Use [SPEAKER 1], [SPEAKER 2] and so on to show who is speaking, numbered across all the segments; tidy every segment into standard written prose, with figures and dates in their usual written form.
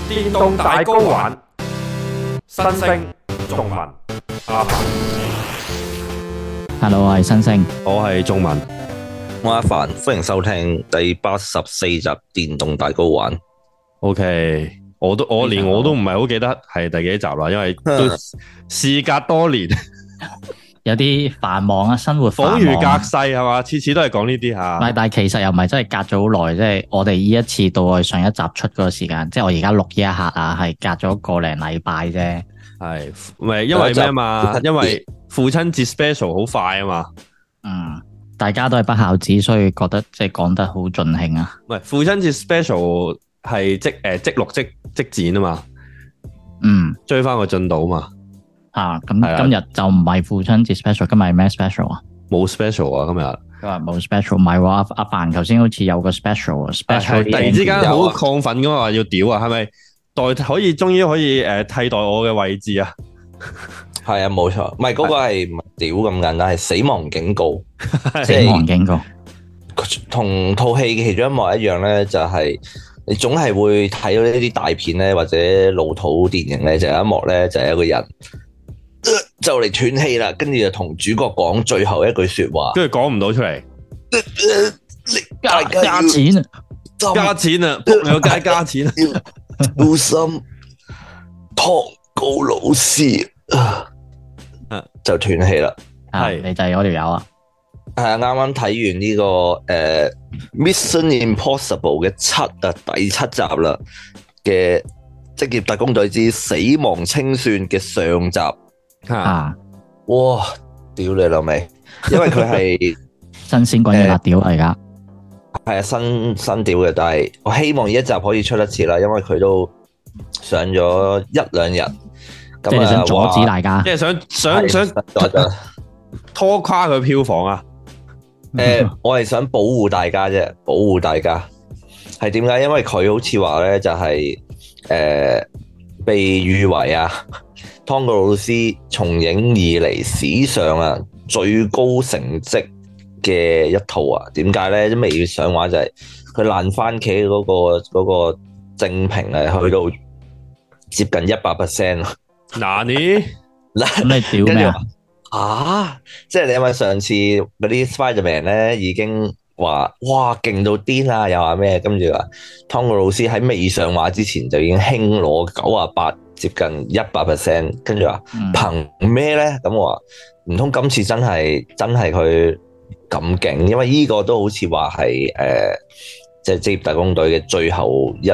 [SPEAKER 1] 電動大 GO 玩，新星仲文阿凡。
[SPEAKER 2] Hello， 我係新星，
[SPEAKER 1] 我係仲文，
[SPEAKER 3] 我阿凡，歡迎收聽第84集電動大 GO 玩。
[SPEAKER 1] OK，我都唔係好記得係第幾集啦，因為都事隔多年。
[SPEAKER 2] 有啲繁忙啊，生活繁忙，
[SPEAKER 1] 恍如隔世係嘛，次次都係講呢啲吓。
[SPEAKER 2] 唔係，但係其實又唔係真係隔咗好耐，即係我哋呢一次到我哋上一集出嗰個時間，即係我而家錄呢一刻啊，係隔咗個零禮拜啫。係，
[SPEAKER 1] 唔係因為咩嘛？因為父親節 special 好快啊嘛。
[SPEAKER 2] 嗯，大家都係不孝子，所以覺得即係講得好盡興啊。
[SPEAKER 1] 唔係父親節 special 係即錄即剪啊嘛。
[SPEAKER 2] 嗯，
[SPEAKER 1] 追翻個進度啊嘛。
[SPEAKER 2] 咁今日就唔係父親節 special， 今日係咩 special 啊？
[SPEAKER 1] 冇 special 啊，今日
[SPEAKER 2] 佢話冇 special， 唔係喎，阿凡頭先好似有個 special，
[SPEAKER 1] 突然之間好亢奮咁話要屌啊，係咪終於可以替代我嘅位置啊？
[SPEAKER 3] 係啊，冇錯，唔係嗰個係唔係屌咁簡單，係死亡警告，
[SPEAKER 2] 死亡警告，
[SPEAKER 3] 同套戲嘅其中一幕一樣咧，就係你總係會睇到呢啲大片咧，或者老土電影咧，就有一幕咧，就係一個人。就嚟斷氣啦，跟住就同主角講最後一句說話，
[SPEAKER 1] 跟住講唔到出嚟，
[SPEAKER 2] 加錢啊，
[SPEAKER 1] 加錢啊，仆你個街加錢啊，
[SPEAKER 3] 小心湯告老師就斷氣啦。
[SPEAKER 2] 係你就係嗰條友啊？
[SPEAKER 3] 係啊，啱啱睇完呢個Mission Impossible 嘅第七集啦嘅職業特工隊之死亡清算嘅上集。哇！屌你老味，因為佢係
[SPEAKER 2] 新鮮滾熱辣屌嚟噶，
[SPEAKER 3] 係啊，新屌嘅，但係我希望呢一集可以出得切啦，因為佢都上咗一兩日，
[SPEAKER 2] 即係想阻止大家，
[SPEAKER 1] 即係想拖垮佢票房啊！
[SPEAKER 3] 我係想保護大家啫，保護大家係點解？因為佢好似話咧，就係被譽為啊。湯告魯斯從影以嚟史上啊最高成績嘅一套啊，點解咧？都未上畫就係佢爛番茄嗰個正評係去到接近 100%。
[SPEAKER 1] 嗱你
[SPEAKER 2] 屌咩
[SPEAKER 3] 啊？即係你因為上次嗰啲 Spiderman 咧已經話哇勁到癲啦，又話咩？跟住話湯告魯斯喺未上畫之前就已經輕攞98。接近 100%， 跟住話憑咩咧？咁我話唔通今次真係佢咁勁？因為呢個都好似話係即係職業特工隊嘅最後一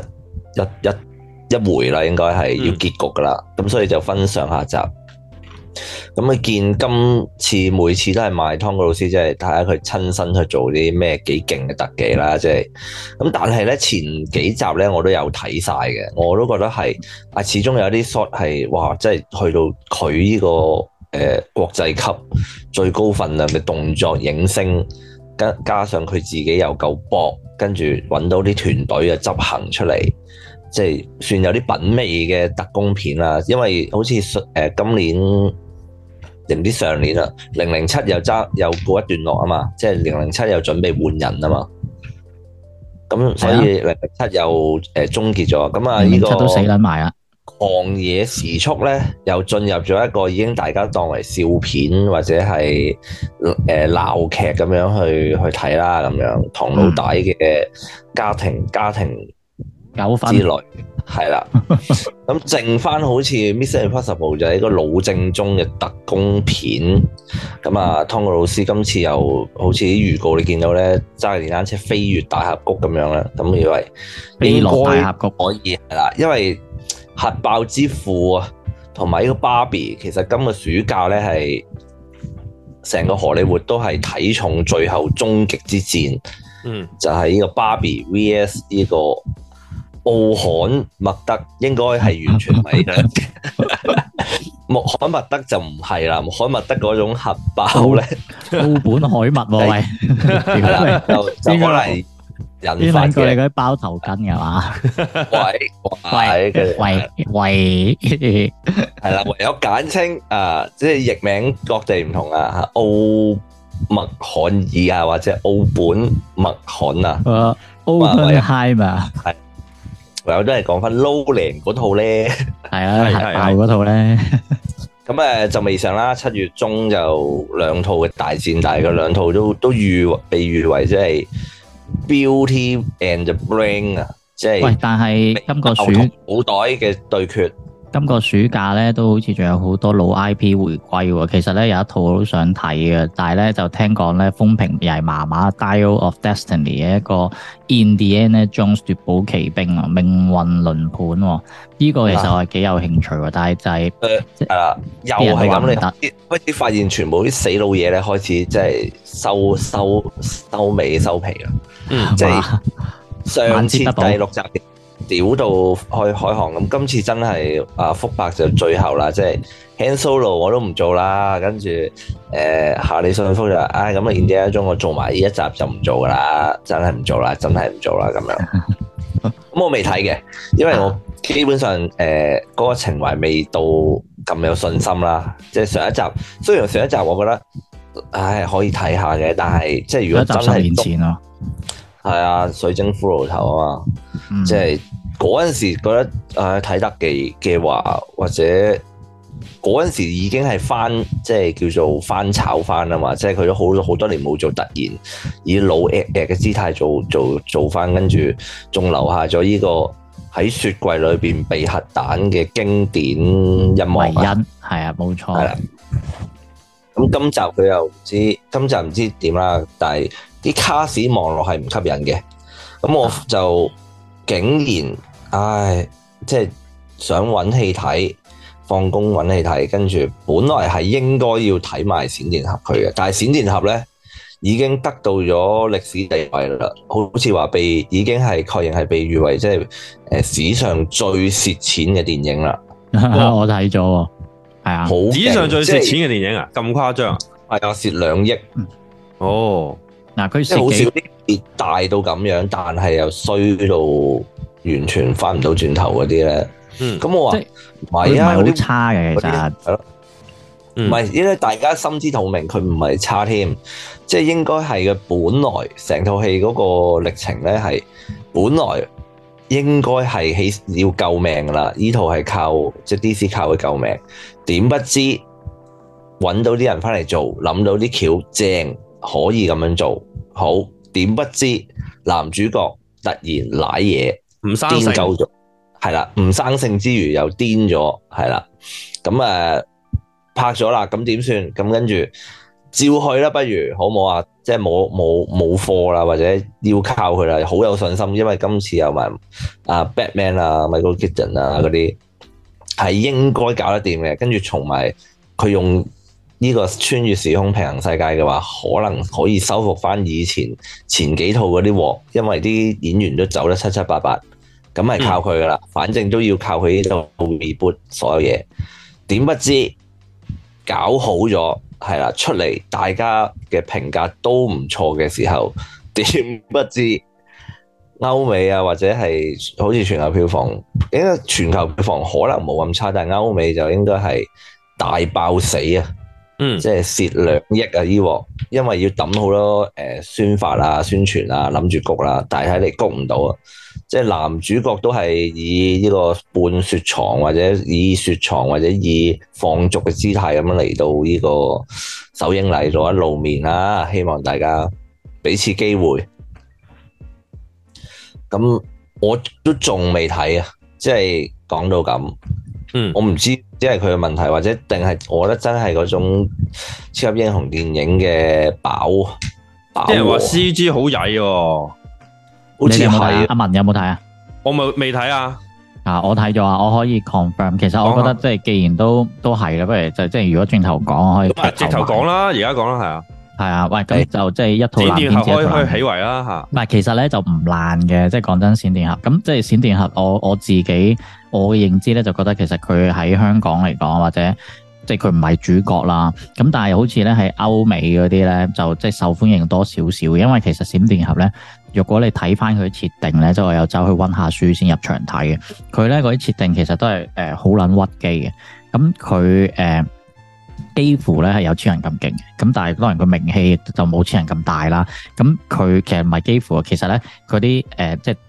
[SPEAKER 3] 回啦，應該係要結局噶啦。咁所以就分上下集。咁你見今次每次都係賣湯告魯斯，即係睇下佢親身去做啲咩幾勁嘅特技啦，即係咁。但係咧前幾集咧我都有睇晒嘅，我都覺得係始終有啲 shot 係哇，即係去到佢呢個國際級最高分量嘅動作影星，加上佢自己又夠搏，跟住揾到啲團隊嘅執行出嚟，即係算有啲品味嘅特工片啦。因為好似今年定唔知上年啦，007又過一段落啊嘛，即係007又準備換人啊嘛，咁所以007又終結咗，咁啊呢個
[SPEAKER 2] 都死撚埋啊！
[SPEAKER 3] 狂野時速咧又進入咗一個已經大家當為笑片或者係鬧劇咁樣去睇啦，咁樣唐老大嘅家庭
[SPEAKER 2] 糾紛
[SPEAKER 3] 之類。係啦，咁剩翻好似 Mission Impossible 就係一個老正宗嘅特工片。咁啊，湯告魯斯今次又好似啲預告你見到咧，揸電單車飛越大峽谷咁樣啦。咁以為
[SPEAKER 2] 飛落大峽谷
[SPEAKER 3] 可以係啦，因為核爆之父啊，同埋呢個芭比，其實今個暑假咧係成個荷里活都係睇重最後終極之戰。就係呢個芭比 VS 呢個奧罕默德，應該係完全唔係嘅。穆罕默德就唔係啦，穆罕默德嗰種核爆咧，
[SPEAKER 2] 奧本海默喎喂，
[SPEAKER 3] 就可能引發嘅。
[SPEAKER 2] 過你嗰啲包頭巾嘅嘛？喂，
[SPEAKER 3] 係啦，唯有簡稱啊，即係譯名各地唔同啊，奧默罕爾啊，或者奧本默罕啊，
[SPEAKER 2] Oppenheimer 係。
[SPEAKER 3] 友都係講翻 Nolan 嗰套咧，
[SPEAKER 2] 係啊，核爆嗰套咧。
[SPEAKER 3] 咁就未上啦，7月中就兩套嘅大戰，但係佢兩套都被譽為即係 Beauty and the Brain 啊，即係
[SPEAKER 2] 喂，但係今個
[SPEAKER 3] 腦袋嘅對決。
[SPEAKER 2] 今個暑假咧都好似仲有好多老 IP 回歸喎。其實咧有一套我都想睇嘅，但係咧就聽講咧風評又係麻麻。Dial of Destiny 嘅一個 Indiana Jones 奪寶奇兵啊，命運輪盤喎。呢個其實我係幾有興趣喎，但係就係
[SPEAKER 3] 係啦，又係咁你開始發現全部啲死老嘢咧開始即係收尾收皮啦。即係上次第6集屌到開行咁，今次真係福伯就最後啦，即係 Han Solo 我都唔做啦，跟住夏里遜福就咁啊Indiana Jones我做埋呢一集就唔做噶啦，真係唔做啦咁樣。咁我未睇嘅，因為我基本上嗰個情懷未到咁有信心啦。即係上一集，雖然上一集我覺得可以睇下嘅，但係即係如果真係10年前咯，係啊，水晶骷髏頭啊嘛，即係。嗰陣時覺得睇得嘅話，或者嗰陣時已經係即係叫做翻炒翻啊嘛，即係佢都好多年冇做突然，以老嘅姿態做翻，跟住仲留下咗呢個喺雪櫃裏邊避核彈嘅經典一幕啊，
[SPEAKER 2] 係啊，冇錯。
[SPEAKER 3] 係啦，咁今集佢又唔知點啦，但係啲卡士望落係唔吸引嘅，咁我就竟然。即係想揾戲睇，放工揾戲睇，跟住本來係應該要睇埋閃電俠佢嘅，但係閃電俠咧已經得到咗歷史地位啦，好似話已經係確認係被譽為即係史上最蝕錢嘅電影啦。
[SPEAKER 2] 我睇咗喎，係啊，
[SPEAKER 1] 史上最蝕錢嘅電影啊，咁誇張啊？
[SPEAKER 3] 係啊，蝕2億。
[SPEAKER 1] 哦，
[SPEAKER 2] 嗱，佢
[SPEAKER 3] 即係好少啲跌大到咁樣，但係又衰到。完全翻唔到轉頭嗰啲咧，咁我話唔係啊，
[SPEAKER 2] 嗰啲好差嘅其實係咯，
[SPEAKER 3] 唔係，因為大家心知肚明，佢唔係差添，即係應該係嘅。本來成套戲嗰個歷程咧係本來應該係要救命噶啦，呢套係靠即係 DC 靠佢救命，點不知揾到啲人翻嚟做，諗到啲橋正可以咁樣做好，點不知男主角突然瀨嘢。
[SPEAKER 1] 唔生性
[SPEAKER 3] 咗，係啦，唔生性之餘又癲咗，係啦，咁拍咗啦，咁點算？咁跟住照去啦，不如好冇啊？即係冇貨啦，或者要靠佢啦，好有信心，因為今次有埋Batman 啊、Michael Keaton 啊嗰啲係應該搞得掂嘅，跟住從埋佢用呢個穿越時空平行世界嘅話，可能可以收復翻以前幾套嗰啲鑊，因為啲演員都走得七七八八。咁係靠佢噶啦，反正都要靠佢呢度 reboot 所有嘢。點不知搞好咗，係啦，出嚟大家嘅評價都唔錯嘅時候，點不知歐美啊或者係好似全球票房，應該全球票房可能冇咁差，但係歐美就應該係大爆死啊！即係蝕2億啊！呢鑊，因為要抌好多宣發啊、宣傳啊，諗住谷啦，但係睇嚟谷唔到啊！即係男主角都係以呢個半雪藏或者以雪藏或者以放逐嘅姿態咁樣嚟到呢個首映禮度一露面啦，希望大家俾次機會。咁我都仲未睇啊，即係講到咁。我唔知，即係佢嘅問題，或者定係我覺得真係嗰種超級英雄電影嘅飽。
[SPEAKER 1] 啲人話 CG 好曳喎，
[SPEAKER 3] 好似係。
[SPEAKER 2] 阿文有冇睇啊？
[SPEAKER 1] 我未睇啊。
[SPEAKER 2] 我睇咗啊，我可以 confirm。其實我覺得即係既然都係啦，不如就即係如果轉頭講，可以
[SPEAKER 1] 直頭講啦，而家講啦，係啊。係
[SPEAKER 2] 啊，喂，咁就即係一套爛片之後
[SPEAKER 1] 可以起圍啦嚇。
[SPEAKER 2] 唔係，其實咧就唔爛嘅，即係講真，閃電俠咁即係閃電俠，我自己我嘅認知咧就覺得其實佢喺香港嚟講或者即係佢唔係主角啦。咁但係好似咧喺歐美嗰啲咧就即係受歡迎多少少，因為其實閃電俠咧，如果你睇翻佢設定咧，即係我有走去溫下書先入場睇嘅。佢咧嗰啲設定其實都係好撚屈機嘅。咁佢幾乎咧係有超人咁勁嘅，咁但係當然佢名氣就冇超人咁大啦。咁佢其實唔係幾乎，其實咧嗰啲即係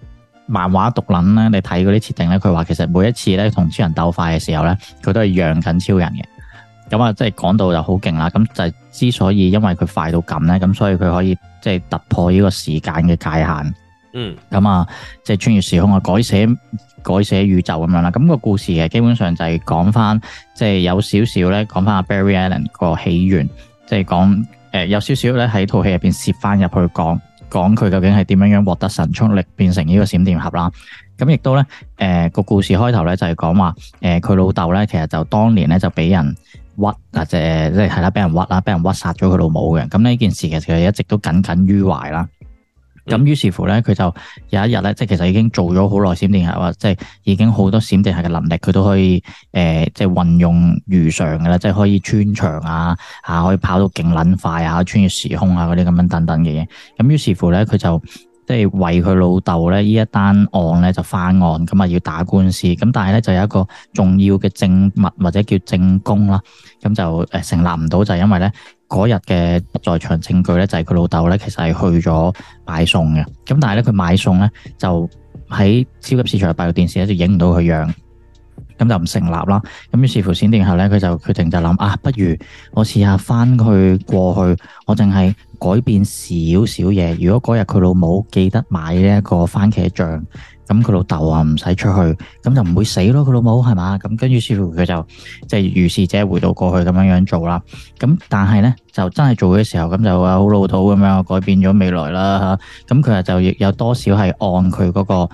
[SPEAKER 2] 漫畫毒撚咧，你睇嗰啲設定咧，佢話其實每一次咧同超人鬥快嘅時候咧，佢都係讓緊超人嘅。咁啊，即係講到就好勁啦。咁就係之所以因為佢快到咁咧，咁所以佢可以即係突破呢個時間嘅界限。咁啊，即係穿越時空啊，改寫宇宙咁樣啦。咁個故事嘅基本上就係講翻，即係有少少咧講翻阿 Barry Allen 個起源，即係講有少少咧喺套戲入邊攝翻入去講佢究竟係點樣獲得神速力變成呢個閃電俠啦。咁亦都咧個故事開頭咧就係講話佢老豆咧其實就當年咧就俾人屈或者即係啦，俾人屈啦，俾人屈殺咗佢老母嘅。咁呢件事其實一直都耿耿於懷啦。咁於是乎咧，佢就有一日咧，即係其實已經做咗好耐閃電俠啊，即係已經好多閃電俠嘅能力，佢都可以即係運用如常嘅啦，即係可以穿牆啊，可以跑到勁撚快啊，穿越時空啊嗰啲咁樣等等嘅嘢。咁於是乎咧，佢就即係為佢老豆咧呢一單案咧就翻案，咁啊要打官司。咁但係咧就有一個重要嘅證物或者叫證供啦，咁就成立唔到，就係因為咧。嗰日嘅不在場證據咧，就係佢老豆咧，其實係去咗買餸嘅。咁但係咧，佢買餸咧就喺超級市場嘅閉路電視咧就影唔到佢樣，咁就唔成立啦。咁於是乎閃電俠咧，佢就決定就諗不如我試下翻去過去，我淨係改變少少嘢。如果嗰日佢老母記得買呢一個番茄醬。咁佢老豆啊唔使出去，咁就唔會死咯。佢老母係嘛？咁跟住師傅佢就即係如是者回到過去咁樣做啦。咁但係咧就真係做嘅時候，咁就話好老土咁樣改變咗未來啦嚇。咁佢就亦有多少係按佢嗰個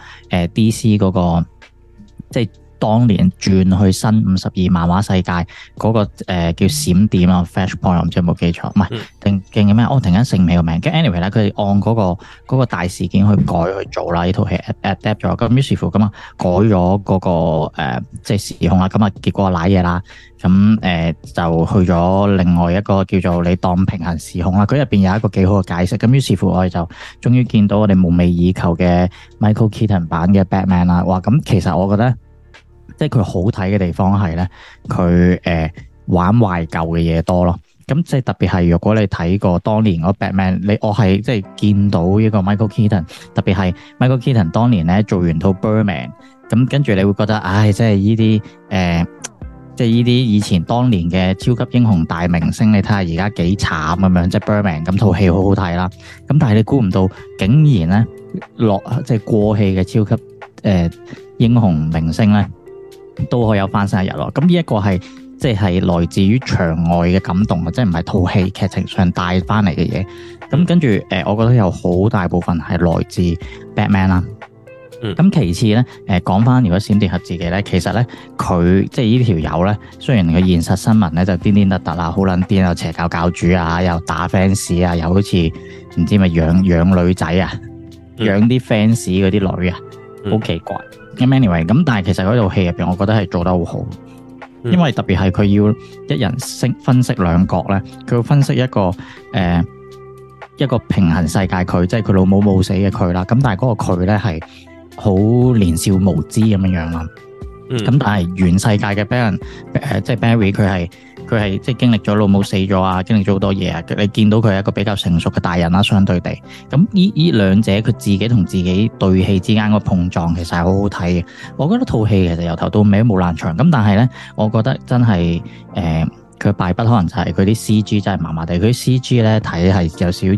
[SPEAKER 2] DC 嗰個即係。當年轉去新52漫畫世界嗰個叫閃點啊 Flashpoint， 我唔知有冇記錯，唔係定嘅咩？我突然間醒唔起個名。跟 anyway 咧，佢哋按嗰個大事件去改去做啦。呢套戲 adapt 咗，咁於是乎咁啊改咗嗰個即係時空啦。咁啊結果瀨嘢啦。咁就去咗另外一個叫做你當平行時空啦。佢入邊有一個幾好嘅解釋。咁於是乎我哋就終於見到我哋夢寐以求嘅 Michael Keaton 版嘅 Batman 啦。哇！咁其實我覺得。即係佢好睇嘅地方係咧，佢玩懷舊嘅嘢多咯。咁即係特別係，如果你睇過當年嗰 Batman， 我係即係見到呢個 Michael Keaton， 特別係 Michael Keaton 當年咧做完套 Birdman， 咁跟住你會覺得，即係呢啲即係呢啲以前當年嘅超級英雄大明星，你睇下而家幾慘咁樣，即係 Birdman 咁套戲好好睇啦。咁但係你估唔到，竟然咧即係過氣嘅超級英雄明星咧。都可以有翻生日咯，咁呢一個係即係來自於場外嘅感動啊，即係唔係套戲劇情上帶翻嚟嘅嘢。咁跟住我覺得有好大部分係來自 Batman 啦。咁其次咧，講翻如果閃電俠自己咧，其實咧佢即係呢條友咧，雖然佢現實新聞咧就癲癲突突啦，好撚癲啊，邪教教主啊，又打 fans 啊，又好似唔知咪養女仔啊，養啲 fans 嗰啲女啊，好奇怪。咁 anyway， 咁但係其實嗰套戲入邊，我覺得係做得好好，因為特別係佢要一人分析兩角咧，佢要分析一個平行世界佢，即係佢老母冇死嘅佢啦。咁但係嗰個佢咧係好年少無知咁樣樣啦。咁但係原世界嘅 Barry， 即係 Barry 佢係即係經歷咗老母死咗啊，經歷咗好多嘢啊。你見到佢係一個比較成熟嘅大人啦，相對地。咁呢兩者佢自己同自己對戲之間個碰撞，其實係好好睇嘅。我覺得套戲其實由頭到尾都冇爛場。咁但係咧，我覺得真係佢敗筆可能就係佢啲 CG 真係麻麻地。佢啲 CG 咧睇係有少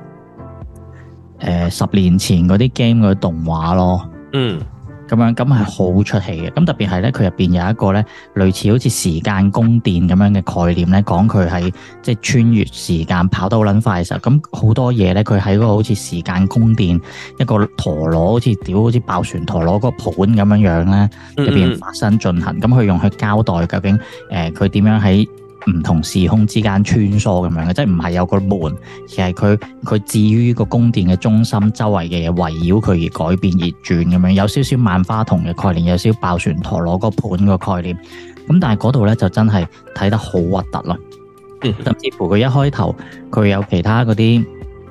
[SPEAKER 2] 似10年前嗰啲 game 嗰啲動畫咯。咁係好出戲嘅。咁特別係咧，佢入邊有一個咧類似好似時間宮殿咁樣嘅概念咧，講佢係即係穿越時間跑得好撚快嘅時候，咁好多嘢咧，佢喺嗰個好似時間宮殿一個陀螺，好似爆旋陀螺嗰個盤咁樣樣咧，入邊發生進行。咁佢用去交代究竟佢點樣喺唔同時空之間穿梭咁樣嘅，即係唔係有個門，而係佢置於個宮殿嘅中心，周圍嘅嘢圍繞佢而改變而轉咁樣，有少少萬花筒嘅概念，有少少爆旋陀螺個盤個概念。咁但係嗰度咧就真係睇得好核突咯。甚至乎佢一開頭佢有其他嗰啲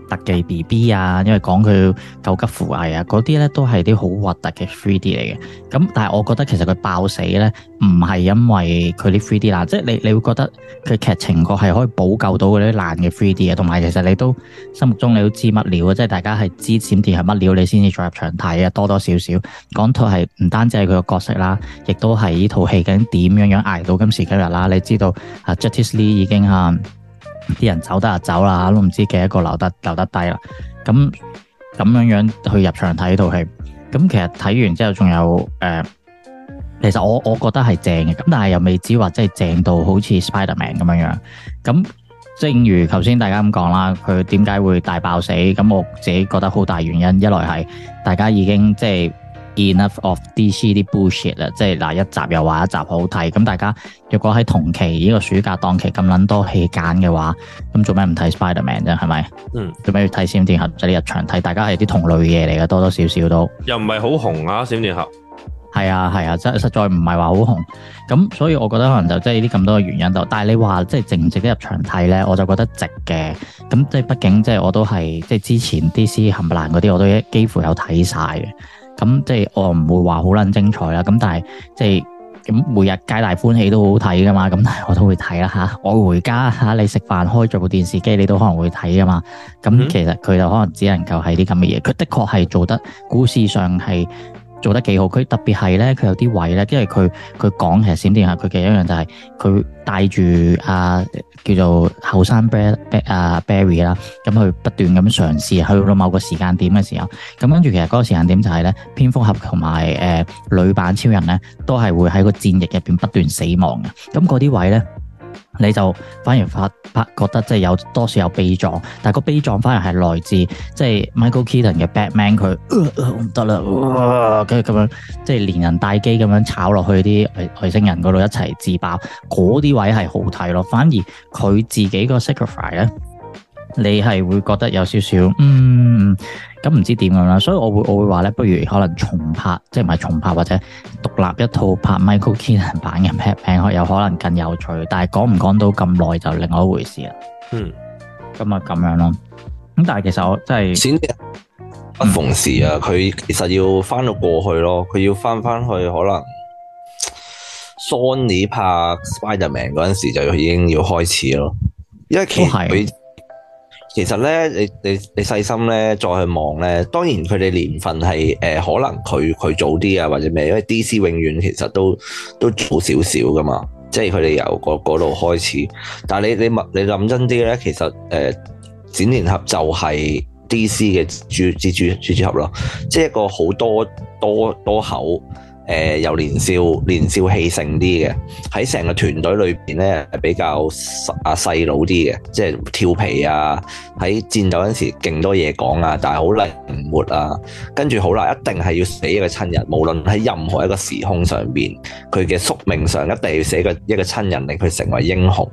[SPEAKER 2] 特技 BB 啊，因為講佢救急扶危啊，嗰啲咧都係啲好核突嘅 3D 嚟嘅。咁但係我覺得其實佢爆死咧，唔係因為佢啲 3D 爛，即係你會覺得佢劇情個係可以補救到嗰啲爛嘅 3D 嘅，同埋其實你都心目中你都知乜料啊，即係大家係知閃電係乜料，你先至再入場睇啊，多多少少講套係唔單止係佢個角色啦，亦都係呢套戲究竟點樣捱到今時今日啦。你知道啊 Justice League 已經啲人走得就走啦，都唔知幾多個留得低啦。咁樣去入場睇套戲，咁其實睇完之後仲有其實我覺得係正嘅，咁但係又未至話真係正到好似 Spider-Man 咁樣。咁正如頭先大家咁講啦，佢點解會大爆死？咁我自己覺得好大原因，一來係大家已經即係 enough of DC 啲 bullshit 啦，即係嗱一集又話一集好睇，咁大家若果喺同期呢個暑假檔期咁撚多戲揀嘅話，咁做咩唔睇 Spider-Man 啫？係咪？做咩要睇閃電俠？就你入場睇，大家係啲同類嘢嚟嘅，多多少少都
[SPEAKER 1] 又唔係好紅啊！閃電俠
[SPEAKER 2] 係啊，真實在唔係話好紅，咁所以我覺得可能就即係呢啲咁多嘅原因度。但係你話即係值唔值得入場睇咧？我就覺得值嘅。咁即係畢竟即係我都係即係之前 DC 冚唪唥嗰啲我都幾乎有睇晒嘅。咁即係我唔會話好撚精彩啦，咁但係即係咁每日皆大歡喜都好好睇噶嘛，咁但係我都會睇啦嚇。我回家嚇，你食飯開咗部電視機，你都可能會睇噶嘛。咁其實佢就可能只能夠係啲咁嘅嘢，佢的確係做得故事上係做得幾好，佢特別係咧，佢有啲位咧，因為佢講其實閃電俠佢嘅一樣就係佢帶住叫做後生 Barry 啦，咁佢不斷咁嘗試去到某個時間點嘅時候，咁跟住其實嗰個時間點就係咧，蝙蝠俠同埋女版超人咧都係會喺個戰役入邊不斷死亡嘅，咁嗰啲位咧。你就反而覺得即係有多少有悲壯，但係個悲壯反而係來自即係 Michael Keaton 嘅 Batman 佢唔得啦，跟住咁樣即係連人帶機咁樣炒落去啲外星人嗰度一齊自爆，嗰啲位係好睇咯。反而佢自己個 sacrifice 咧，你係會覺得有少少咁唔知點樣啦，所以我會話咧，不如可能重拍，即係唔係重拍或者獨立一套拍 Michael Keaton 版嘅 Batman， 有可能更有趣。但係講唔講到咁耐就另外一回事啦。咁啊咁樣咯。咁但係其實我真係
[SPEAKER 3] 不逢時啊，佢其實要翻到過去咯，佢要翻去可能 Sony 拍 Spider-Man 嗰陣時就已經要開始咯，因為其實咧，你細心咧再去望咧，當然佢哋年份係可能佢早啲啊或者咩，因為 DC 永遠其實都早少少噶嘛，即係佢哋由嗰度開始。但係你諗真啲咧，其實閃電俠就係 DC 嘅蜘蛛俠咯，即係一個好多口。又年少氣盛啲嘅，喺成個團隊裏邊咧係比較細佬啲嘅，即係調皮啊，喺戰鬥嗰陣時勁多嘢講啊，但係好靈活啊，跟住好啦，一定係要死一個親人，無論喺任何一個時空上邊，佢嘅宿命上一定要死一個親人令佢成為英雄。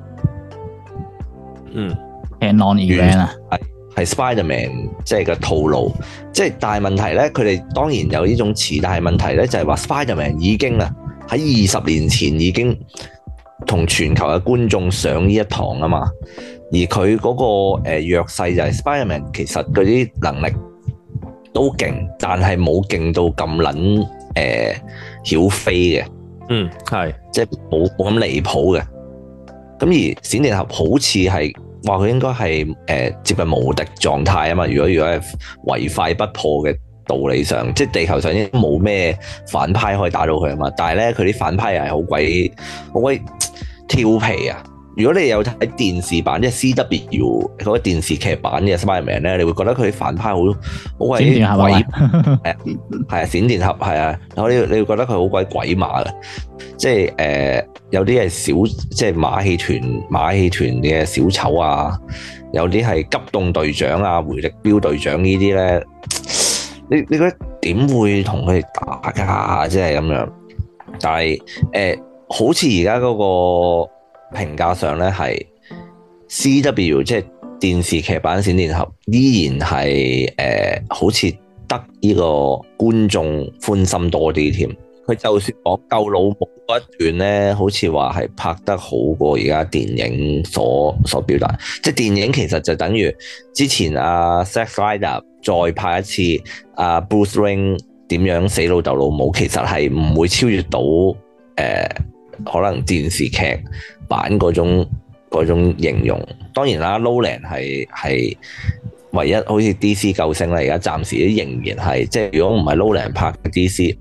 [SPEAKER 2] non-event 啊。
[SPEAKER 3] 係 Spider-Man 即係個套路，即係但係問題咧，佢哋當然有呢種詞，但係問題咧就係話 Spider-Man 已經喺20年前已經同全球嘅觀眾上呢一堂啊嘛，而佢嗰個弱勢就係 Spider-Man 其實嗰啲能力都勁，但係冇勁到咁撚曉飛嘅，
[SPEAKER 1] 係即係
[SPEAKER 3] 冇咁離譜嘅，咁而閃電俠好似係。話佢應該係接近無敵狀態啊嘛！如果係唯快不破嘅道理上，即係地球上已經冇咩反派可以打到佢啊嘛。但係咧，佢啲反派又係好鬼調皮啊！如果你有睇電視版，即係 CW 嗰個電視劇版嘅 Spider-Man 咧，你會覺得佢啲反派好鬼鬼係啊，閃電俠係啊，你會覺得佢好鬼鬼馬嘅，即係有啲係即係馬戲團嘅小丑啊，有啲係急凍隊長啊、回力鏢隊長呢啲咧，你覺得點會同佢哋打㗎？即係咁樣，但係好似而家嗰個評價上咧係 CW 即係電視劇版閃電俠依然係好似得呢個觀眾歡心多啲添。 佢就算講救老母嗰一段咧，好似話係拍得好過而家電影所表達。即係電影其實就等於之前阿 Zack Snyder 再拍一次阿 Bruce Wayne 點樣死老豆老母，其實係唔會超越到可能電視劇版嗰種形容。當然啦，Nolan 係唯一好似 DC 救星啦，而家暫時都仍然係，即係如果唔係 Nolan 拍嘅 DC，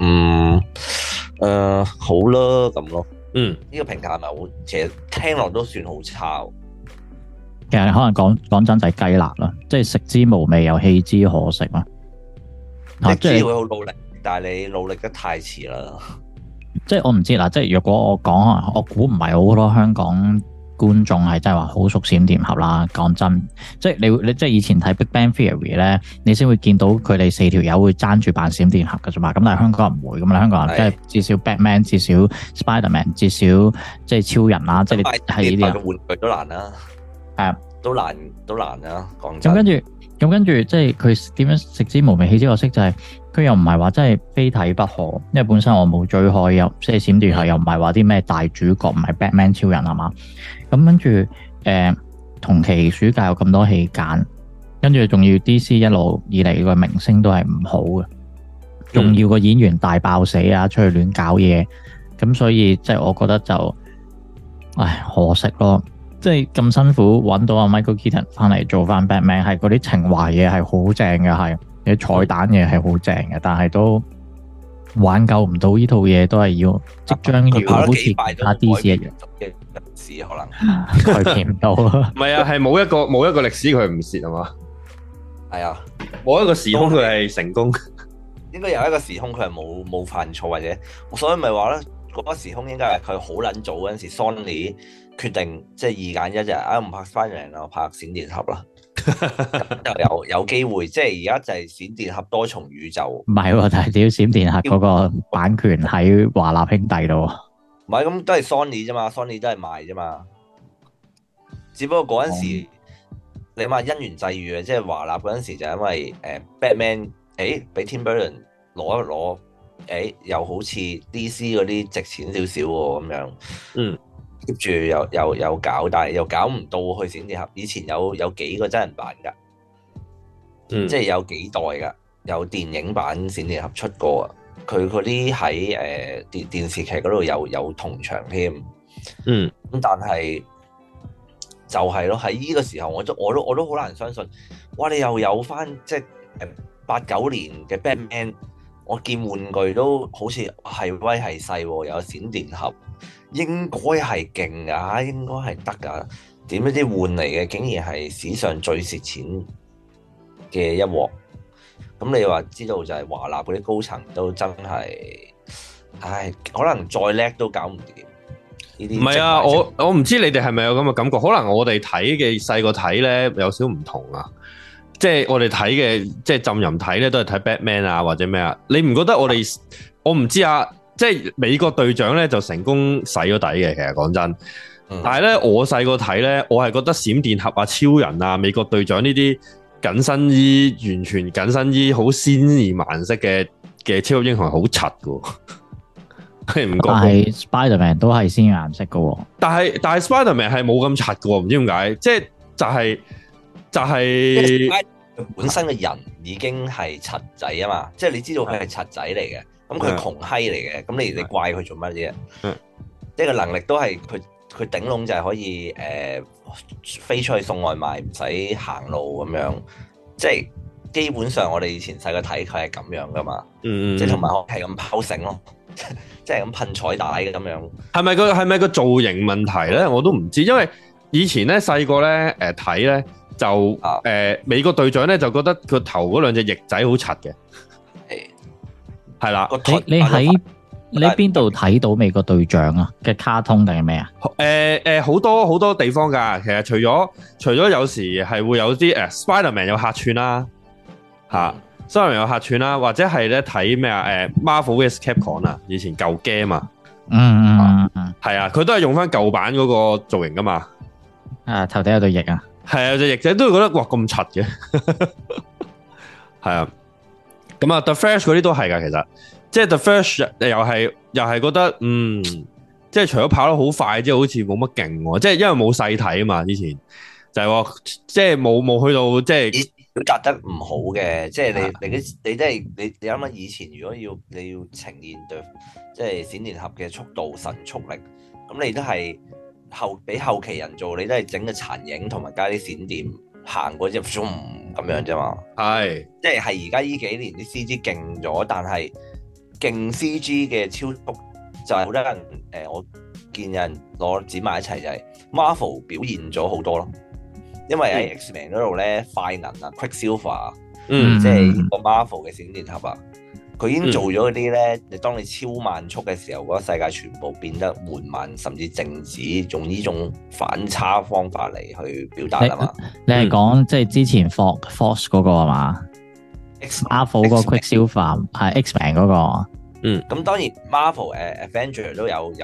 [SPEAKER 3] 好啦咁咯。呢個評價係咪好？其實聽落都算好差。
[SPEAKER 2] 其實可能講真就係雞肋啦，即係食之無味又棄之可惜啦。
[SPEAKER 3] 你知會好努力，但係你努力得太遲啦。即係
[SPEAKER 2] 我唔知啦，即係如果我講，我估唔係好多香港觀眾係真係話好熟閃電俠啦。講真，即係你即係以前睇 Big Bang Theory 咧，你先會見到佢哋4條友會爭住扮閃電俠㗎啫嘛。咁但係香港人唔會咁啦，香港人即係至少 Batman， 至少 Spiderman， 至少即係超人啦，即係你係呢啲
[SPEAKER 3] 玩具都難啦，都難啦。講真，
[SPEAKER 2] 咁跟住即係佢點樣食之無味棄之可惜，就係佢又唔係話真係非睇不可，因為本身我冇追開，又即係閃電俠又唔係話啲咩大主角，唔係 Batman 超人係嘛。咁跟住同期暑假有咁多戲揀，跟住仲要 DC 一路以嚟個明星都係唔好嘅，仲要個演員大爆死啊，出去亂搞嘢，咁所以即係我覺得就可惜咯。即係咁辛苦揾到阿 Michael Keaton 翻嚟做翻 Batman， 係嗰啲情懷嘢係好正嘅，係啲彩蛋嘢係好正嘅，但係都挽救唔到呢套嘢，都係要即將要好似其他 DC 一樣
[SPEAKER 3] 嘅歷史可能
[SPEAKER 2] 改變唔到。
[SPEAKER 1] 唔係啊，係冇一個歷史佢唔蝕係嘛？係啊，冇一個時空佢係成功，
[SPEAKER 3] 應該有一個時空佢係冇犯錯，或者所以咪話咧，嗰個時空應該係佢好撚早嗰陣時 Sony 決定即係2揀1就唔拍 Spider-Man 啦，我拍閃電俠啦，就有機會。即係而家就係閃電俠多重宇宙。
[SPEAKER 2] 唔係喎，但係屌閃電俠嗰個版權喺華納兄弟度。
[SPEAKER 3] 唔係咁都係 Sony 啫嘛，Sony 都係賣啫嘛。只不過嗰陣時你話因緣際遇啊，即係華納嗰陣時就因為Batman 俾 Tim Burton 攞一攞，又好似 DC 嗰啲值錢少少喎咁樣。接住又搞，但係又搞唔到去閃電俠。以前有幾個真人版噶，即係有幾代噶，有電影版閃電俠出過啊。佢嗰啲喺電視劇嗰度有同場添。咁但係就係咯，喺呢個時候我都好難相信。哇！你又有翻即係89年嘅 Batman， 我見玩具都好似係威係勢，有閃電俠。應該係勁噶，應該係得噶。點知啲換嚟嘅竟然係史上最蝕錢嘅一鑊。咁你話知道就係華納嗰啲高層都真係，可能再叻都搞唔掂呢啲。唔係
[SPEAKER 1] 啊，我唔知你哋係咪有咁嘅感覺？可能我哋睇嘅細個睇咧有少唔同啊。即係我哋睇嘅，即係浸淫睇咧都係睇 Batman 啊或者咩啊。你唔覺得我唔知啊？即係美國隊長咧就成功洗咗底嘅，其實講真。但係咧我細個睇咧，我係覺得閃電俠啊、超人啊、美國隊長呢啲緊身衣完全緊身衣好鮮豔顏色嘅超級英雄係好柒嘅，係唔覺？但
[SPEAKER 2] 係 Spiderman 都係鮮豔顏色嘅，
[SPEAKER 1] 但係 Spiderman 係冇咁柒嘅，唔知點解，即係就係
[SPEAKER 3] 本身嘅人已經係柒仔啊嘛，即係你知道佢係柒仔嚟嘅。咁佢窮閪嚟嘅，咁你怪佢做乜嘢？即係個能力都係佢頂籠就係可以飛出去送外賣，唔使行路咁樣。即係基本上我哋以前細個睇佢係咁樣噶嘛。即係同埋係咁拋繩咯，即係咁噴彩帶嘅咁樣。
[SPEAKER 1] 係咪個造型問題咧？我都唔知，因為以前咧細個咧睇咧就美國隊長咧就覺得佢頭嗰兩隻翼仔好柒嘅。係啦，
[SPEAKER 2] 你喺邊度睇到美國隊長啊嘅卡通定係咩啊？
[SPEAKER 1] 好多地方噶，其實除咗有時係會有啲Spiderman 有客串啦，Spiderman 有客串啦，或者係咧睇咩啊Marvel vs Capcom 啊，以前舊 game 啊，係啊，佢都係用翻舊版嗰個造型噶嘛，
[SPEAKER 2] 頭頂有對翼啊，
[SPEAKER 1] 係啊，隻翼仔都會覺得哇咁柒嘅，係啊。咁啊 The Flash 嗰啲都係噶，其實即係 The Verge 又係覺得即係除咗跑得好快，即係好似冇乜勁喎。即係因為冇細睇啊嘛，之前就係話即係冇去到即係
[SPEAKER 3] 表達得唔好嘅。即係你即係你諗下以前如果你要呈現對即係閃電俠嘅速度神速力，咁你都係俾後期人做，你都係整個殘影同埋加啲閃電行過隻 zoom 咁樣啫嘛。
[SPEAKER 1] 係
[SPEAKER 3] 即係而家呢幾年啲 CG 勁咗，但係勁 CG 嘅超速就係好多人我見有人攞剪埋一齊就係 Marvel 表現咗好多咯。因為喺 X-Men 嗰度咧，快銀啊 Quicksilver 即係個 Marvel 嘅閃電俠啊，佢已經做咗嗰啲咧。你當你超慢速嘅時候，嗰個世界全部變得緩慢，甚至靜止，用呢種反差方法嚟去表達啊嘛。
[SPEAKER 2] 你係講即係之前 Force 嗰個係嘛？Marvel 個 Quicksilver 係 X-Men 嗰個。
[SPEAKER 3] 咁當然 Marvel Avenger 都有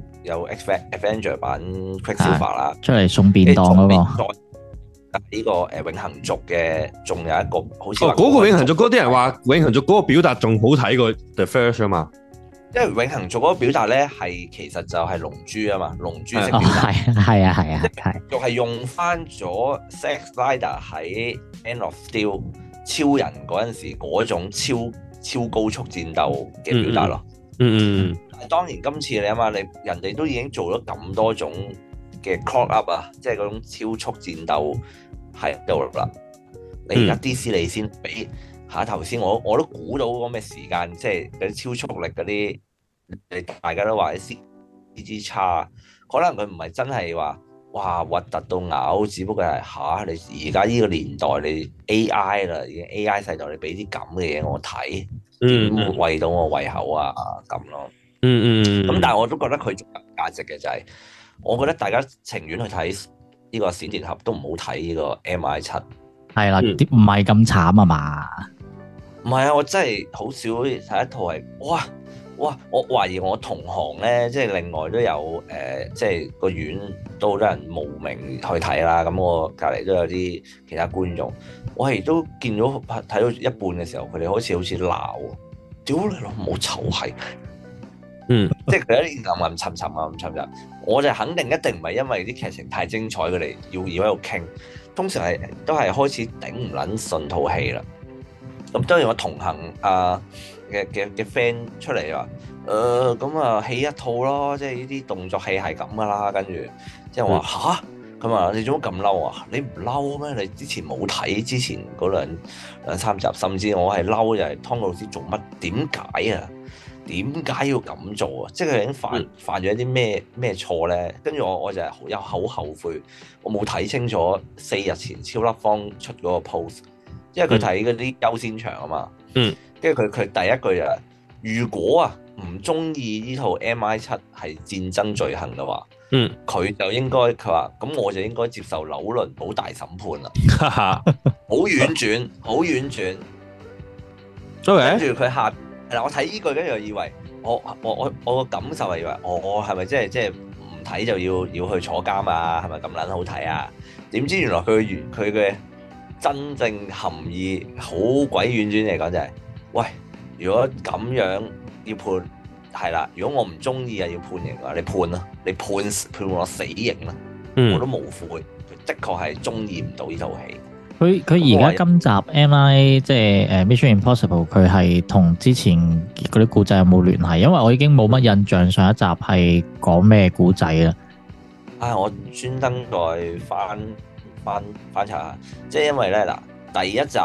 [SPEAKER 3] Avenger 版 Quicksilver 啦，
[SPEAKER 2] 出嚟送便當嗰個。
[SPEAKER 3] 呢個永恆族嘅，仲有一個好似
[SPEAKER 1] 嗰個永恆族嗰啲人話永恆族嗰個表達仲好睇過 The First 啊嘛，因為
[SPEAKER 3] 永恆族嗰個表達咧係其實就係龍珠啊嘛，龍珠式表達
[SPEAKER 2] 係
[SPEAKER 3] 就係用翻咗 Zack Snyder 喺 Man of Steel 超人嗰陣時嗰種超高速戰鬥嘅表達咯。但係當然今次你諗下，人哋都已經做咗咁多種嘅 clock up 啊，即係嗰種超速戰鬥喺度啦。你而家 DC 你先俾下頭先，我都估到嗰咩時間，即係嗰啲超速力嗰啲，大家都話啲 CG 差，可能佢唔係真係話哇核突到嘔，只不過係你而家呢個年代你 AI 啦，已經 AI 世代，你俾啲咁嘅嘢我睇，點餵到我胃口啊咁咯。咁但係我都覺得佢仲有價值嘅就係。我覺得大家情願去睇呢個閃電俠都唔好睇呢個 MI7。
[SPEAKER 2] 係啦，唔係咁慘啊嘛。
[SPEAKER 3] 唔係啊，我真係好少睇一套係哇！我懷疑我同行咧，即係另外都有即係個院都好多人慕名去睇啦。咁我隔離都有啲其他觀眾，我係都見到睇到一半嘅時候，佢哋好似鬧，屌你老母臭閪！即係佢一啲暗沉，我就肯定一定唔係因為啲劇情太精彩，佢哋要喺度傾。通常都係開始頂唔撚順套戲啦。咁當然我同行嘅 friend 出嚟話，咁啊戲一套咯，即係呢啲動作戲係咁噶啦。跟住即係我話吓，咁啊你做乜咁嬲啊？你唔嬲咩？你之前冇睇之前嗰兩三集，甚至我係嬲就係湯老師做乜？點解啊？點解要咁做啊？即係佢已經犯咗一啲咩錯咧？跟住我就係有好後悔，我冇睇清楚4日前超粒方出嗰個 post， 因為佢睇嗰啲優先場啊嘛。跟住佢第一句就係：如果啊唔中意呢套 MI7係戰爭罪行嘅話，佢就應該佢話咁我就應該接受紐倫堡大審判啦。好婉轉，好婉轉。跟住佢下。我睇呢句，跟住又以為我個感受係以為我係咪即係唔睇就要去坐監啊？係咪咁撚好睇啊？點知原來佢嘅真正含義好鬼婉轉嚟講就係，喂，如果咁樣要判係啦，如果我唔中意啊要判刑嘅話，你判啦，你判我死刑啦，我都無悔。佢的確係中意唔到呢套戲。佢
[SPEAKER 2] 而家今集 MI 即係Mission Impossible， 佢係同之前嗰啲故仔有冇聯繫？因為我已經冇乜印象上一集係講咩故仔啦。
[SPEAKER 3] 我專登再翻查下，即係因為咧嗱，第一集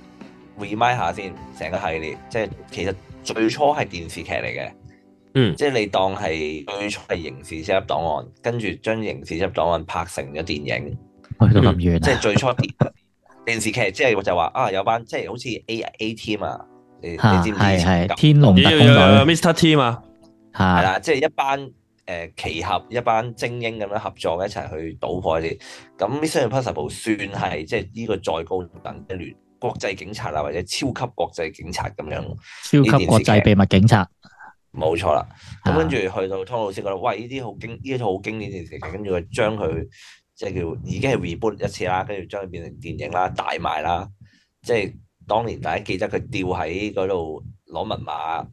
[SPEAKER 3] remind 下先，成個系列即係其實最初係電視劇嚟嘅，即係你當係最初係刑事偵緝檔案，跟住將刑事偵緝檔案拍成咗電影，
[SPEAKER 2] 去到咁遠，
[SPEAKER 3] 即係最初電視劇，即係就話有班即係好似 A Team 啊，你知唔知？
[SPEAKER 2] 係天龍特工隊
[SPEAKER 1] Mr. Team 啊，
[SPEAKER 3] 係啦，即係一班奇俠一班精英咁樣合作一齊去搗破啲。咁 Mission Impossible 算係即係呢個再高等一聯國際警察啊，或者超級國際警察咁樣。
[SPEAKER 2] 超級國際秘密警察，
[SPEAKER 3] 冇錯啦。咁跟住去到湯老師覺得，喂，呢套好經典電視劇，跟住佢將佢。即係叫已經係 reboot 一次啦，跟住將佢變成電影啦，大賣啦。即係當年大家記得佢吊喺嗰度攞密碼，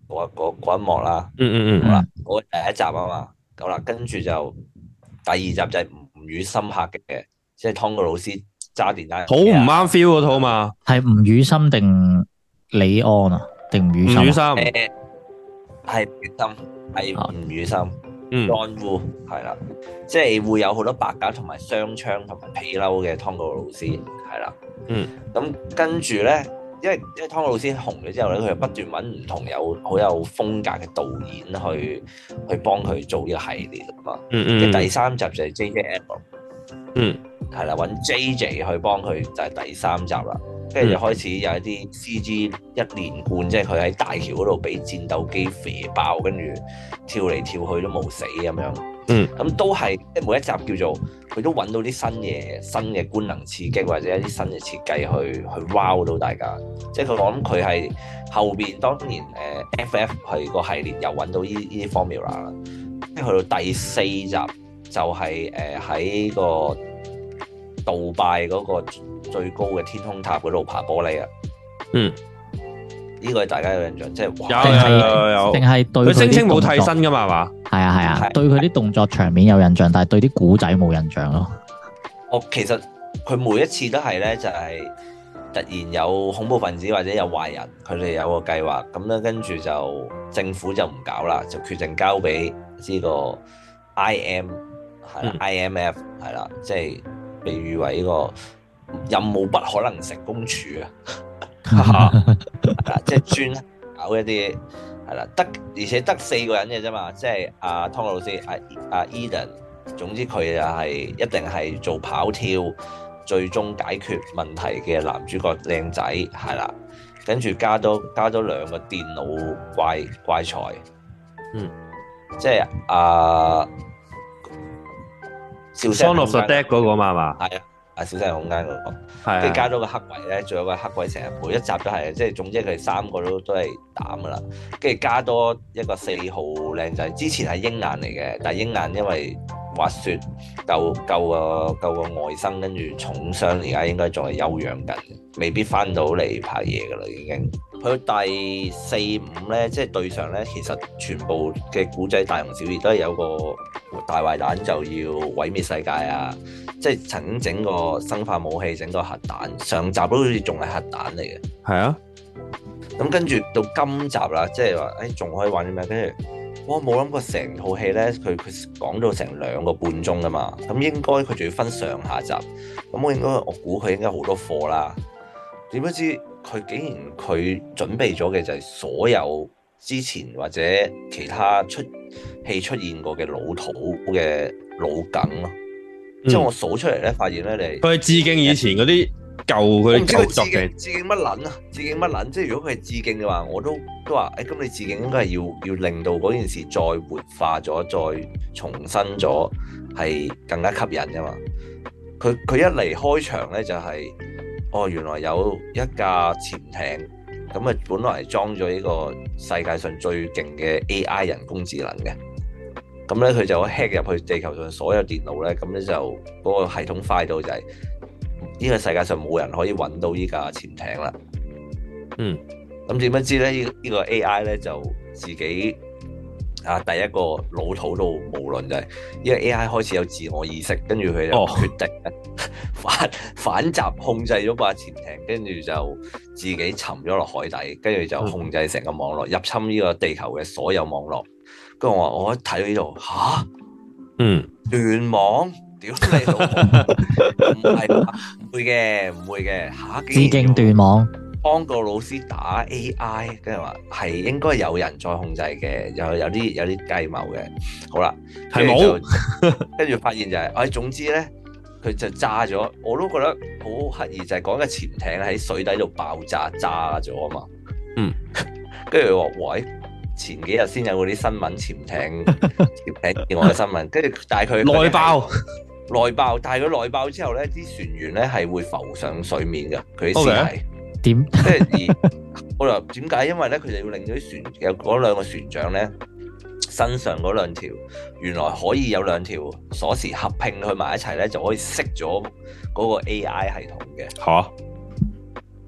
[SPEAKER 3] 嗰一幕啦。好啦，我第一集啊嘛，好啦，跟住就第二集就係吳宇森拍嘅，即係湯告魯斯揸電單車。
[SPEAKER 1] 好唔啱 feel 嗰套嘛？
[SPEAKER 2] 係吳宇森定李安啊？定吳宇森？
[SPEAKER 1] 吳宇森
[SPEAKER 3] 係吳宇森，係吳宇森。John Woo 係啦，即係會有好多白鴿同埋雙槍同埋皮褸嘅湯告魯斯係啦。咁跟住咧，因為湯告魯斯紅咗之後咧，佢就不斷揾唔同好有風格嘅導演去幫佢做呢個系列啊嘛。第三集就係 J.J. Abrams，係啦，揾 J.J. 去幫佢就係第三集啦。跟住就開始有一啲 CG 一連貫，即係佢喺大橋嗰度俾戰鬥機射爆，跟住跳嚟跳去都冇死咁樣。咁都係即係每一集叫做佢都揾到啲新嘅官能刺激，或者一啲新嘅設計去 wow 到大家。即係我諗佢係後邊當然FF 係個系列又揾到呢啲 formula 啦。即係去到第四集就係喺個杜拜嗰個最高嘅天空塔嗰度爬玻璃啊！呢個係大家有印象，即係
[SPEAKER 1] 有，
[SPEAKER 2] 定係對佢
[SPEAKER 1] 聲稱冇替身噶嘛？係嘛？
[SPEAKER 2] 係啊，對佢啲動作場面有印象，但係對啲古仔冇印象咯。
[SPEAKER 3] 其實佢每一次都係咧，就係突然有恐怖分子或者有壞人，佢哋有個計劃，咁咧跟住就政府就唔搞啦，就決定交俾呢個 IMF 係啦，即係被譽為呢個任務不可能成功處啊！即係專搞一啲係啦，而且得4個人嘅啫嘛，即係湯告魯斯、Eden， 總之佢就係一定係做跑跳，最終解決問題嘅男主角靚仔係啦，跟住加多2個電腦怪才，即係
[SPEAKER 1] Shaun of the Dead 嗰個嘛，
[SPEAKER 3] 係啊，小西空間嗰個，
[SPEAKER 1] 係
[SPEAKER 3] 跟住加多個黑鬼咧，仲有個黑鬼成日每一集都係，即係總之佢哋3個都係膽噶啦，跟住加多一個4號靚仔，之前係鷹眼嚟嘅，但係鷹眼因為滑雪救個外甥，跟住重傷，而家應該仲係休養緊，未必翻到嚟拍嘢噶啦已經。去到第4、5咧，即係對上咧，其實全部嘅古仔大同小異，都係有個大壞蛋就要毀滅世界啊！即係曾經整個生化武器，整個核彈，上集都好似仲係核彈嚟嘅。係啊，咁跟住到今集啦，即係話仲可以玩啲咩？跟住我冇諗過成套戲咧，佢講到成2個半鐘㗎嘛，咁應該佢仲要分上下集，咁我估佢應該好多貨啦。點不知佢竟然佢準備咗嘅就係所有之前或者其他出現過嘅老土嘅老梗咯。即係我數出嚟咧，發現咧
[SPEAKER 1] 佢係致敬以前嗰啲舊佢舊作嘅。
[SPEAKER 3] 致敬乜撚啊？致敬乜撚？即係如果佢係致敬嘅話，我都話咁你致敬應該係要令到嗰件事再活化咗，再重新咗，係更加吸引㗎嘛。佢一嚟開場咧就係。原來有一架潛艇，咁啊本來係裝咗呢個世界上最勁嘅 AI 人工智能嘅，咁咧佢就 hack 入去地球上所有電腦咧，咁咧就嗰個系統快到就係呢個世界上冇人可以揾到呢架潛艇啦。咁點不知咧呢個 AI 咧就自己第一個老土到無論就係呢個 AI 開始有自我意識，跟住佢就決定反襲控制咗把潛艇，跟住就自己沉咗落海底，跟住就控制成個網絡，入侵呢個地球嘅所有網絡。跟住我一睇到呢度斷網，屌你老母！唔會嘅
[SPEAKER 2] 致敬斷網。
[SPEAKER 3] 湯告魯斯打 AI， 跟住話係應該有人再控制嘅，有啲計謀嘅。好啦，係冇，跟住發現就係，總之咧，佢就炸咗。我都覺得好刻意，就係講個潛艇喺水底度爆炸咗啊嘛。跟住話，喂，前幾日先有嗰啲新聞潛艇意外嘅新聞，跟住但係佢內爆，但係佢內爆之後咧，啲船員咧係會浮上水面嘅，佢啲屍體。
[SPEAKER 2] 點？
[SPEAKER 3] 即係我話點解？因為咧，佢哋要令到啲船有嗰2個船長咧身上嗰2條，原來可以有2條鎖匙合拼去埋一齊咧，就可以熄咗嗰個 AI 系統嘅。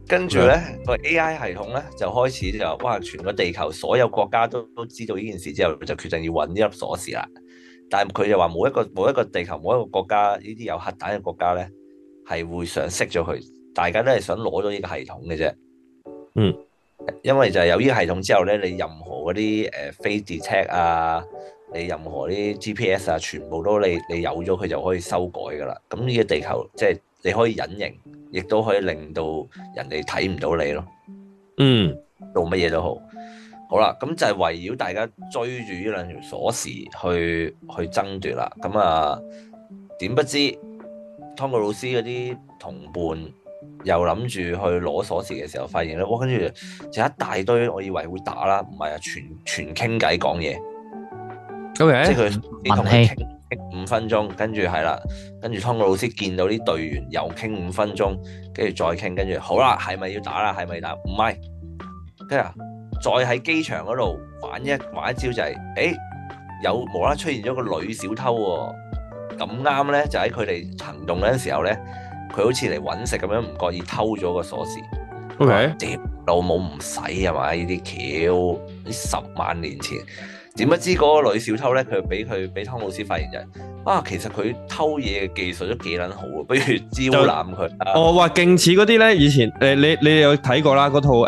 [SPEAKER 3] 跟住咧個 AI 系統咧就開始就哇，全個地球所有國家都知道呢件事之後，就決定要揾呢粒鎖匙啦。但係佢就話冇一個地球冇一個國家呢啲有核彈嘅國家咧係會想熄咗佢，大家都係想攞咗呢個系統嘅啫。
[SPEAKER 1] 嗯，
[SPEAKER 3] 因為就係有呢個系統之後咧，你任何嗰啲飛 detect 啊，你任何啲 GPS 啊，全部都你有咗佢就可以修改噶啦。咁呢個地球即係你可以隱形，亦都可以令到人哋睇唔到你咯。
[SPEAKER 1] 嗯，
[SPEAKER 3] 做乜嘢都好，好啦，咁就係圍繞大家追住呢兩條鎖匙去爭奪啦。咁啊，點不知湯告魯斯嗰啲同伴又諗住去攞鎖匙嘅時候，發現咧，哇！跟住就一大堆，我以為會打啦，唔係啊，全傾偈講嘢。
[SPEAKER 1] OK，
[SPEAKER 3] 即係佢同佢傾5分鐘，跟住係啦，跟住湯告魯斯見到啲隊員又傾5分鐘，跟住再傾，跟住好啦，係咪要打啦？係咪打？唔係，跟住再喺機場嗰度玩一招就係，有無啦啦出現咗個女小偷喎，咁啱咧就喺佢哋行動嗰陣時候咧，佢好似嚟揾食咁樣，唔覺意偷咗個鎖匙。
[SPEAKER 1] OK，
[SPEAKER 3] 屌老母唔使啊嘛，呢啲橋10萬年前。點不知嗰個女小偷咧，佢俾湯告魯斯發現就係其實佢偷嘢嘅技術都幾撚好啊，不如招攬佢啦。
[SPEAKER 1] 哦，哇，勁似嗰啲咧，以前你有睇過啦，嗰套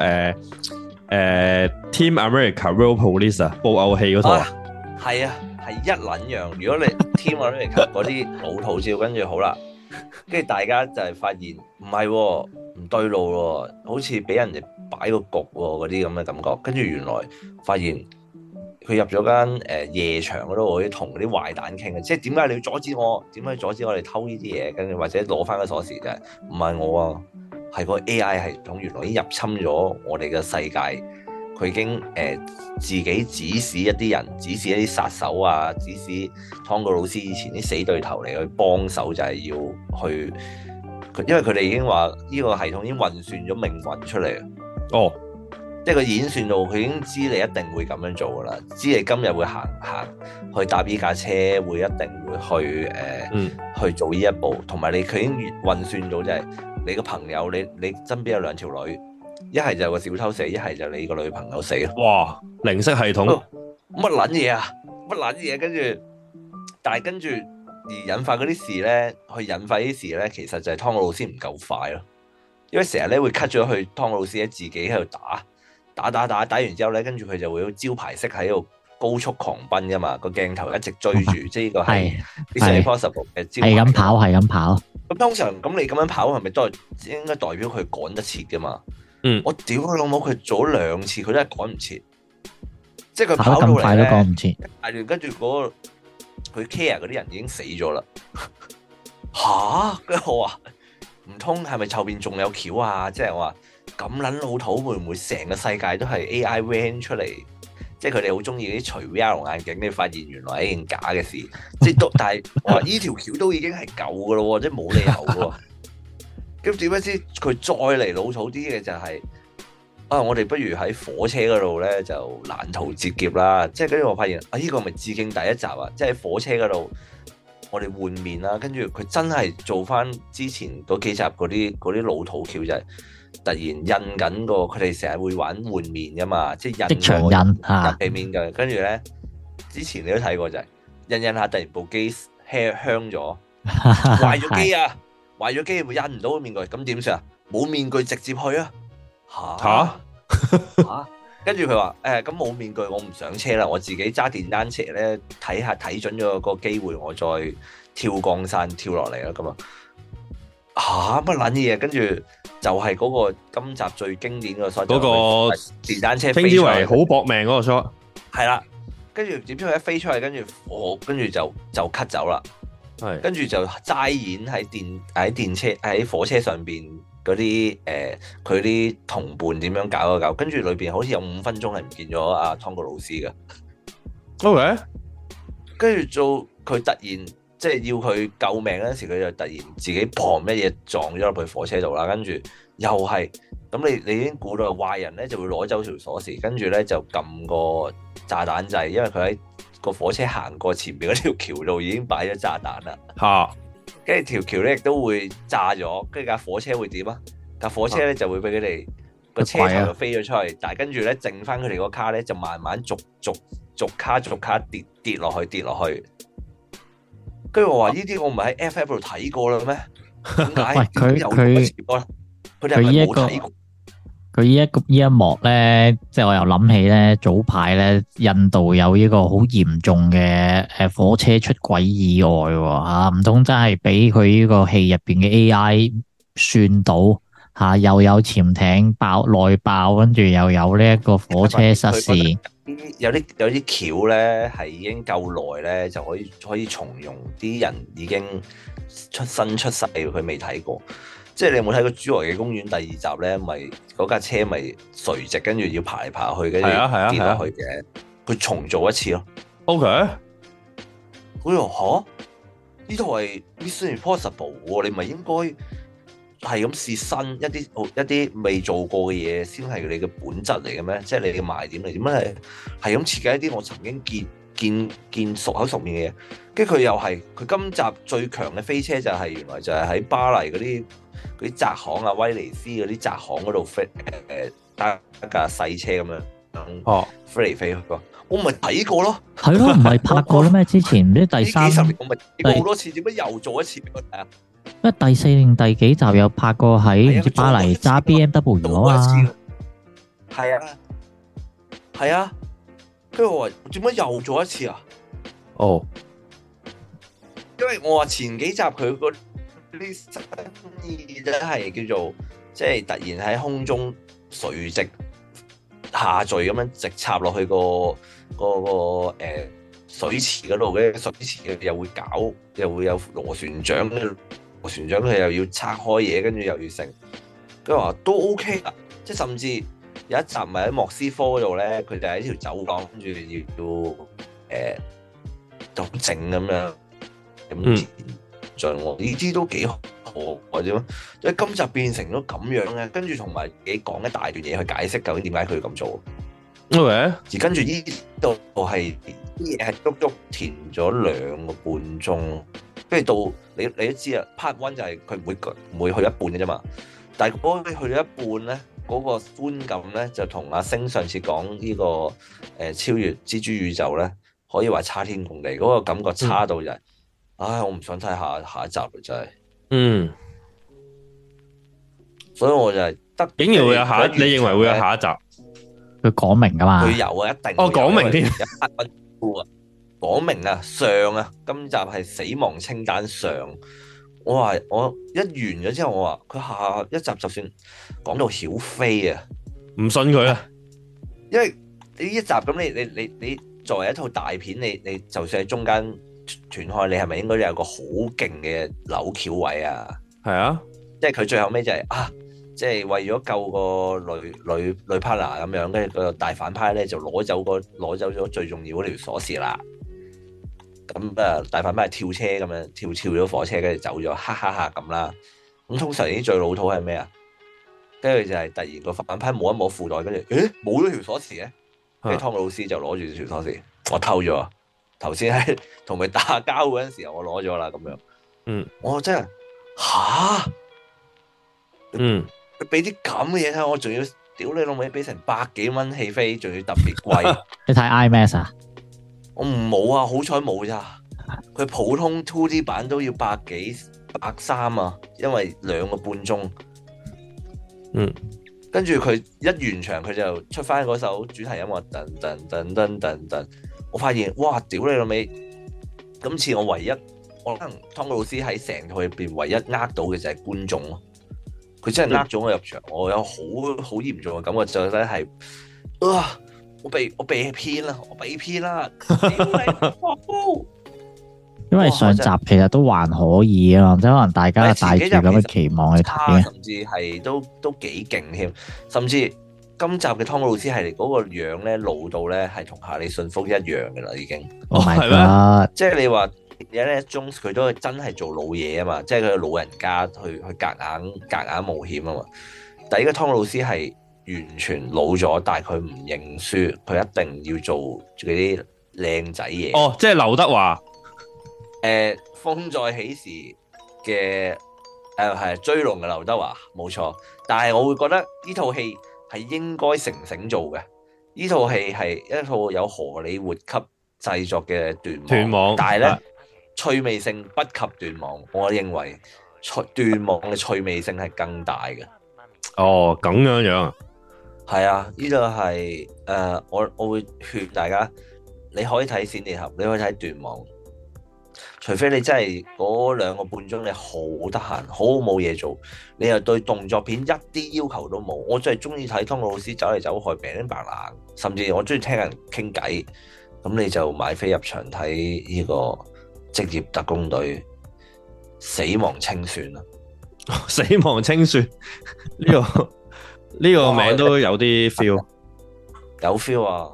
[SPEAKER 1] Team America Real Police 啊，布偶戲嗰套啊，
[SPEAKER 3] 係啊，係一撚樣。如果你 Team America 嗰啲老套照，跟住好啦，跟住大家就係發現唔係喎，唔對路喎，好似俾人哋擺個局喎，嗰啲咁嘅感覺。跟住原來發現。佢入咗間夜場嗰度，可以同啲壞蛋傾嘅，即係點解你要阻止我？點解阻止我哋偷呢啲嘢？跟住或者攞翻個鎖匙嘅？唔係我啊，係個 AI 系統原來已經入侵咗我哋嘅世界，佢已經自己指使一啲人，指使一啲殺手啊，指使湯告魯斯以前啲死對頭嚟去幫手，就係要去，因為佢哋已經話呢個系統已經運算咗命運出嚟。哦。即係佢演算到，佢已經知你一定會咁樣做噶啦，知你今日會行去搭呢架車，會一定會去去做呢一步，同埋佢已經運算到就係你個朋友，你身邊有2條女，一係就個小偷死，一係就你個女朋友死咯。哇！
[SPEAKER 1] 零式系統
[SPEAKER 3] 乜撚嘢啊？乜撚嘢？跟住而引發嗰啲事咧，去引發啲事咧，其實就係湯告魯斯唔夠快咯，因為成日咧會 cut 咗去湯告魯斯自己喺度打完之後咧，跟住佢就會招牌式喺度高速狂奔噶嘛，個鏡頭一直追住，即係呢個係 Mission Impossible 嘅招牌。係
[SPEAKER 2] 咁跑。
[SPEAKER 3] 咁通常咁你咁樣跑係咪都係應該代表佢趕得切噶嘛？我屌佢老母，佢做咗2次，佢都係趕唔切。即係佢跑到嚟
[SPEAKER 2] 快都趕唔切。
[SPEAKER 3] 跟住嗰個佢 care 嗰啲人已經死咗啦。吓？跟住我話唔通係咪後邊仲有橋啊？即係我話。咁撚老土會唔會成個世界都係 AI render 出嚟？即係佢哋好中意啲除 VR 眼鏡，你發現原來係一件假嘅事。即係但係我話呢條橋都已經係舊噶咯，即係冇理由喎。咁點解知佢再嚟老土啲嘅就係我哋不如喺火車嗰度咧就攔途截劫啦。即係跟住我發現呢個咪致敬第一集啊！即係喺火車嗰度我哋換面啦，跟住佢真係做翻之前嗰幾集嗰啲老土橋就係。突然印緊個，佢哋成日會玩換面噶嘛，即係印
[SPEAKER 2] 場印
[SPEAKER 3] 入地面嘅。跟住咧，之前你都睇過就係印下，突然部機香咗，壞咗機啊！壞咗機會印唔到個面具，咁點算啊？冇面具直接去啊！嚇！跟住佢話咁冇面具，我唔上車啦，我自己揸電單車咧睇準咗個機會，我再跳降傘跳落嚟啦咁啊！乜撚嘢？跟住。就係嗰個今集最經典個 shot，嗰個電單車飛出嚟
[SPEAKER 1] 好搏命嗰個 shot，
[SPEAKER 3] 係啦，跟住點知佢一飛出去，跟住就 cut 走啦，係，跟住就齋演喺火車上邊嗰啲佢啲同伴點樣搞一搞，跟住裏邊好似有5分鐘係唔見咗阿湯告魯斯嘅
[SPEAKER 1] ，OK，
[SPEAKER 3] 跟住做佢突然。即係要佢救命嗰陣時，佢就突然自己砰乜嘢撞咗入去火車度啦，跟住又係咁，你已經估到壞人咧就會攞走條鎖匙，跟住咧就撳個炸彈掣，因為佢喺個火車行過前面嗰條橋度已經擺咗炸彈啦。嚇！跟住條橋咧亦都會炸咗，跟住架火車會點啊？ 架火車咧就會俾佢哋個車頭就飛咗出去，但係跟住咧剩翻佢哋個卡咧就慢慢逐卡跌落去。跟住我話呢啲我唔係喺 FF 度睇過啦咩？點解？佢哋係咪冇睇過？
[SPEAKER 2] 佢呢一幕咧，即係我又諗起咧，早排咧印度有呢個好嚴重嘅火車出軌意外喎嚇，唔通真係俾佢呢個戲入邊嘅 AI 算到嚇，又有潛艇內爆，跟住又有呢一個火車失事。
[SPEAKER 3] 有啲橋咧係已經夠耐咧，就可以重用。啲人已經出世，佢未睇過。即係你有冇睇過《侏羅紀公園》第2集咧？咪嗰架車咪垂直，跟住要爬嚟爬去，跟住跌落去嘅。佢重做一次咯。
[SPEAKER 1] OK。
[SPEAKER 3] 佢話呢套係 Mission Impossible 喎，你咪應該係咁試新一啲未做過嘅嘢，先係你嘅本質嚟嘅咩？即係你嘅賣點嚟？點解係咁設計一啲我曾經見熟口熟面嘅嘢？跟住佢又係佢今集最強嘅飛車就係原來就係喺巴黎嗰啲窄巷啊，威尼斯嗰啲窄巷嗰度飛搭一架細車咁樣飛嚟飛去。我咪睇過咯，
[SPEAKER 2] 係咯，唔係拍過啦咩？之前唔知第三
[SPEAKER 3] 幾十年我咪睇過好多次，點解又做一次俾我睇啊？
[SPEAKER 2] 因為第4定第幾集有拍過喺唔知巴黎揸 BMW 啊嘛，
[SPEAKER 3] 係啊，跟住我話點解又做一次啊？
[SPEAKER 1] 哦，
[SPEAKER 3] 因為我話前幾集佢嗰啲新意咧係叫做即係突然喺空中垂直下墜咁樣直插落去個水池嗰度嘅，水池又會有螺旋槳，螺旋槳佢又要拆開嘢，跟住又要成，佢話都 OK 啦，即係甚至有一集咪喺莫斯科嗰度咧，佢哋喺條走廊跟住要就靜咁樣咁進喎，呢啲都幾好或者即係今集變成咗咁樣嘅，跟住同埋你講一大段嘢去解釋究竟點解佢要咁做。
[SPEAKER 1] Okay.
[SPEAKER 3] 而跟住呢度係啲嘢係足足填咗2個半鐘，跟住到你都知啊 ，part one 就係佢唔會去一半嘅啫嘛。但係嗰去咗一半咧，嗰個觀感咧就同阿星上次講呢個超越蜘蛛宇宙咧，可以話差天共地，嗰個感覺差到就係，唉，我唔想睇下一集啦，真係。所以我就係
[SPEAKER 1] 竟然會有下，你認為會有下一集？
[SPEAKER 2] 佢講明噶嘛？
[SPEAKER 3] 佢有啊，一定。
[SPEAKER 1] 講明添。
[SPEAKER 3] 講明啊，上啊，今集係死亡清單上。我話我一完咗之後，我話佢下一集就算講到曉飛啊，
[SPEAKER 1] 唔信佢啊。
[SPEAKER 3] 因為呢一集咁，你作為一套大片，你就算喺中間斷開，你係咪應該有個好勁嘅扭橋位啊？
[SPEAKER 1] 係啊，
[SPEAKER 3] 即係佢最後尾就係即係為咗救個女 partner 咁樣，跟住個大反派咧就攞走咗最重要嗰條鎖匙啦。咁大反派係跳車咁樣跳咗火車，跟住走咗，哈哈哈咁啦。咁通常啲最老土係咩啊？跟住就係突然個反派摸一摸褲袋，跟住冇咗條鎖匙嘅，跟住湯姆老師就攞住條鎖匙，我偷咗。頭先喺同佢打交嗰陣時候，我攞咗啦咁樣。我真係佢俾啲咁嘅嘢睇，我仲要屌你老味，俾成100幾蚊戲飛，仲要特別貴。
[SPEAKER 2] 你睇 IMAX 啊？
[SPEAKER 3] 我冇啊，好彩冇咋。佢普通 2D 版都要100幾130啊，因為2個半鐘。跟住佢一完場，佢就出翻嗰首主題音樂，噔噔噔噔噔噔。我發現哇，屌你老味！今次我唯一，我可能湯姆老師喺成套入邊唯一呃到嘅就係觀眾咯。佢真係呃咗我入場，我有好嚴重嘅感覺，就咧係我被騙啦，我被騙啦！
[SPEAKER 2] 因為上集其實都還可以啊，即係可能大家帶住咁嘅期望去睇，
[SPEAKER 3] 甚至係都幾勁添。甚至今集嘅湯姆老師係嗰個樣咧老到咧係同夏利遜福一樣嘅啦，已經。
[SPEAKER 2] 係咩？
[SPEAKER 3] 即係你話Indiana Jones佢都真係做老嘢啊嘛，即係佢老人家去夾硬冒險啊嘛。但係呢個湯姆老師係完全老咗，但係佢唔認輸，佢一定要做嗰啲靚仔嘢。即
[SPEAKER 1] 係劉德華。
[SPEAKER 3] 風再起時嘅係追龍嘅劉德華冇錯，但係我會覺得呢套戲係應該成成做嘅。呢套戲係一套有荷里活級製作嘅斷網，但係咧趣味性不及斷網，我認為斷網嘅趣味性係更大嘅。
[SPEAKER 1] 哦，咁樣樣啊，
[SPEAKER 3] 係啊，呢度係我會勸大家，你可以睇閃電俠，你可以睇斷網，除非你真係嗰2個半鐘你好得閒，好冇嘢做，你又對動作片一啲要求都冇。我最係中意睇湯老師走嚟走去病白冷，甚至我中意聽人傾偈，咁你就買飛入場睇呢個職業特工隊死亡清算啦。
[SPEAKER 1] 死亡清算呢個名都有啲 feel，
[SPEAKER 3] 有 feel 啊。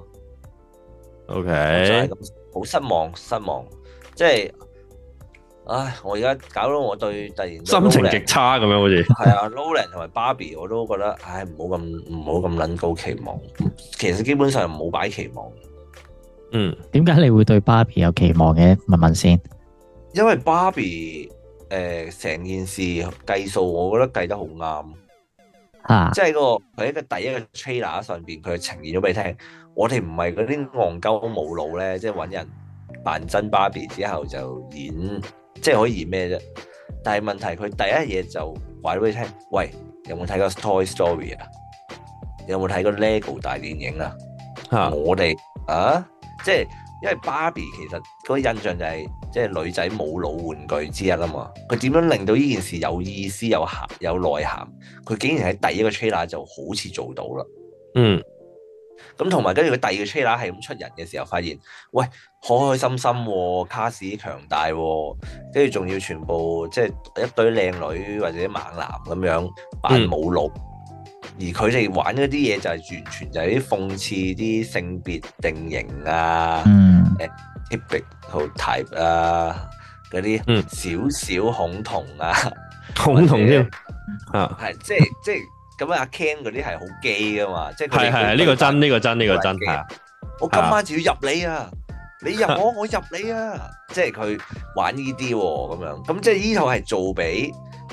[SPEAKER 1] OK，
[SPEAKER 3] 好失望，即係，唉，我而家搞到我突然
[SPEAKER 1] 心情極差咁樣，好似
[SPEAKER 3] 係啊，Nolan 同埋 Barbie 我都覺得，唉，唔好咁撚高期望，其實基本上冇擺期望。
[SPEAKER 2] 點解你會對 Barbie 有期望嘅？問問先。
[SPEAKER 3] 因為 Barbie 成件事計數，我覺得計得好啱。即係佢喺個第一個 trailer 上邊，佢呈現咗俾你聽。我哋唔係嗰啲戇鳩冇腦咧，即係揾人扮真 Barbie 之後就演，即係可以演咩啫？但係問題佢第一嘢就話咗俾你聽，喂，有冇睇過 Toy Story 啊？有冇睇過 Lego 大電影啊？我哋即係因為 Barbie 其實嗰個印象就係即係女仔冇腦玩具之一啊嘛。佢點樣令到呢件事有意思、有內涵？佢竟然喺第一個 trailer 就好似做到啦。咁同埋跟住佢第二個 trailer 係咁出人嘅時候，發現喂，開開心心喎，卡士強大喎，跟住仲要全部即係一堆靚女或者猛男咁樣扮冇腦，而佢哋玩嗰啲嘢就係完全就係啲諷刺啲性別定型啊，typical type 啊，嗰啲少恐同啊，
[SPEAKER 1] 恐同添
[SPEAKER 3] 係即係。咁阿 Ken 嗰啲係好基噶嘛，即係
[SPEAKER 1] 係呢個真係。
[SPEAKER 3] 我今晚就要入你啊！你入我，我入你啊！即係佢玩呢啲喎，咁樣咁即係呢套係做俾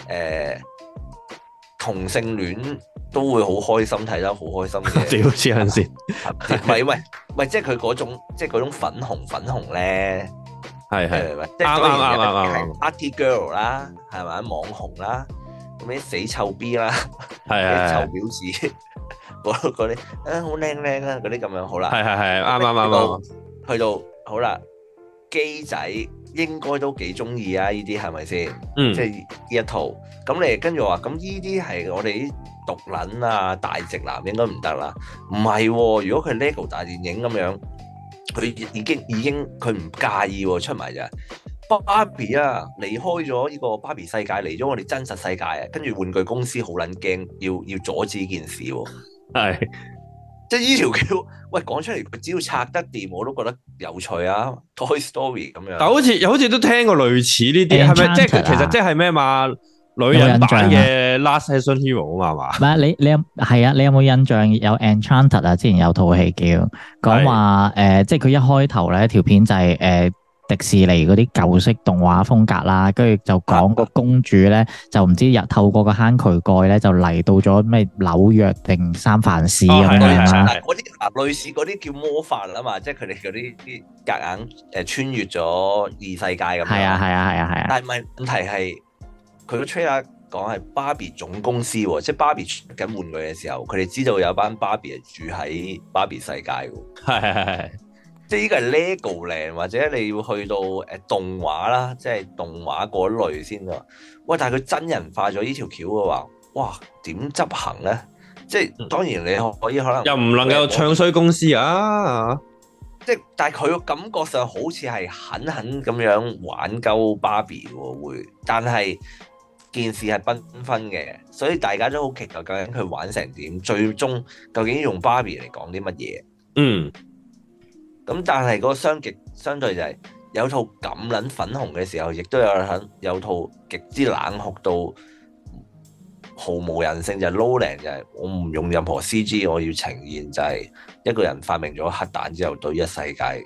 [SPEAKER 3] 同性戀都會好開心睇得好開心嘅。
[SPEAKER 1] 屌黐撚線，
[SPEAKER 3] 唔係，即係佢嗰種粉紅咧，係啱，Party Girl 啦，係咪網紅啦？咁啲死臭 B 啦，啲臭婊子，嗰啲好靚啊，嗰啲咁樣好啦，
[SPEAKER 1] 係啱，
[SPEAKER 3] 去到好啦，基仔應該都幾中意啊，呢啲係咪先？即係呢一套，咁你跟住話，咁呢啲係我哋啲毒撚啊，大直男應該唔得啦，唔係，如果佢 Lego 大電影咁樣，佢已經佢唔介意出埋咋。Barbie 啊，離開咗呢個 Barbie 世界，嚟咗我哋真實世界啊！跟住玩具公司好撚驚，要阻止呢件事喎。係，即係呢條橋，喂講出嚟，佢只要拆得掂，我都覺得有趣啊。Toy Story 咁樣，但好
[SPEAKER 1] 似都聽過類似呢啲，係咪？即係其實即係咩嘛？女人版嘅 Last Action Hero 啊嘛？唔係
[SPEAKER 2] 你有係啊？你有冇印象有 Enchanted 啊？之前有套戲叫講話即係佢一開頭咧條片就係迪士尼嗰啲舊式動畫風格啦，跟住就講個公主咧，就唔知透過個坑渠蓋咧，就嚟到咗咩紐約定三藩市咁樣啦。
[SPEAKER 3] 嗰啲類似嗰啲叫魔法啊嘛，即係佢哋嗰啲夾硬穿越咗異世界咁樣。係啊。但係問題係佢個 trailer 講係芭比總公司喎，即係芭比出緊玩具嘅時候，佢哋知道有班芭比係住喺芭比世界喎。係。即係呢個係 Legoland 或者你要去到動畫啦，即係動畫嗰類先喎。喂，但係佢真人化咗呢條橋嘅話，哇，點執行咧？即係當然你可以可能
[SPEAKER 1] 又唔能夠唱衰公司啊！
[SPEAKER 3] 即係但係佢個感覺上好似係狠狠咁樣玩鳩芭比喎，會，但係件事係繽紛嘅，所以大家都好期待究竟佢玩成點，最終究竟用芭比嚟講啲乜嘢？咁但係嗰個相對就係有套咁撚粉紅嘅時候，亦都有套極之冷酷到毫無人性，就係 Nolan，就係我唔用任何 CG， 我要呈現就係一個人發明咗核彈之後對一世界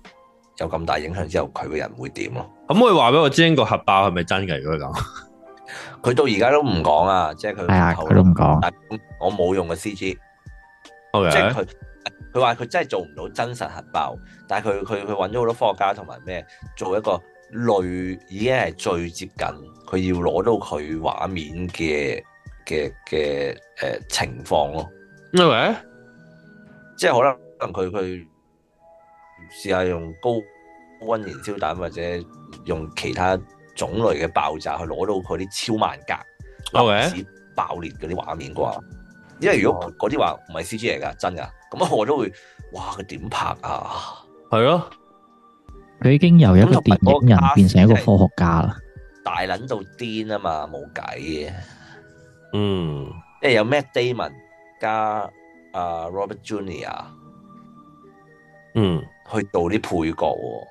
[SPEAKER 3] 有咁大影響之後，佢個人會點咯？
[SPEAKER 1] 咁可以話俾我知，個核爆係咪真嘅？如果咁，
[SPEAKER 3] 佢到而家都唔講啊，即係佢
[SPEAKER 2] 係啊，佢都唔講。
[SPEAKER 3] 但我冇用嘅 CG，
[SPEAKER 1] Okay.
[SPEAKER 3] 即係佢話佢真係做唔到真實核爆，但係佢揾咗好多科學家同埋咩做一個類已經係最接近佢要攞到佢畫面嘅情況咯。
[SPEAKER 1] Okay.
[SPEAKER 3] 即係可能佢試下用高溫燃燒彈或者用其他種類嘅爆炸去攞到佢啲超萬格粒子爆裂嗰啲畫面啩。因為如果嗰啲話唔係 CG 嚟噶，真噶，咁我都會，哇！佢點拍啊？係咯，
[SPEAKER 2] 佢已經由一個電影人變成一個科學家啦，
[SPEAKER 3] 大撚到癲啊嘛，冇計嘅。
[SPEAKER 1] 嗯，
[SPEAKER 3] 即係有 Matt Damon 加Robert Junior， 去做啲配角喎。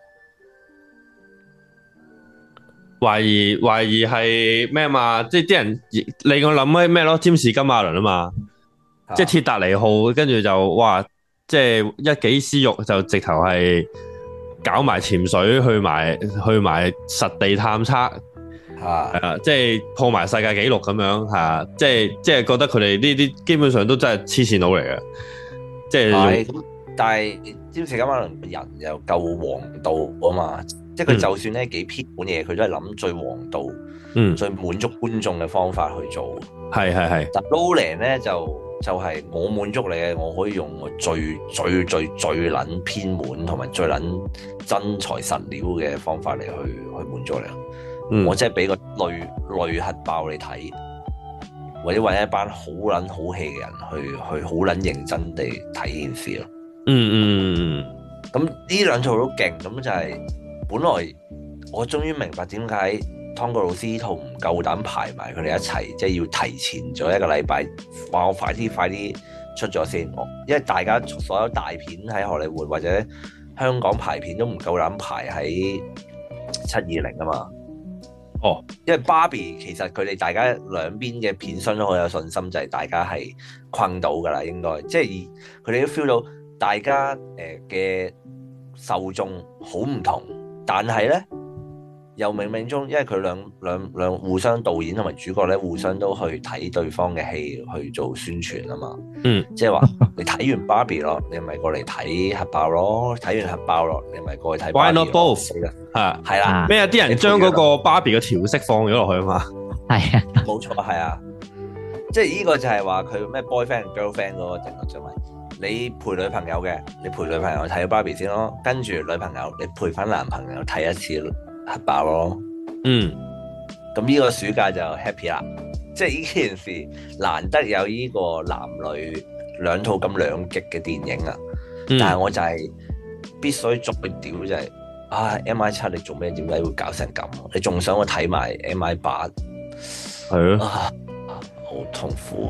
[SPEAKER 1] 懷疑係咩嘛？即係啲人令我諗起咩咯？占士金馬倫啊嘛。即係鐵達尼號，跟住就哇！即係一己私欲，就直頭係搞埋潛水，去埋實地探測，即係破埋世界紀錄咁樣嚇，即係覺得佢哋呢啲基本上都真係黐線佬嚟嘅，即係
[SPEAKER 3] 咁。但係占士金馬倫人又夠王道啊嘛，即係佢就算咧幾偏門嘢，佢都係諗最王道、最滿足觀眾嘅方法去做。係。但 Nolan 咧就係我滿足你嘅，我可以用我最撚偏門同埋最撚真材實料嘅方法嚟去滿足你。我即係俾個類核爆你睇，或者揾一班好撚好戲嘅人去好撚認真地睇件事咯。咁呢兩套都勁，咁就係本來我終於明白點解湯哥老師呢套唔夠膽排埋佢哋一齊，即係要提前咗一個禮拜，話我快啲出咗先。因為大家所有大片喺荷里活或者香港排片都唔夠膽排喺720啊嘛。因為 Barbie 其實佢哋大家兩邊嘅片商都好有信心，就係大家係困到噶啦，應該即係佢哋都 feel 到大家嘅受眾好唔同，但係咧。又冥冥中，因為佢兩互相導演同埋主角咧，互相都去睇對方嘅戲去做宣傳啊嘛。即係話你睇完 Barbie 咯，你咪過嚟睇核爆咯；睇完核爆咯，你咪過去睇。Why
[SPEAKER 1] not both？ 係啦，咩啊？啲人將嗰個 Barbie 嘅調色放咗落去啊嘛。係啊，
[SPEAKER 3] 冇錯，係啊。即係呢個就係話佢咩 boyfriend girlfriend 嗰個定律就係你陪女朋友嘅，你陪女朋友睇 Barbie 先咯，跟住女朋友你陪翻男朋友睇一次核爆咯。咁呢個暑假就 happy 啦，即係呢件事難得有呢個男女兩套咁兩極嘅電影啊。但係我就係必須再屌就係MI7 你做咩？點解會搞成咁？你仲想我睇埋 MI8？ 係咯，好痛苦。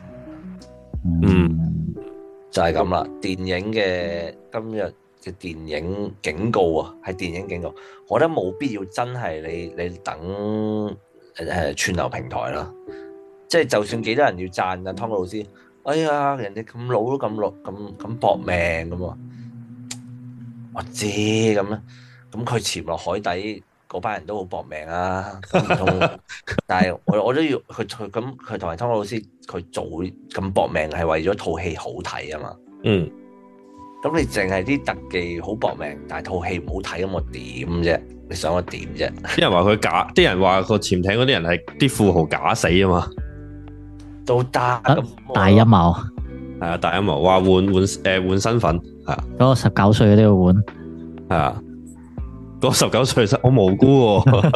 [SPEAKER 3] 就係咁啦。電影嘅今日嘅電影警告啊，係電影警告。我覺得冇必要真係你等串流平台啦。即係就算幾多人要讚啊，湯哥老師，哎呀，人哋咁老都咁搏命咁啊！我知咁啦，咁佢潛落海底嗰班人都好搏命啊。但係我都要佢同埋湯哥老師佢做咁搏命係為咗套戲好睇啊嘛。咁你淨係啲特技好搏命，但係套戲唔好睇，咁我點啫？你想我點啫？
[SPEAKER 1] 啲人話佢假，啲人話個潛艇嗰啲人係啲富豪假死啊嘛，
[SPEAKER 3] 都得咁
[SPEAKER 2] 大陰謀。
[SPEAKER 1] 係啊，大陰謀話換身份係啊，
[SPEAKER 2] 嗰個19歲都要換
[SPEAKER 1] 係啊，嗰個19歲我無辜喎，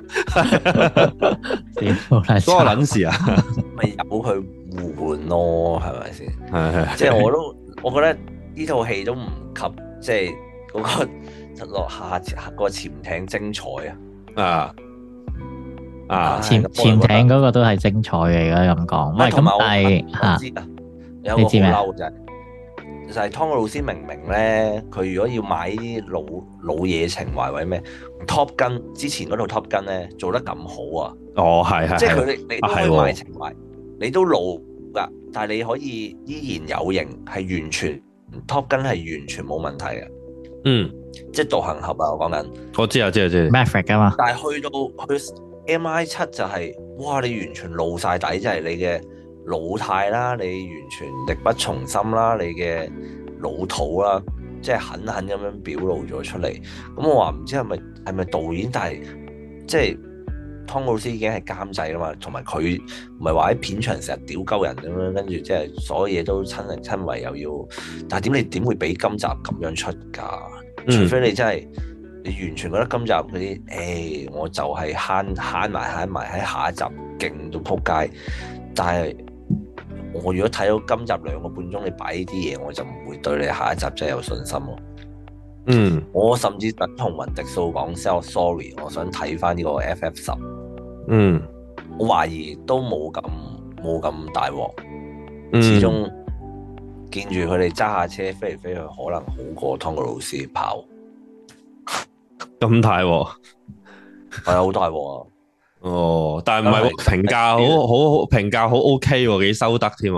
[SPEAKER 1] 嗰個撚事啊，
[SPEAKER 3] 咪由佢換咯，係咪先？
[SPEAKER 1] 係
[SPEAKER 3] 即係我覺得呢套戲都唔及即係嗰個落下個潛艇精彩啊！
[SPEAKER 2] 潛艇嗰個都係精彩嘅，而家咁講。唔係咁，但係
[SPEAKER 3] 有個好嬲就係湯哥老師明咧，佢如果要買啲老嘢情懷或者咩 Top Gun 之前嗰套 Top Gun 咧做得咁好啊！
[SPEAKER 1] 係
[SPEAKER 3] 即係你都可以買情懷，你都老㗎，但係你可以依然有型，係完全 Top Gun 係完全冇問題嘅。即係獨行俠啊！我講緊，
[SPEAKER 1] 我知。
[SPEAKER 2] Maverick 啊嘛，
[SPEAKER 3] 但係去 MI7 就係哇，你完全露晒底，即係你嘅老態啦，你完全力不從心啦，你嘅老土啦，即係狠狠咁樣表露咗出嚟。咁我話唔知係咪導演，但係即係湯告魯斯已經係監製啦嘛，同埋佢唔係話喺片場成日屌鳩人咁樣，跟住即係所有嘢都親力親為又要，但係你點會俾今集咁樣出㗎？除非你真係。你完全覺得今集嗰啲，我就係慳埋喺下一集勁到撲街。但係我如果睇到今集2個半鐘，你擺呢啲嘢，我就唔會對你下一集真係有信心咯。我甚至等同雲迪素講 sorry， 我想睇翻呢個 FF10。我懷疑都冇咁大鑊。始終見住佢哋揸下車飛嚟飛去，可能好過湯告魯斯跑。
[SPEAKER 1] 咁大喎，
[SPEAKER 3] 係好大喎。
[SPEAKER 1] 哦，但係唔係喎，評價好評價好 OK 喎，幾收得添。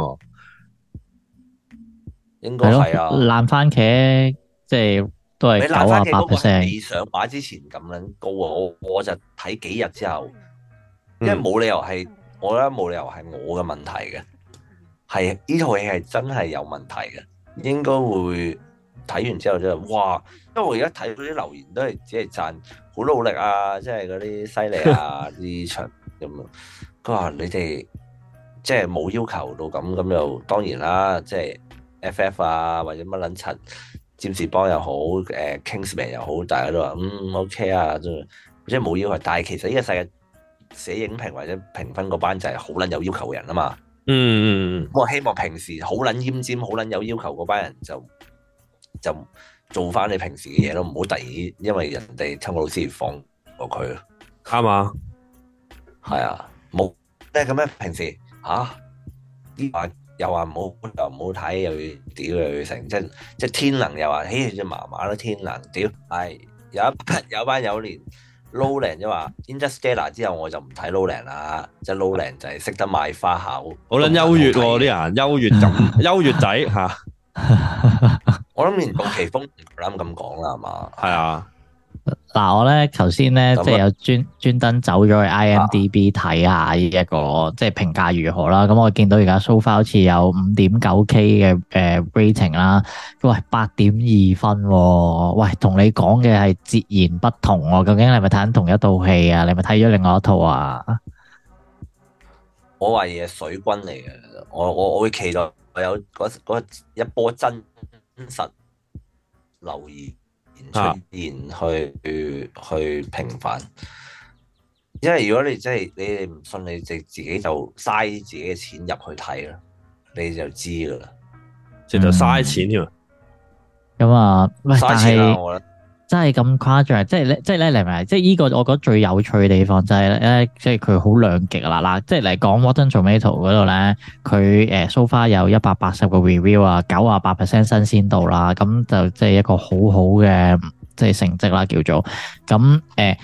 [SPEAKER 3] 應該係啊。
[SPEAKER 2] 爛番茄即係都係98%。
[SPEAKER 3] 未上畫之前咁樣高啊！我就睇幾日之後，因為冇理由係，我覺得冇理由係我嘅問題嘅，係呢套戲係真係有問題嘅，應該會。睇完之後就哇，因為我而家睇到啲留言都係只係讚好努力啊，即係嗰啲犀利啊啲場咁樣。佢話你哋即係冇要求到咁又當然啦，即係 FF 啊或者乜撚柒占士邦又好，Kingsman 又好，大家都話OK 啊，即係冇要求。但係其實呢個世界寫影評或者評分嗰班就係好撚有要求嘅人啊嘛。我希望平時好撚奄尖、好撚有要求嗰班人就做翻你平時嘅嘢咯，唔好突然因為人哋湯告魯斯而放過佢咯。
[SPEAKER 1] 啱啊，
[SPEAKER 3] 係啊，冇即係咁樣。平時又話唔好睇，又要屌又要成，即係天能又話，嘿，只麻麻咯，天能屌係有班友連 Nolan 就話 Interstellar 之後我就唔睇 Nolan 啦，即係 Nolan 就係識得賣花巧，
[SPEAKER 1] 好撚優越喎啲人，優越仔嚇。
[SPEAKER 3] 我諗連杜琪峰唔啱咁講啦，係嘛？
[SPEAKER 1] 係啊。
[SPEAKER 2] 嗱，我咧頭先咧即係有專登走咗去 IMDB 睇下呢一個即係評價如何啦。咁我見到而家 so far 好似有 5.9K 嘅rating 啦。喂，8.2分喎。喂，同你講嘅係截然不同喎。究竟你係咪睇緊同一套戲啊？你係咪睇咗另外一套啊？
[SPEAKER 3] 我懷疑係水軍嚟嘅。我會期待有嗰一波真實留言出現去平反，因為如果你真係你哋唔信，你自己就嘥自己嘅錢入去睇啦，你就知噶啦，
[SPEAKER 1] 直頭嘥錢添。
[SPEAKER 2] 咁啊，喂，
[SPEAKER 3] 嘥錢啦，我覺得
[SPEAKER 2] 真係咁誇張，即係咧，你明唔明？即係呢個我覺得最有趣嘅地方就係咧，即係佢好兩極啦。嗱，即係嚟講 Rotten Tomato 嗰度咧，佢so far 有180個 review 啊，98% 新鮮度啦，咁就即係一個好好嘅即係成績啦，叫做咁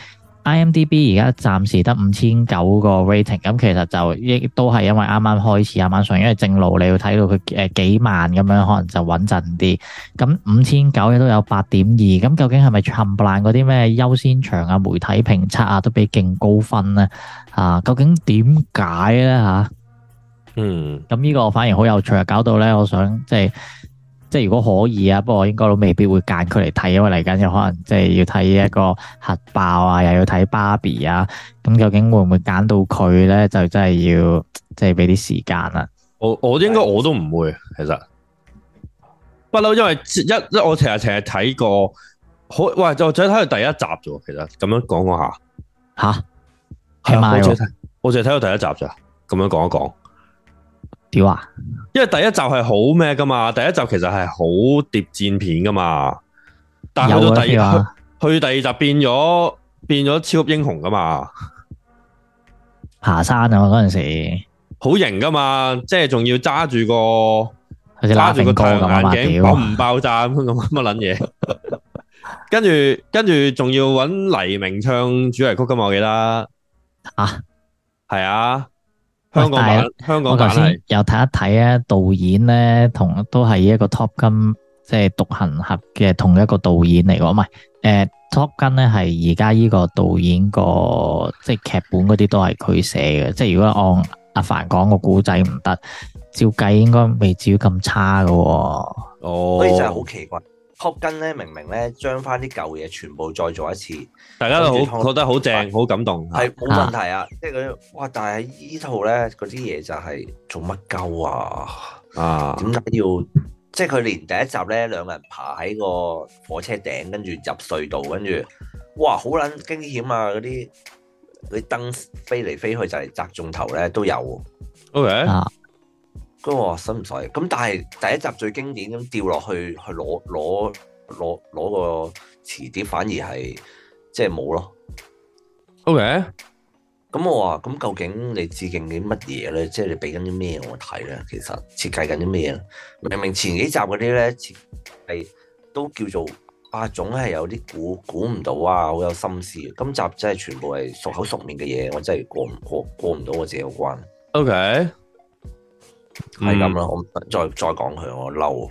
[SPEAKER 2] IMDB 而家暫時得5009個 rating， 咁其實就亦都係因為啱啱開始啱啱上，因為正路你要睇到佢幾萬咁樣，可能就穩陣啲。咁5009亦都有8.2，咁究竟係咪冚唪唥嗰啲咩優先場啊、媒體評測啊都俾勁高分咧？究竟點解咧嚇？咁呢個反而好有趣啊，搞到咧我想即係如果可以啊，不過我應該都未必會揀佢嚟睇，因為嚟緊有可能即係要睇一個核爆啊，又要睇芭比啊，咁究竟會唔會揀到佢咧？就真係要即係俾啲時間啦。我
[SPEAKER 1] 應該我都唔會，其實不嬲，因為我成日睇過，好喂，我淨係睇到第一集啫。其實咁樣講下吓，係咪？我淨係睇到第一集咋，咁樣講一講。
[SPEAKER 2] 屌啊！
[SPEAKER 1] 因為第一集係好咩噶嘛，第一集其實係好諜戰片噶嘛，但係去到第二集變咗超級英雄噶嘛，
[SPEAKER 2] 爬山啊嗰陣時
[SPEAKER 1] 好型噶嘛，即係仲要揸住個太陽眼鏡爆唔爆炸咁乜撚嘢，跟住仲要揾黎明唱主題曲噶嘛，我記得係啊。香港版我頭先
[SPEAKER 2] 又睇一睇啊，導演咧都係一個 Top Gun 即係獨行俠嘅同一個導演嚟嘅，唔係 Top Gun 咧係而家呢個導演個即係劇本嗰啲都係佢寫嘅，即係如果按阿凡講個故仔唔得，照計應該未至於咁差噶。
[SPEAKER 3] 所以真係好奇怪。Top Gun 咧明明咧將翻啲舊嘢全部再做一次，
[SPEAKER 1] 大家都好覺得好正，好感動。
[SPEAKER 3] 係冇問題啊，即係嗰啲哇！但係依套咧嗰啲嘢就係做乜鳩啊？啊，點解要？即係佢連第一集咧兩個人爬喺個火車頂，跟住入隧道，跟住哇好撚驚險啊！嗰啲燈飛嚟飛去就係砸中頭咧都有。OK。嗰個使唔使？咁但係第一集最經典咁掉落去攞個磁碟，反而係即係冇咯。OK。咁我話咁究竟你致敬啲乜嘢咧？即係你俾緊啲咩我睇咧？其實設計緊啲咩咧？明明前幾集嗰啲咧設計都叫做總係有啲估唔到啊，好有心思。今集真係全部係熟口熟面嘅嘢，我真係過唔到我自己個關。OK。係咁啦，我再講佢，我嬲。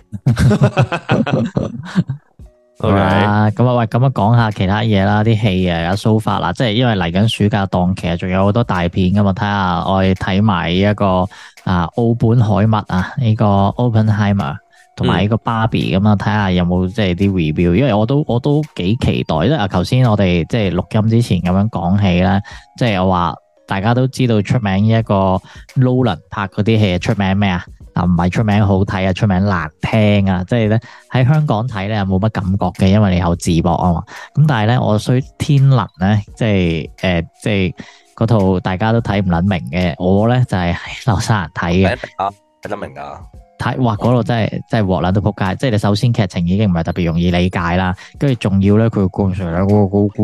[SPEAKER 2] 好啦，咁啊喂，咁啊講下其他嘢啦，啲戲啊有 so far 啦，即係因為嚟緊暑假檔期啊，仲有好多大片噶嘛，睇下我哋睇埋一個奧本海默啊，呢個 Oppenheimer 同埋呢個 Barbie 咁啊，睇下有冇即係啲 review，因為我都幾期待，因為頭先我哋即係錄音之前咁樣講起咧，即係我話。大家都知道出名一個 Nolan 拍嗰啲戲出名咩啊？唔係出名好睇啊，出名難聽啊！即係咧喺香港睇咧冇乜感覺嘅，因為你有字幕啊嘛。咁但係咧我衰天能咧，即係嗰套大家都睇唔撚明嘅，我咧就係喺紐西蘭睇嘅。
[SPEAKER 3] 睇得明啊！
[SPEAKER 2] 哇！嗰度真係鑊撚到仆街，即係你首先劇情已經唔係特別容易理解啦，跟住仲要咧佢灌上兩個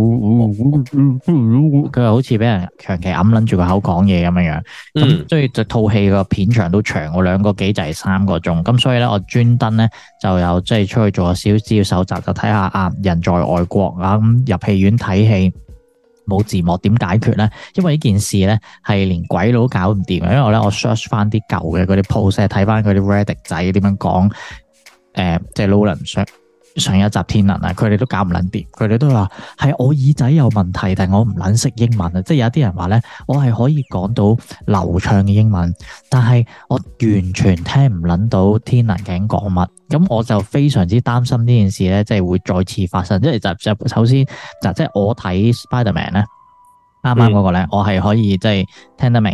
[SPEAKER 2] 佢又好似俾人長期揞撚住個口講嘢咁樣樣，咁所以就套戲個片長都長，我2個幾就係3個鐘，咁所以咧我專登咧就有即係出去做少少資料搜集，就睇下人在外國咁入戲院睇戲。冇字幕點解決咧？因為呢件事咧係連鬼佬都搞唔掂嘅。因為咧我 search 翻啲舊嘅嗰啲 post，睇翻佢啲 Reddit 仔點樣講，即係 Nolan 上一集天能啊，佢哋都搞唔撚掂。佢哋都話係我耳仔有問題，但係我唔撚識英文啊！即係有啲人話咧，我係可以講到流暢嘅英文，但係我完全聽唔撚到天能究竟講乜。咁我就非常之擔心呢件事咧，即係會再次發生。即係就首先即係我睇 Spider-Man 咧，啱啱嗰個咧，我係可以即係聽得明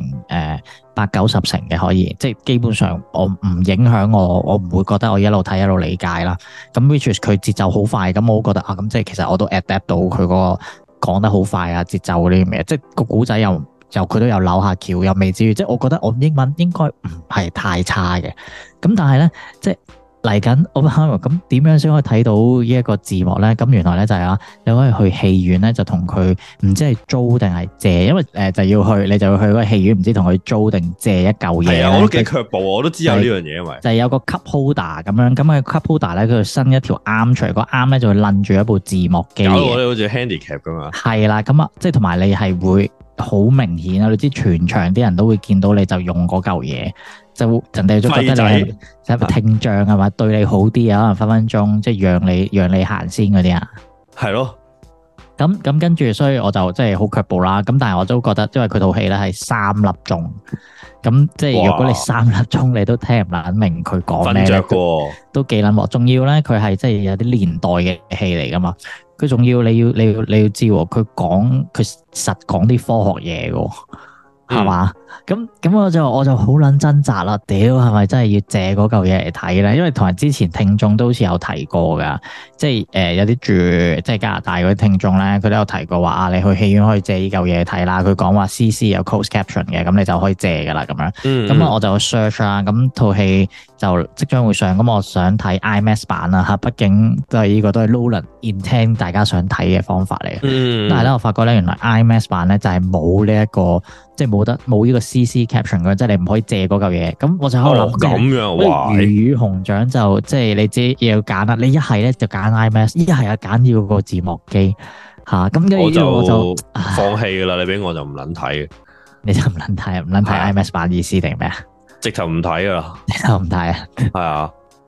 [SPEAKER 2] 80-90成嘅，可以即係基本上我唔影響我唔會覺得我一路睇一路理解啦。咁 which is 佢節奏好快，咁我覺得咁即係其實我都 adapt 到佢嗰個講得好快啊，節奏嗰啲咩，即係個古仔又佢都有扭下橋，又未至於即係我覺得我英文應該唔係太差嘅。咁但係咧即係。嚟緊，咁點樣先可以睇到呢一個字幕咧？咁原來咧就係你可以去戲院咧，就同佢唔知係租定係借，因為你就要去嗰個戲院，唔知同佢租定借一嚿嘢。係啊，
[SPEAKER 1] 我都幾卻步，我都知有呢樣嘢，因為
[SPEAKER 2] 就係有個 cup holder 咁樣，咁個 cup holder 咧，佢伸一條啱出嚟，個啱咧就會擸住一部字幕機。搞到我哋好似 handicap 咁嘛。係啦，咁即係同埋你係會好明顯啊！你知全場啲人都會見到你就用嗰嚿嘢。就人哋都覺得你係聽障係嘛，對你好啲啊，可能分鐘即係讓你行先嗰啲啊，係咯。咁跟住，所以我就即係好卻步啦。咁但係我都覺得，因為佢套戲咧係3粒鐘，咁即係如果你3粒鐘你都聽唔撚明佢講咩咧，都幾撚鑊。仲要咧，佢係即係有啲年代嘅戲嚟噶嘛。佢仲要你要知喎，佢實講啲科學嘢嘅。係嘛？咁我就好撚掙扎啦！屌，係咪真係要借嗰嚿嘢嚟睇咧？因為同埋之前聽眾都好似有提過噶，即係有啲住即係加拿大嗰啲聽眾咧，佢都有提過話你去戲院可以借呢嚿嘢睇啦。佢講話 CC 有 closed caption 嘅，咁你就可以借噶啦咁樣。咁我就 search 啦，咁套戲就即將會上，咁我想睇 IMAX 版啦嚇，畢竟呢個都係 Nolan intend 大家想睇嘅方法嚟嘅。但係咧，我發覺咧原來 IMAX 版咧就係冇呢一個。即係冇呢個 CC caption 嘅，即係你唔可以借嗰嚿嘢。咁我就喺度諗，
[SPEAKER 1] 咁樣哇！
[SPEAKER 2] 魚與熊掌就即係你知要揀啦。你一係咧就揀 IMAX，一係揀要個字幕機嚇。咁跟住我就
[SPEAKER 1] 放棄㗎啦。你俾我就唔撚睇，
[SPEAKER 2] 你就唔撚睇 IMAX 版意思定咩啊？
[SPEAKER 1] 直頭唔睇㗎啦，
[SPEAKER 2] 直頭唔睇啊！
[SPEAKER 1] 係啊，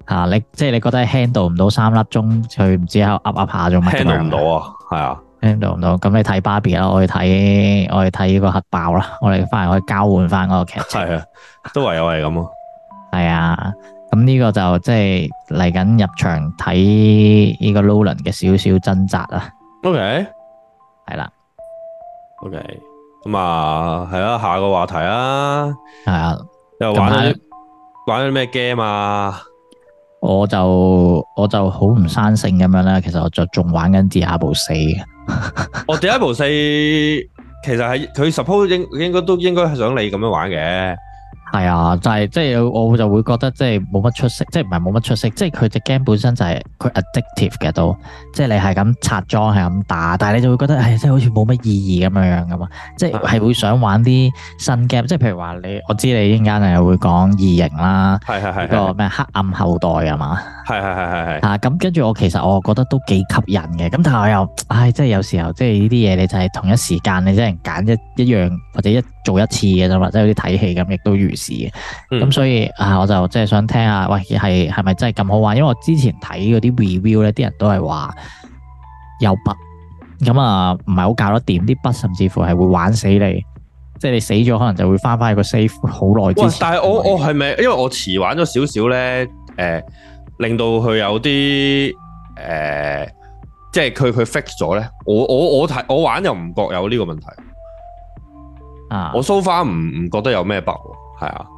[SPEAKER 2] 嚇你即係你覺得 handle 唔到3粒鐘，佢唔知喺度噏下做乜
[SPEAKER 1] handle 唔到啊，係啊
[SPEAKER 2] handle 唔到。咁你睇芭比啦，我去睇呢個核爆啦，我哋翻嚟可以交換翻嗰個劇情。
[SPEAKER 1] 係啊，都唯有係咁啊。
[SPEAKER 2] 係啊，咁呢個就即係嚟緊入場睇呢個 Nolan 嘅少少掙扎啊。
[SPEAKER 1] OK，
[SPEAKER 2] 係啦。
[SPEAKER 1] OK， 咁啊，係啊，下個話題啊，
[SPEAKER 2] 係啊，
[SPEAKER 1] 又玩啲咩 game 啊？
[SPEAKER 2] 我就好唔生性咁樣啦，其實我就仲玩緊 Diablo 4嘅。
[SPEAKER 1] 我Diablo 4其實係佢 suppose 應該都應該係想你咁樣玩嘅。
[SPEAKER 2] 係啊，就係即係我就會覺得即係冇乜出色，即係唔係冇乜出色，即係佢隻 game 本身就係佢 addictive 嘅都，即係你係咁拆裝係咁打，但係你就會覺得係即係好似冇乜意義咁樣噶嘛，即係會想玩啲新 game，即係譬如話我知你一陣間係會講異形啦，
[SPEAKER 1] 係
[SPEAKER 2] 個咩黑暗後代係嘛，
[SPEAKER 1] 係
[SPEAKER 2] 啊咁跟住其實我覺得都幾吸引嘅，咁但係我又即係有時候即係呢啲嘢你就係同一時間你即係揀一樣或者做一次嘅啫嘛，即係好似睇戲咁，亦都如是嘅。咁所以我就即係想聽下，喂係咪真係咁好玩？因為我之前睇嗰啲 review 咧，啲人都係話有 bug，咁唔係好搞得掂，啲 bug 甚至乎係會玩死你，即係你死咗可能就會翻去個 save 好耐之前。
[SPEAKER 1] 但係我係咪因為我遲玩咗少少咧？令到佢有啲即係佢 fix 咗咧。我玩又唔覺有呢個問題。我 so far 唔覺得有咩 bug， 係啊，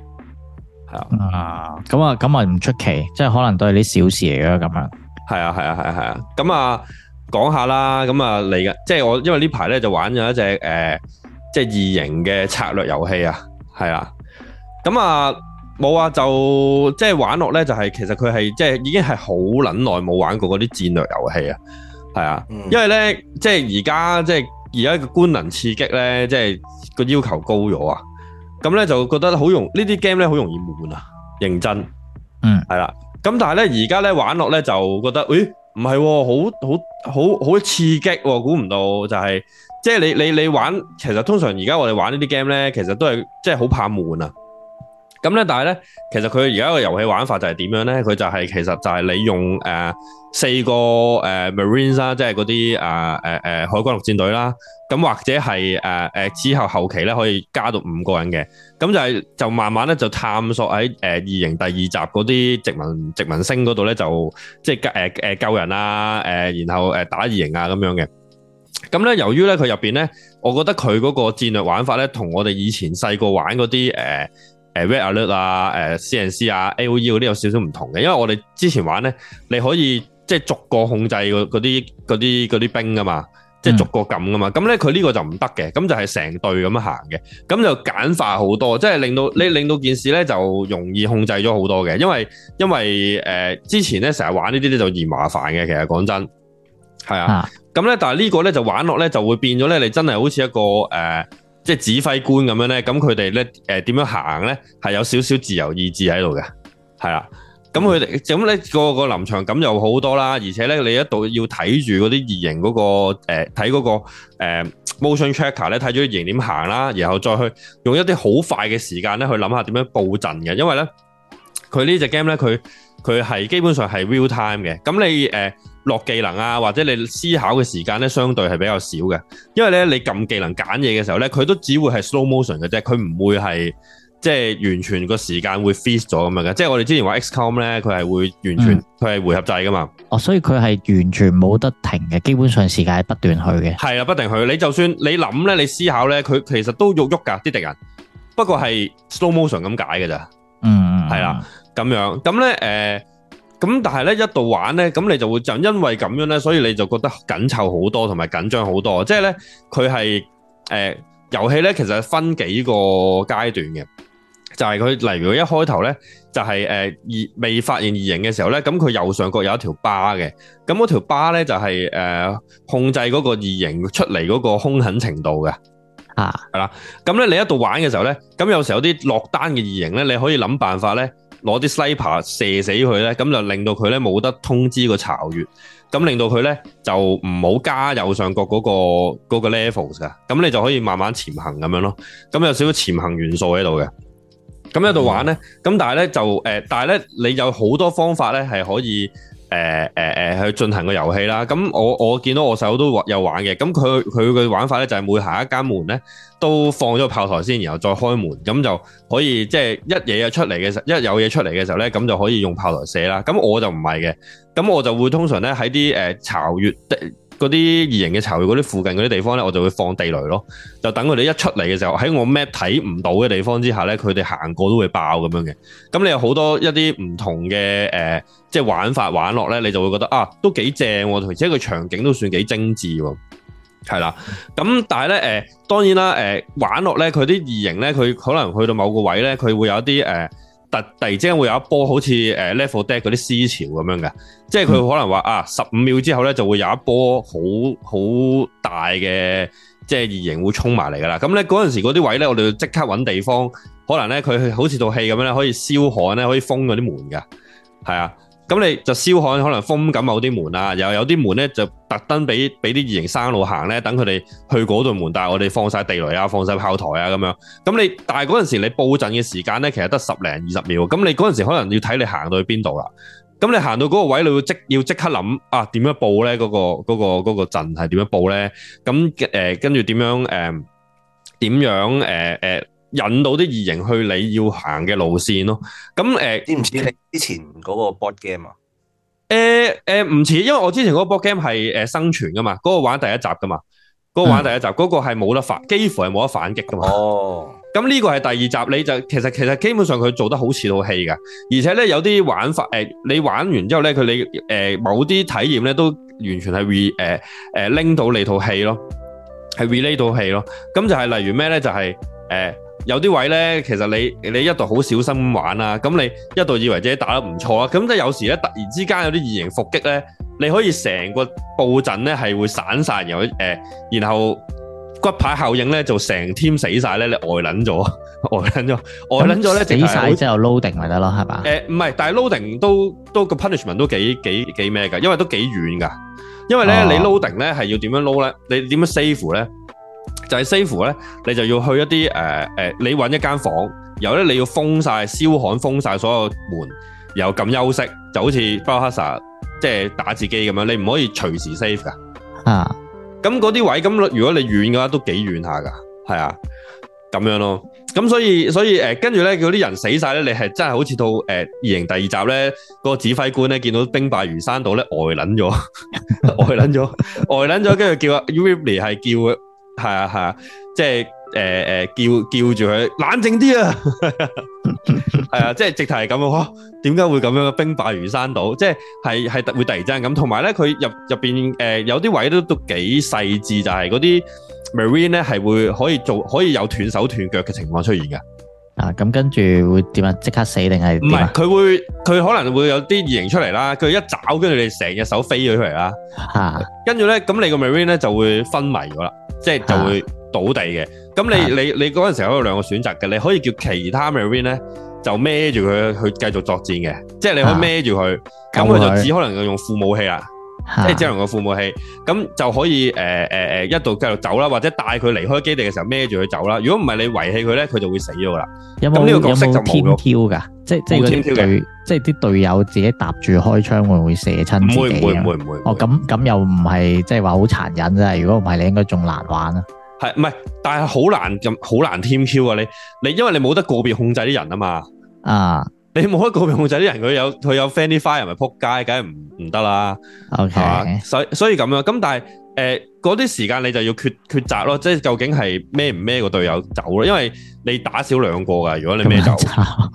[SPEAKER 2] 咁唔出奇，即係可能都係啲小事嚟嘅咁樣。
[SPEAKER 1] 係啊，咁講下啦，咁嚟緊，即係我因為呢排咧就玩咗一隻即係異形嘅策略遊戲啊，係啊，咁冇啊，就即係玩落咧就係其實佢係即係已經係好撚耐冇玩過嗰啲戰略遊戲啊，係啊，因為咧即係而家嘅官能刺激咧，即係個要求高咗啊！咁咧就覺得呢啲 game 咧好容易悶啊，認真，係啦。咁但係咧而家咧玩落咧就覺得，唔係喎，好刺激喎！估唔到就係、是，即係你玩，其實通常而家我哋玩呢啲 game 咧，其實都係即係好怕悶啊。咁咧，但係咧，其實佢而家個遊戲玩法就係點樣咧？佢就係其實就係你用4個Marines 啦，即係嗰啲海軍陸戰隊啦，咁或者係之後期咧可以加到5個人嘅，咁就慢慢咧就探索喺異形第2集嗰啲殖民星嗰度咧，就即係救人啊，然後打異形啊咁樣嘅。咁咧，由於咧佢入邊咧，我覺得佢嗰個戰略玩法咧，同我哋以前細個玩嗰啲Red Alert 啊、CNC 啊、AOE 嗰啲有少少唔同嘅，因為我哋之前玩咧，你可以即係逐個控制嗰啲兵噶嘛，即係逐個撳噶嘛。咁咧佢呢個就唔得嘅，咁就係成隊咁樣行嘅，咁就簡化好多，即係令到件事咧就容易控制咗好多嘅。因為之前咧成日玩呢啲咧就嫌麻煩嘅，其實講真係啊。咁咧但係呢個咧就玩落咧就會變咗咧，你真係好似一個即係指揮官咁樣咧，咁佢哋咧點樣行咧，係有少少自由意志喺度嘅，係啦。咁佢哋咁咧個臨場感又好多啦，而且咧你一度要睇住嗰啲異形嗰個睇嗰個motion tracker 咧，睇住啲異形點行啦，然後再去用一啲好快嘅時間咧去諗下點樣佈陣嘅，因為咧佢呢隻 game 咧佢係基本上係 real time 嘅，咁你落技能啊，或者你思考嘅時間咧，相對係比較少嘅，因為咧你撳技能揀嘢嘅時候咧，佢都只會係 slow motion 嘅啫，佢唔會係即係完全個時間會 freeze 咗咁樣嘅，即係我哋之前話 XCOM 咧，佢係會完全佢係回合制噶嘛。所以佢係完全冇得停嘅，基本上時間係不斷去嘅。係啊，不斷去。你就算你諗咧，你思考咧，佢其實都喐噶啲敵人，不過係 slow motion 咁解嘅咋。係啦，咁樣咁咧咁但係咧一度玩咧，咁你就會就因為咁樣咧，所以你就覺得緊湊好多，同埋緊張好多。即係咧，佢係遊戲咧，其實分幾個階段嘅，就係佢例如一開頭咧，就係未發現異形嘅時候咧，咁佢右上角有一條巴嘅，咁嗰條巴咧就係控制嗰個異形出嚟嗰個兇狠程度嘅。係啦，咁咧你一度玩嘅時候咧，咁有時候有啲落單嘅異形咧，你可以諗辦法咧。攞啲 sniper 射死佢咧，咁就令到佢咧冇得通知個巢穴，咁令到佢咧就唔好加右上角嗰個 levels 噶，咁你就可以慢慢潛行咁樣咯，咁有少少潛行元素喺度嘅。 咁喺度玩咧，咁但係咧就但係咧你有好多方法咧係可以去進行個遊戲啦。咁我見到我細佬都有玩嘅，咁佢嘅玩法咧就係每行一間門咧都放咗個炮台先，然後再開門，咁就可以即係一嘢出嚟嘅時候，一有嘢出嚟嘅時候咧，咁就可以用炮台射啦。咁我就唔係嘅，咁我就會通常咧喺啲巢穴嗰啲異形嘅巢穴嗰啲附近嗰啲地方咧，我就會放地雷咯，就等佢哋一出嚟嘅時候，喺我 map 睇唔到嘅地方之下咧，佢哋行過都會爆咁樣嘅。咁你有好多一啲唔同嘅即係玩法玩落咧，你就會覺得啊，都幾正喎，而且個場景都算幾精緻喎。係啦，咁但係咧當然啦玩落咧，佢啲異形咧，佢可能去到某個位咧，佢會有一啲突然之間會有一波好似Level Dead 嗰啲思潮咁樣嘅，即係佢可能話15秒之後咧就會有一波好大嘅即係異形會衝埋嚟噶啦。咁咧嗰陣時嗰啲位咧，我哋要即刻揾地方，可能咧佢好似套戲咁樣咧，可以燒焊咧，可以封嗰啲門噶，係啊。咁你就燒焊可能封緊某啲門啊，又有啲門咧就特登俾啲異形生路行咧，等佢哋去嗰度門，但係我哋放晒地雷啊，放晒炮台啊咁樣。咁但係嗰陣時你佈陣嘅時間咧，其實得10零20秒。咁你嗰陣時可能要睇你行到去邊度啦。咁你行到嗰個位，你要即刻諗點樣佈咧？嗰個陣係點樣佈咧？咁跟住點樣引到啲異形去你要行嘅路線咯。咁
[SPEAKER 3] 知唔知你之前嗰個 board game 啊？
[SPEAKER 1] 唔似，因為我之前嗰個 board game 係生存噶嘛，嗰個玩第一集噶嘛，嗰個玩第一集，嗰個係冇得反，幾乎係冇得反擊噶嘛。哦。咁呢個係第二集，你就其實基本上佢做得好似套戲噶，而且咧有啲玩法你玩完之後咧，你某啲體驗咧都完全係拎到你套戲咯，係 relate 到戲咯。咁就係例如咩咧？就係有啲位咧，其實你一度好小心咁玩啦，咁你一度以為自己打得唔錯啦，咁即係有時咧突然之間有啲異形伏擊咧，你可以成個佈陣咧係會散晒，然後骨牌效應咧就成 team 死晒咧，你呆撚咗咧，
[SPEAKER 2] 死晒之後 loading 咪得咯，係嘛？
[SPEAKER 1] 唔係，但係 loading 都個 punishment 都幾咩㗎，因為都幾遠㗎，因為咧你 loading 咧係要點樣 load 咧？你點樣 save 咧？就係 save 咧，你就要去一啲你揾一間房，然後咧你要封晒燒焊，封晒所有門，然後撳休息，就好似 Biohazard 即係打字機咁樣，你唔可以隨時 save 噶。咁嗰啲位，咁如果你遠嘅話，都幾遠下噶，係啊，咁樣咯。咁所以跟住咧，嗰啲人死晒咧，你係真係好似到異形第二集咧，嗰個指揮官咧見到兵敗如山倒咧，呆撚咗，跟住叫阿 Ripley 係叫佢。係啊，即係叫住佢冷靜啲啊，係啊，即係直頭係咁啊！點解會咁樣？兵敗如山倒，即係會突然之間咁。同埋咧，佢入邊有啲位都幾細緻，就係嗰啲 Marine 咧係可以有斷手斷腳嘅情況出現嘅。
[SPEAKER 2] 咁跟住會點啊？即刻死定係？唔係，
[SPEAKER 1] 佢可能會有啲異形出嚟啦，佢一爪跟住你成隻手飛咗出嚟啦。跟住咧，咁你個 Marine 咧就會昏迷咗啦。即係就會倒地嘅，咁你嗰陣時候有兩個選擇嘅，你可以叫其他 Marine 咧就孭住佢去繼續作戰嘅，即係你可以孭住佢，咁佢就只可能用副武器啦，即係只能用副武器，咁就可以一度繼續走啦，或者帶佢離開基地嘅時候孭住佢走啦。如果唔係你遺棄佢咧，佢就會死咗噶啦。咁呢個角色就冇
[SPEAKER 2] 挑噶，即係啲隊友自己搭住開槍會唔會射親自己？唔會。哦，咁又唔係即係話好殘忍啫。如果唔係，你應該仲難玩啊。
[SPEAKER 1] 係唔係？但係好難 team Q 啊！你因為你冇得個別控制啲人啊嘛。你冇得個別控制啲人，佢有 friendly fire 咪撲街，梗係唔得啦。OK，所以咁樣。咁但係嗰啲時間你就要抉擇咯，即係究竟係孭唔孭個隊友走咯？因為你打少兩個噶，如果你孭走，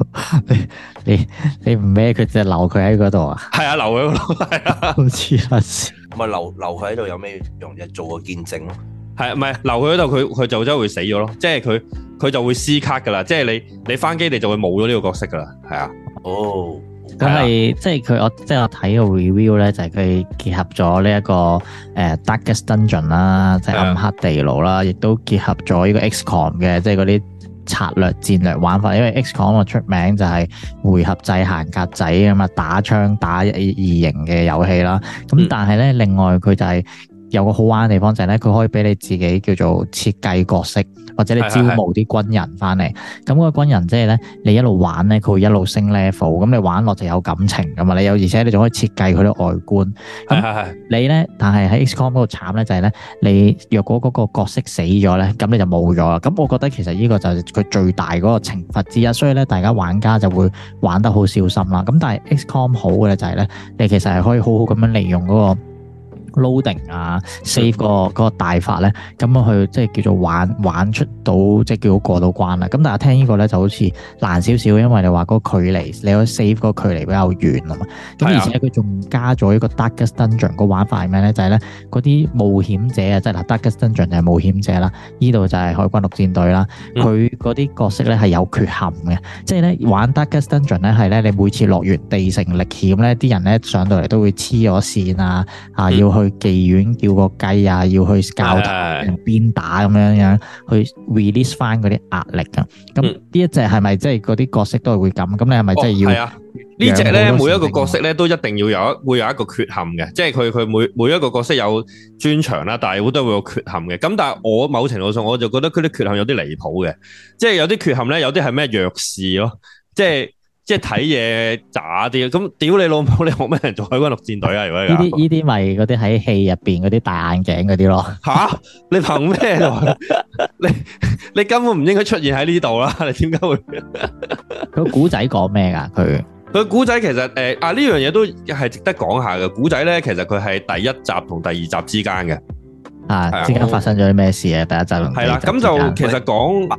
[SPEAKER 1] 你唔孭佢就留佢喺嗰度啊？係啊，留佢嗰度係啊，好似係。
[SPEAKER 3] 唔係留佢喺度有咩用啫？做個見證咯。
[SPEAKER 1] 係唔係留佢喺度？佢就真係會死咗咯。即係佢就會撕卡噶啦。即係你翻機你就會冇咗呢個角色噶啦。係啊。哦。
[SPEAKER 2] 咁係即係我睇個 review 咧，就係佢結合咗呢一個Darkest Dungeon 啦，即係暗黑地牢啦，亦都結合咗呢個 XCOM 嘅，即係嗰啲策略戰略玩法。因為 XCOM 個出名就係回合制行格仔咁啊，打槍打異形嘅遊戲啦。咁但係咧，另外佢就係有個好玩嘅地方就係咧，佢可以俾你自己叫做設計角色，或者你招募啲軍人翻嚟。咁嗰個軍人即係咧，你一路玩咧，佢會一路升 level。咁你玩落就有感情噶嘛。你有而且你仲可以設計佢啲外觀。咁你咧，但係喺 XCOM 嗰度慘咧就係咧，你若果嗰個角色死咗咧，咁你就冇咗啦。咁我覺得其實呢個就係佢最大嗰個懲罰之一。所以咧，大家玩家就會玩得好小心啦。咁但係 XCOM 好嘅咧就係咧，你其實係可以好好咁樣利用嗰個 loading 啊 save 嗰個大法咧，咁樣去即係叫做玩出到即係叫做過到關啦。咁但係聽呢個咧就好似難少少，因為你話嗰個距離，你可以 save 嗰個距離比較遠啊嘛。咁而且佢仲加咗一個 Darkest Dungeon 個玩法係咩咧？就係咧嗰啲冒險者啊，即係嗱 Darkest Dungeon 就係冒險者啦，呢度就係海軍陸戰隊啦。佢嗰啲角色咧係有缺陷嘅，即係咧玩 Darkest Dungeon 咧係咧你每次落完地城歷險咧，啲人咧上到嚟都會黐咗線啊，要去妓院叫個雞啊，要去教堂鞭打咁樣去 release 翻嗰啲壓力啊。咁呢一隻係咪即係嗰啲角色都係會咁？咁你係咪真係要？係啊，
[SPEAKER 1] 呢隻咧每一個角色咧都一定要會有一個缺陷嘅，即係佢每一個角色有專長啦，但係好多會有缺陷嘅。咁但係我某程度上我就覺得佢啲缺陷有啲離譜嘅，即係有啲缺陷咧，有啲係咩弱視咯，即係睇嘢渣啲，咁屌你老母！你學咩人做海軍陸戰隊啊？如果
[SPEAKER 2] 呢啲咪嗰啲喺戲入邊嗰啲戴眼鏡嗰啲咯？
[SPEAKER 1] 吓？你憑咩？你根本唔應該出現喺呢度啦！你點解會？
[SPEAKER 2] 個古仔講咩噶？
[SPEAKER 1] 佢古仔其實呢樣嘢都係值得講下嘅。古仔咧，其實佢係第一集同第二集之間嘅，
[SPEAKER 2] 之間發生咗啲咩事啊？第一集同第二集係啦，
[SPEAKER 1] 咁就其實講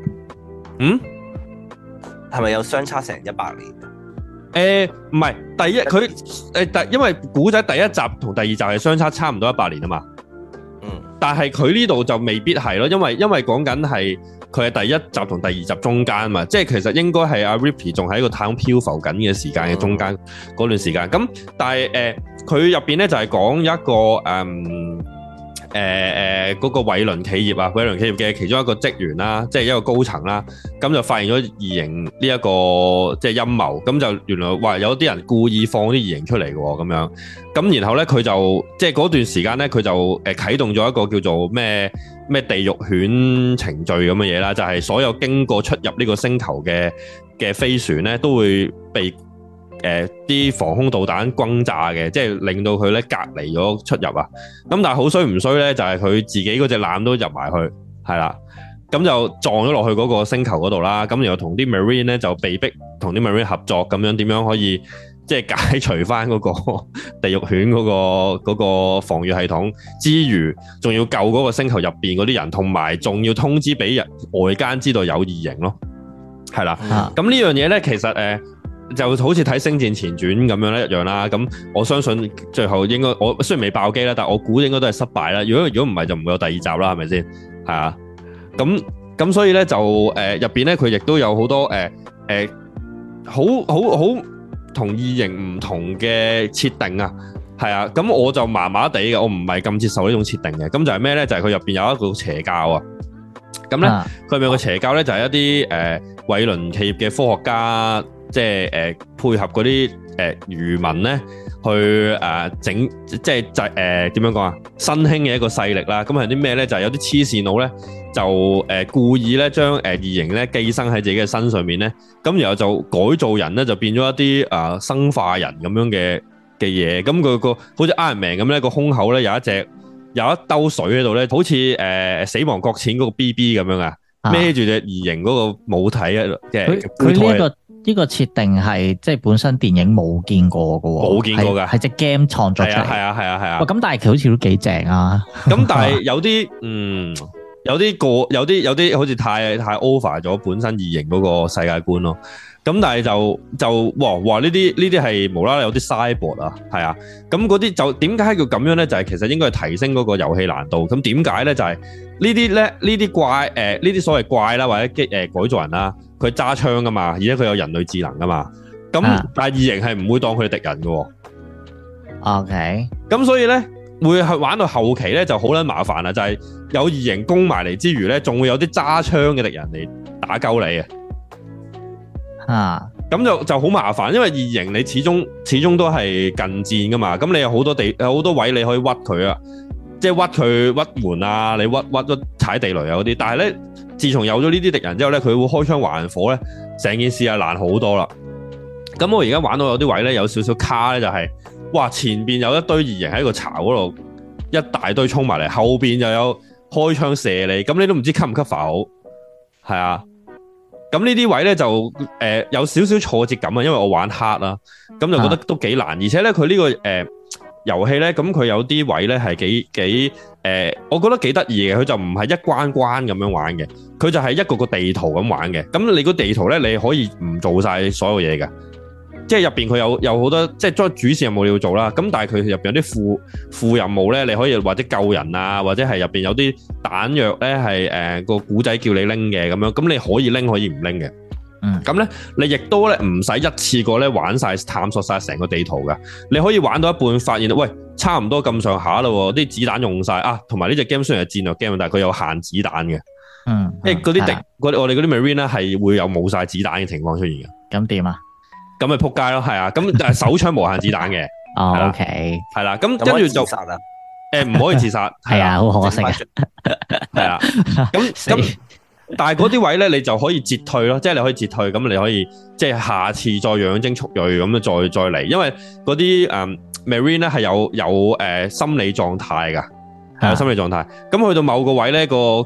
[SPEAKER 3] 係咪有相差成100年？
[SPEAKER 1] 唔係，因為古仔第一集同第二集係相差差唔多100年啊嘛。但係佢呢度就未必係咯，因為講緊係佢係第一集同第二集中間嘛，即係其實應該係阿 Ripley 仲喺個太空漂浮緊嘅時間嘅中間嗰段時間。咁但係佢入邊咧就係講一個嗰個偉倫企業啊，偉倫企業嘅其中一個職員啦，即係一個高層啦，咁就發現咗異形呢一個即係陰謀，咁就原來話有啲人故意放啲異形出嚟嘅喎，咁樣，咁然後咧佢就即係嗰段時間咧，佢就啟動咗一個叫做咩地獄犬程序咁嘅嘢啦，就係所有經過出入呢個星球嘅飛船咧，都會被啲防空導彈轟炸嘅，即係令到佢咧隔離咗出入啊。咁但係好衰唔衰咧，就係佢自己嗰隻艦都入埋去，係啦。咁就撞咗落去嗰個星球嗰度啦。咁然後同啲 Marine 咧就被逼同啲 Marine 合作，咁樣點樣可以即係解除翻嗰個地獄犬嗰個防禦系統之餘，仲要救嗰個星球入邊嗰啲人，同埋仲要通知俾人外間知道有異形咯。係啦。咁呢樣嘢咧，其實就好似睇《星戰前傳》咁樣咧一樣啦，咁我相信最後應該我雖然未爆機啦，但我估應該都係失敗啦。如果唔係就唔會有第二集啦，係咪先？係啊，咁所以咧就入邊咧佢亦都有好多好同異形唔同嘅設定啊，係啊，咁我就麻麻地嘅，我唔係咁接受呢種設定嘅。咁就係咩咧？就係佢入邊有一個邪教啊。咁咧佢入面有個邪教咧就係一啲偉倫企業嘅科學家。即係配合嗰啲漁民咧，去整即係點樣講啊？新興嘅一個勢力啦。咁係啲咩咧？就係有啲黐線佬咧，就故意咧將異形咧寄生喺自己嘅身上面咧。咁然後就改造人咧，就變咗一啲生化人咁樣嘅嘢。咁佢個好似 Iron Man咁咧，個胸口咧有一兜水喺度咧，好似死亡擱淺嗰個 BB 咁樣啊，孭住隻異形嗰個母體啊嘅。
[SPEAKER 2] 佢呢個設定係即係本身電影冇見過嘅喎，
[SPEAKER 1] 冇見過㗎，
[SPEAKER 2] 係隻 game 創作出嚟。係啊。咁但係佢好似都幾正啊。咁
[SPEAKER 1] 但係有啲有啲好似太 over 咗本身異形嗰個世界觀咯。咁但係就哇呢啲係無啦啦有啲 cyborg 啊，係啊。咁嗰啲就點解叫咁樣咧？就係其實應該係提升嗰個遊戲難度。咁點解咧？就係呢啲怪呢啲所謂怪啦，或者改造人啦。佢揸槍噶嘛，而且佢有人類智能噶嘛，咁但係異形係唔會當佢哋敵人嘅。
[SPEAKER 2] OK，
[SPEAKER 1] 咁所以咧會去玩到後期咧就好撚麻煩啦，就係有異形攻埋嚟之餘咧，仲會有啲揸槍嘅敵人嚟打鳩你啊。咁就好麻煩，因為異形你始終都係近戰噶嘛，咁你有好多位你可以屈佢啊。 即係屈佢屈門啊，你屈踩地雷啊嗰啲。但係咧，自從有咗呢啲敵人之後咧，佢會開槍還火咧，成件事係難好多啦。咁我而家玩到有啲位咧有少少卡咧，就係哇前邊有一堆異形喺個巢嗰度，一大堆衝埋嚟，後邊又有開槍射你，咁你都唔知 cover 唔 cover 好，係啊。咁呢啲位咧就有少少挫折感啊，因為我玩 hard 啦，咁就覺得都幾難，而且咧佢呢個遊戲咧，咁佢有啲位咧係幾我覺得幾得意嘅，佢就唔係一關關咁樣玩嘅，佢就係一個個地圖咁玩嘅。咁你個地圖咧，你可以唔做晒所有嘢嘅，即係入邊佢有好多即係主線任務你要做啦。咁但係佢入邊有啲副任務咧，你可以或者救人啊，或者係入邊有啲彈藥咧係個古仔叫你拎嘅咁樣，咁你可以拎可以唔拎嘅。咁咧，你亦都咧唔使一次過咧玩晒探索晒成個地圖噶，你可以玩到一半發現，喂，差唔多咁上下啦，啲子彈用晒啊，同埋呢隻 game 雖然係戰略 game，但係佢有限子彈嘅，即係嗰啲我哋嗰啲 marine 咧係會有冇晒子彈嘅情況出現嘅。咁點啊？咁咪撲街咯，係啊，咁但係手槍無限子彈嘅。哦 ，OK， 係啦，咁跟住就唔可以自殺，係啊，好可惜啊，係啊，咁。但係嗰啲位咧，你就可以截退咯，即係你可以截退，咁你可以即係下次再養精蓄銳咁樣再嚟，因為嗰啲Marine 咧係有心理狀態噶，係有心理狀態。咁去到某個位咧，嗰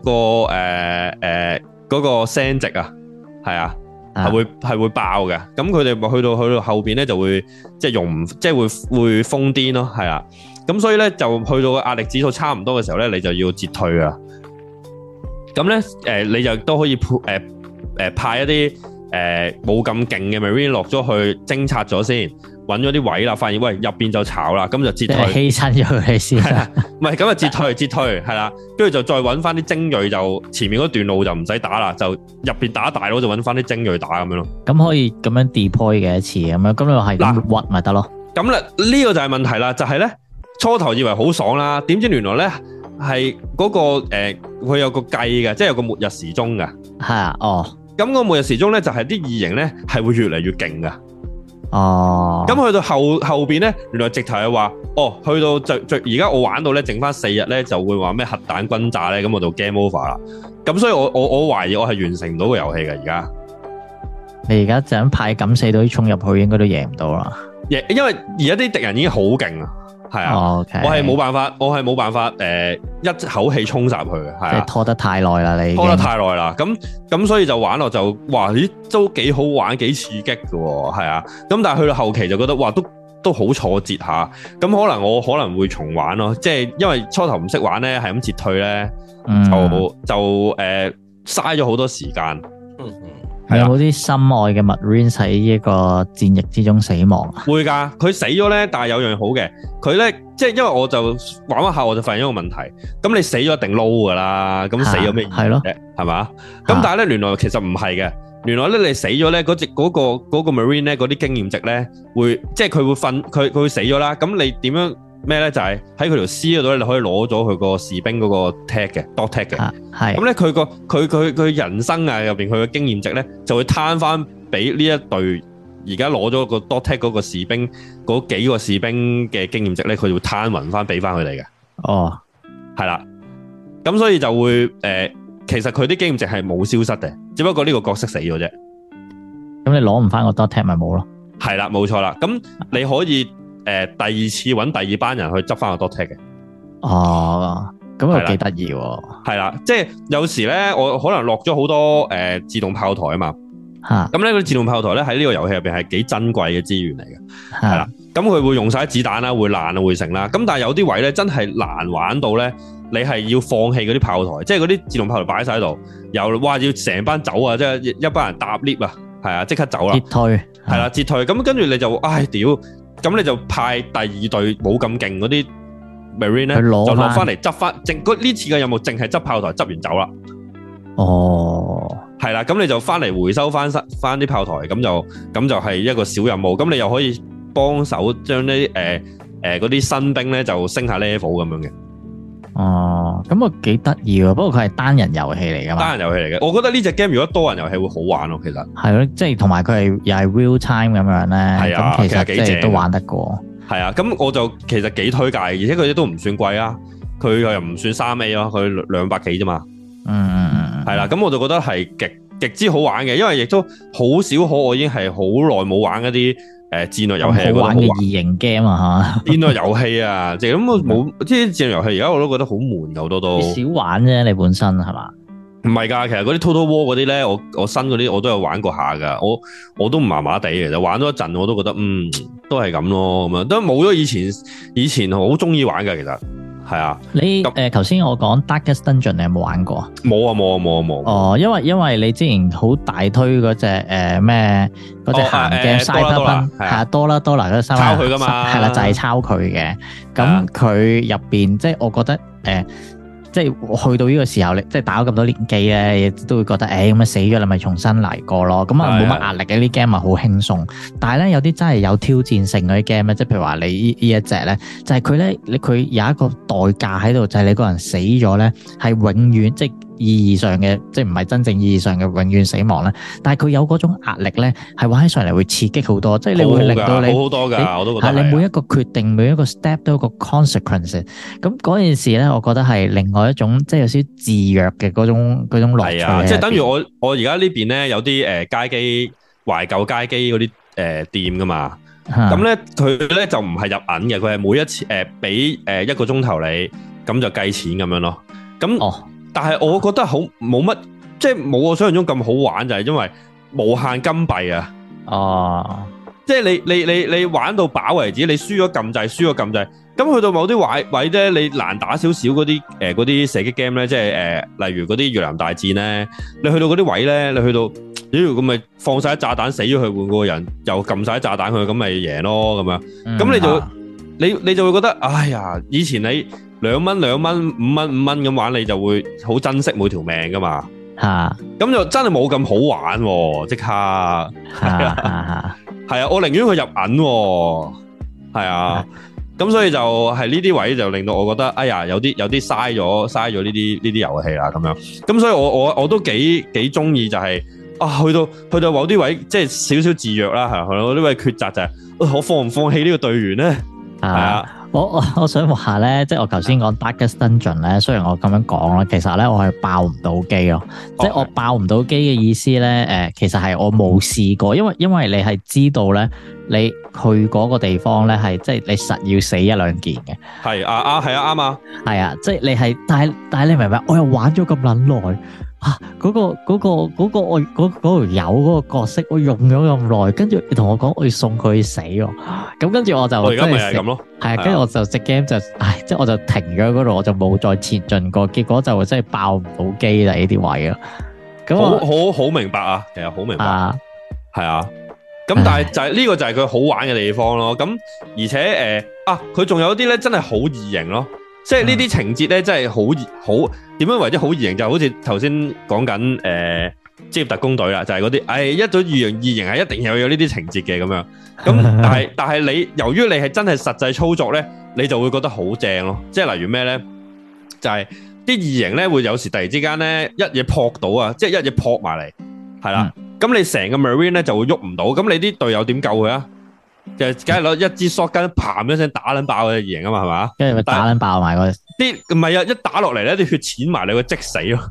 [SPEAKER 1] 個聲值啊，係啊，係會爆嘅。咁佢哋去到後邊咧就會即係用唔即係會瘋癲咯，係啊。咁所以咧就去到壓力指數差唔多嘅時候咧，你就要截退啊。咁咧，你就都可以派一啲冇咁勁嘅 Marine 落咗去偵察咗先，揾咗啲位啦，發現喂入邊就炒啦，咁就截退，犧牲咗佢先。唔係咁就截退，係啦，跟住就再揾翻啲精鋭，就前面嗰段路就唔使打啦，就入邊打大佬就揾翻啲精鋭打咁樣咯。咁可以咁樣 deploy 嘅一次咁樣，咁你話係咁屈咪得咯？咁啦，呢個就係問題啦，就係咧初頭以為好爽啦，點知原來咧。係嗰個佢有個計嘅，即係有個末日時鐘嘅。係啊，哦。咁個末日時鐘咧，就係啲異形咧係會越嚟越勁噶。哦。咁去到後邊咧，原來直頭係話，哦，去到而家我玩到咧，剩翻4日咧，就會話咩核彈轟炸咧，咁我就 game over 啦。咁所以我懷疑我係完成唔到個遊戲嘅而家。你而家就咁派敢死隊衝入去，應該都贏唔到啦。因為而家啲敵人已經好勁啦。係啊， okay. 我係冇辦法一口氣衝殺佢嘅，係啊，即係拖得太耐啦，你拖得太耐啦，咁所以就玩落就哇咦都幾好玩，幾刺激嘅喎，係啊，咁但係去到後期就覺得哇都好挫折下，咁我可能會重玩咯，即係因為初頭唔識玩咧，係咁截退咧，就嘥咗好多時間。有冇啲心愛嘅 Marine 喺呢個戰役之中死亡啊？會㗎，佢死咗咧，但係有樣好嘅，佢咧即係因為我就玩一下，我就發現一個問題。咁你死咗一定撈㗎啦，咁死咗咩意思啫？係嘛？咁但係咧，原來其實唔係嘅。原來咧，你死咗咧，嗰個 Marine 咧，嗰啲經驗值咧，即係佢會死咗啦。咁你點樣？咩咧就係喺佢條屍嗰度咧，你可以攞咗佢個士兵嗰個 tag 嘅 dot tag 嘅，係咁咧佢人生啊入邊佢嘅經驗值咧就會攤翻俾呢一隊而家攞咗個 dot tag 嗰個士兵嗰幾個士兵嘅經驗值咧，佢就會攤勻翻俾翻佢哋嘅。哦，係啦，咁所以就會其實佢啲經驗值係冇消失嘅，只不過呢個角色死咗啫。咁你攞唔翻個 dot tag 咪冇咯？係啦，冇錯啦。咁你可以。第二次揾第二班人去執翻個 dot tag 嘅。哦，咁又幾得意喎。係啦，即係有時咧，我可能落咗好多自動炮台啊嘛。嚇。咁咧，嗰啲自動炮台咧喺呢個遊戲入邊係幾珍貴嘅資源嚟嘅。係啦。咁佢會用晒子彈啦，會爛啊，會成啦。咁但係有啲位咧真係難玩到咧，你係要放棄嗰啲炮台，即係嗰啲自動炮台擺晒喺度，又哇要成班走啊，即係一班人搭 lift 啊，係啊，即刻走啦。截退。係啦，截退。咁跟住你就唉屌！咁你就派第二隊冇咁勁嗰啲 Marine 咧，就落翻嚟執翻，呢次嘅任務淨係執炮台，執完走啦。哦，係啦，咁你就翻嚟回收翻啲炮台，咁就係一個小任務。咁你又可以幫手將啲嗰啲新兵咧就升下 level 咁樣嘅。哦，咁啊幾得意喎！不過佢係單人遊戲嚟噶嘛？單人遊戲嚟嘅，我覺得呢隻 game 如果多人遊戲會好玩咯，其實係咯，即係同埋佢係又係 real time 咁樣咧，係啊，其實幾正都玩得過。係啊，咁我就其實幾推介，而且佢哋都唔算貴啊。 佢又唔算3A 咯，佢200幾啫嘛。係啦，咁我就覺得係極之好玩嘅，因為亦都好少可我已經係好耐冇玩一啲戰略遊戲，
[SPEAKER 2] 好玩嘅異形 game 啊嚇！
[SPEAKER 1] 戰略遊戲啊，即係咁冇啲戰略遊戲，而家我都覺得好悶，好多都
[SPEAKER 2] 少玩啫，你本身係嘛？
[SPEAKER 1] 唔係㗎，其實嗰啲 Total War 嗰啲咧，我新嗰啲我都有玩過下㗎，我都麻麻地嘅，就玩咗一陣我都覺得都係咁咯，咁樣都冇咗以前好中意玩㗎，其實係啊。
[SPEAKER 2] 你頭先我講 Darkest Dungeon 你有冇玩過啊？
[SPEAKER 1] 冇啊。哦，
[SPEAKER 2] 因為你之前好大推嗰隻咩嗰隻鹹嘅 Cyberpunk 係啊，多啦嗰個抄
[SPEAKER 1] 佢㗎嘛，
[SPEAKER 2] 係啦，就係抄佢嘅。咁佢入邊即係我覺得即係去到呢個時候，你即係打咗咁多年機咧，都會覺得咁啊死咗啦，咪重新嚟過咯。咁啊冇乜壓力嘅，啲 game 咪好輕鬆。但係咧有啲真係有挑戰性嗰啲 game 咧，即係譬如話你呢一隻咧，就係佢咧，佢有一個代價喺度，就係你個人死咗咧，係永遠即係意義上嘅，即係唔係真正意義上嘅永遠死亡咧。但係佢有嗰種壓力咧，係玩起上嚟會刺激好多，即係你會令到你
[SPEAKER 1] 好多㗎，我都覺得
[SPEAKER 2] 係你每一個決定、每一個 step 都有個 consequence。咁嗰件事咧，我覺得係另外一種即係有少少自虐嘅嗰種樂趣。係啊，
[SPEAKER 1] 即係等於我而家呢邊咧有啲街機懷舊街機嗰啲店㗎嘛。咁咧佢咧就唔係入銀嘅，佢係每一次俾1個鐘頭你，咁就計錢咁樣咯。咁但係我覺得好冇乜，即係冇我想象中咁好玩，就係因為無限金幣啊！即係你玩到飽為止，你輸咗撳掣，咁去到某啲位咧，你難打少少嗰啲射擊 game 咧，即係例如嗰啲越南大戰咧，你去到嗰啲位咧，你去到咁咪放晒炸彈死咗佢，換嗰個人又撳晒炸彈佢，咁咪贏咯咁樣。咁你就會覺得，哎呀，以前你2蚊、5蚊咁玩，你就會好珍惜每條命噶嘛。咁就真係冇咁好玩喎，即刻係啊，我寧願佢入銀，係啊。咁所以就係呢啲位就令到我覺得，哎呀，有啲嘥咗呢啲遊戲啦咁樣。咁所以我都幾中意就係去到某啲位，即係少少自虐啦，係我呢位抉擇就係我放唔放棄呢個隊員咧？係啊。
[SPEAKER 2] 我想話咧，即係我頭先講 Darkest Dungeon 咧，雖然我咁樣講啦，其實咧我係爆唔到機咯。即係我爆唔到機嘅意思咧，其實係我冇試過，因為你係知道咧，你去嗰個地方咧係即係你實要死1、2件嘅。係啊，係啊，啱啊。係啊，即係你係，但係你明白？我又玩咗咁撚耐。嗰個我嗰條友嗰個角色，我用咗咁耐，跟住你同我講我要送佢去死喎，咁跟住我就而家咪係咁咯，係啊，跟住我就隻 game 就，即係我就停咗嗰度，我就冇再前進過，結果就真係爆唔到機啦呢啲位咯，咁好明白啊，其實好明白，係啊，咁但係就係呢個就係佢好玩嘅地方咯，咁而且佢仲有啲咧真係好異形咯。即係呢啲情節咧，真係好點樣為之好異形？就好似頭先講緊職業特工隊啦，就係嗰啲一組異形係一定有呢啲情節嘅咁樣。咁但係你由於你係真係實際操作咧，你就會覺得好正咯。即係例如咩咧？就係啲異形咧會有時突然之間咧一嘢撲到啊，即係一嘢撲埋嚟，係啦。咁你成個 Marine 咧就會喐唔到，咁你啲隊友點救佢啊？就梗係攞一支 shotgun 嘭一聲打撚爆佢異形啊嘛，係嘛？跟住咪打撚爆埋個啲唔係啊！一打落嚟咧，啲血濺埋你會即死咯。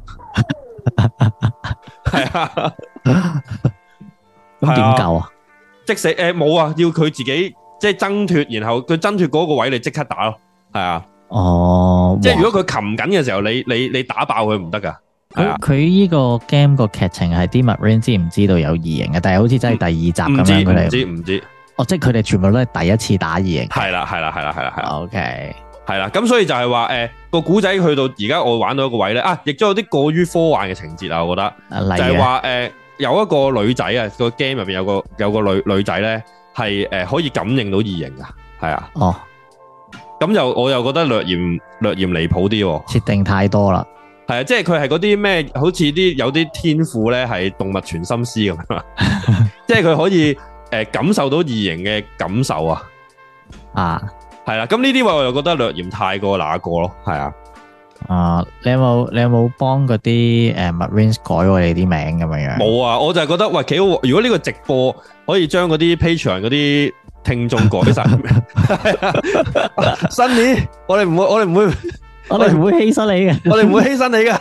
[SPEAKER 2] 係啊，咁點救啊？即死冇啊！要佢自己即係掙脫，然後佢掙脫嗰個位，你即刻打咯。係啊，哦，即係如果佢擒緊嘅時候，你打爆佢唔得噶。佢呢個 game 個劇情係啲 Marine 知唔知道有異形嘅？但係好似真係第2集咁樣，佢哋唔知。哦，即係佢哋全部都係第一次打異形。係啦。OK，係啦。咁所以就係話個古仔去到而家，我玩到一個位咧亦都有啲過於科幻嘅情節啊！我覺得就係話有一個女仔啊，個 game 入邊有個女仔咧係可以感應到異形噶，係啊。哦，咁我又覺得略嫌離譜啲，設定太多啦。係啊，即係佢係嗰啲咩，好似有啲天賦咧係動物傳心師咁啊，即係佢可以。感受到異形嘅感受啊，係啦，咁呢啲位我又覺得略嫌太過那個咯，係啊，你有冇幫嗰啲Marines 改我哋啲名咁樣樣？冇啊，我就係覺得喂幾好，如果呢個直播可以將嗰啲 Patreon 嗰啲聽眾改晒，新年我哋唔會我哋唔會犧牲你嘅，
[SPEAKER 1] 我哋唔會犧牲你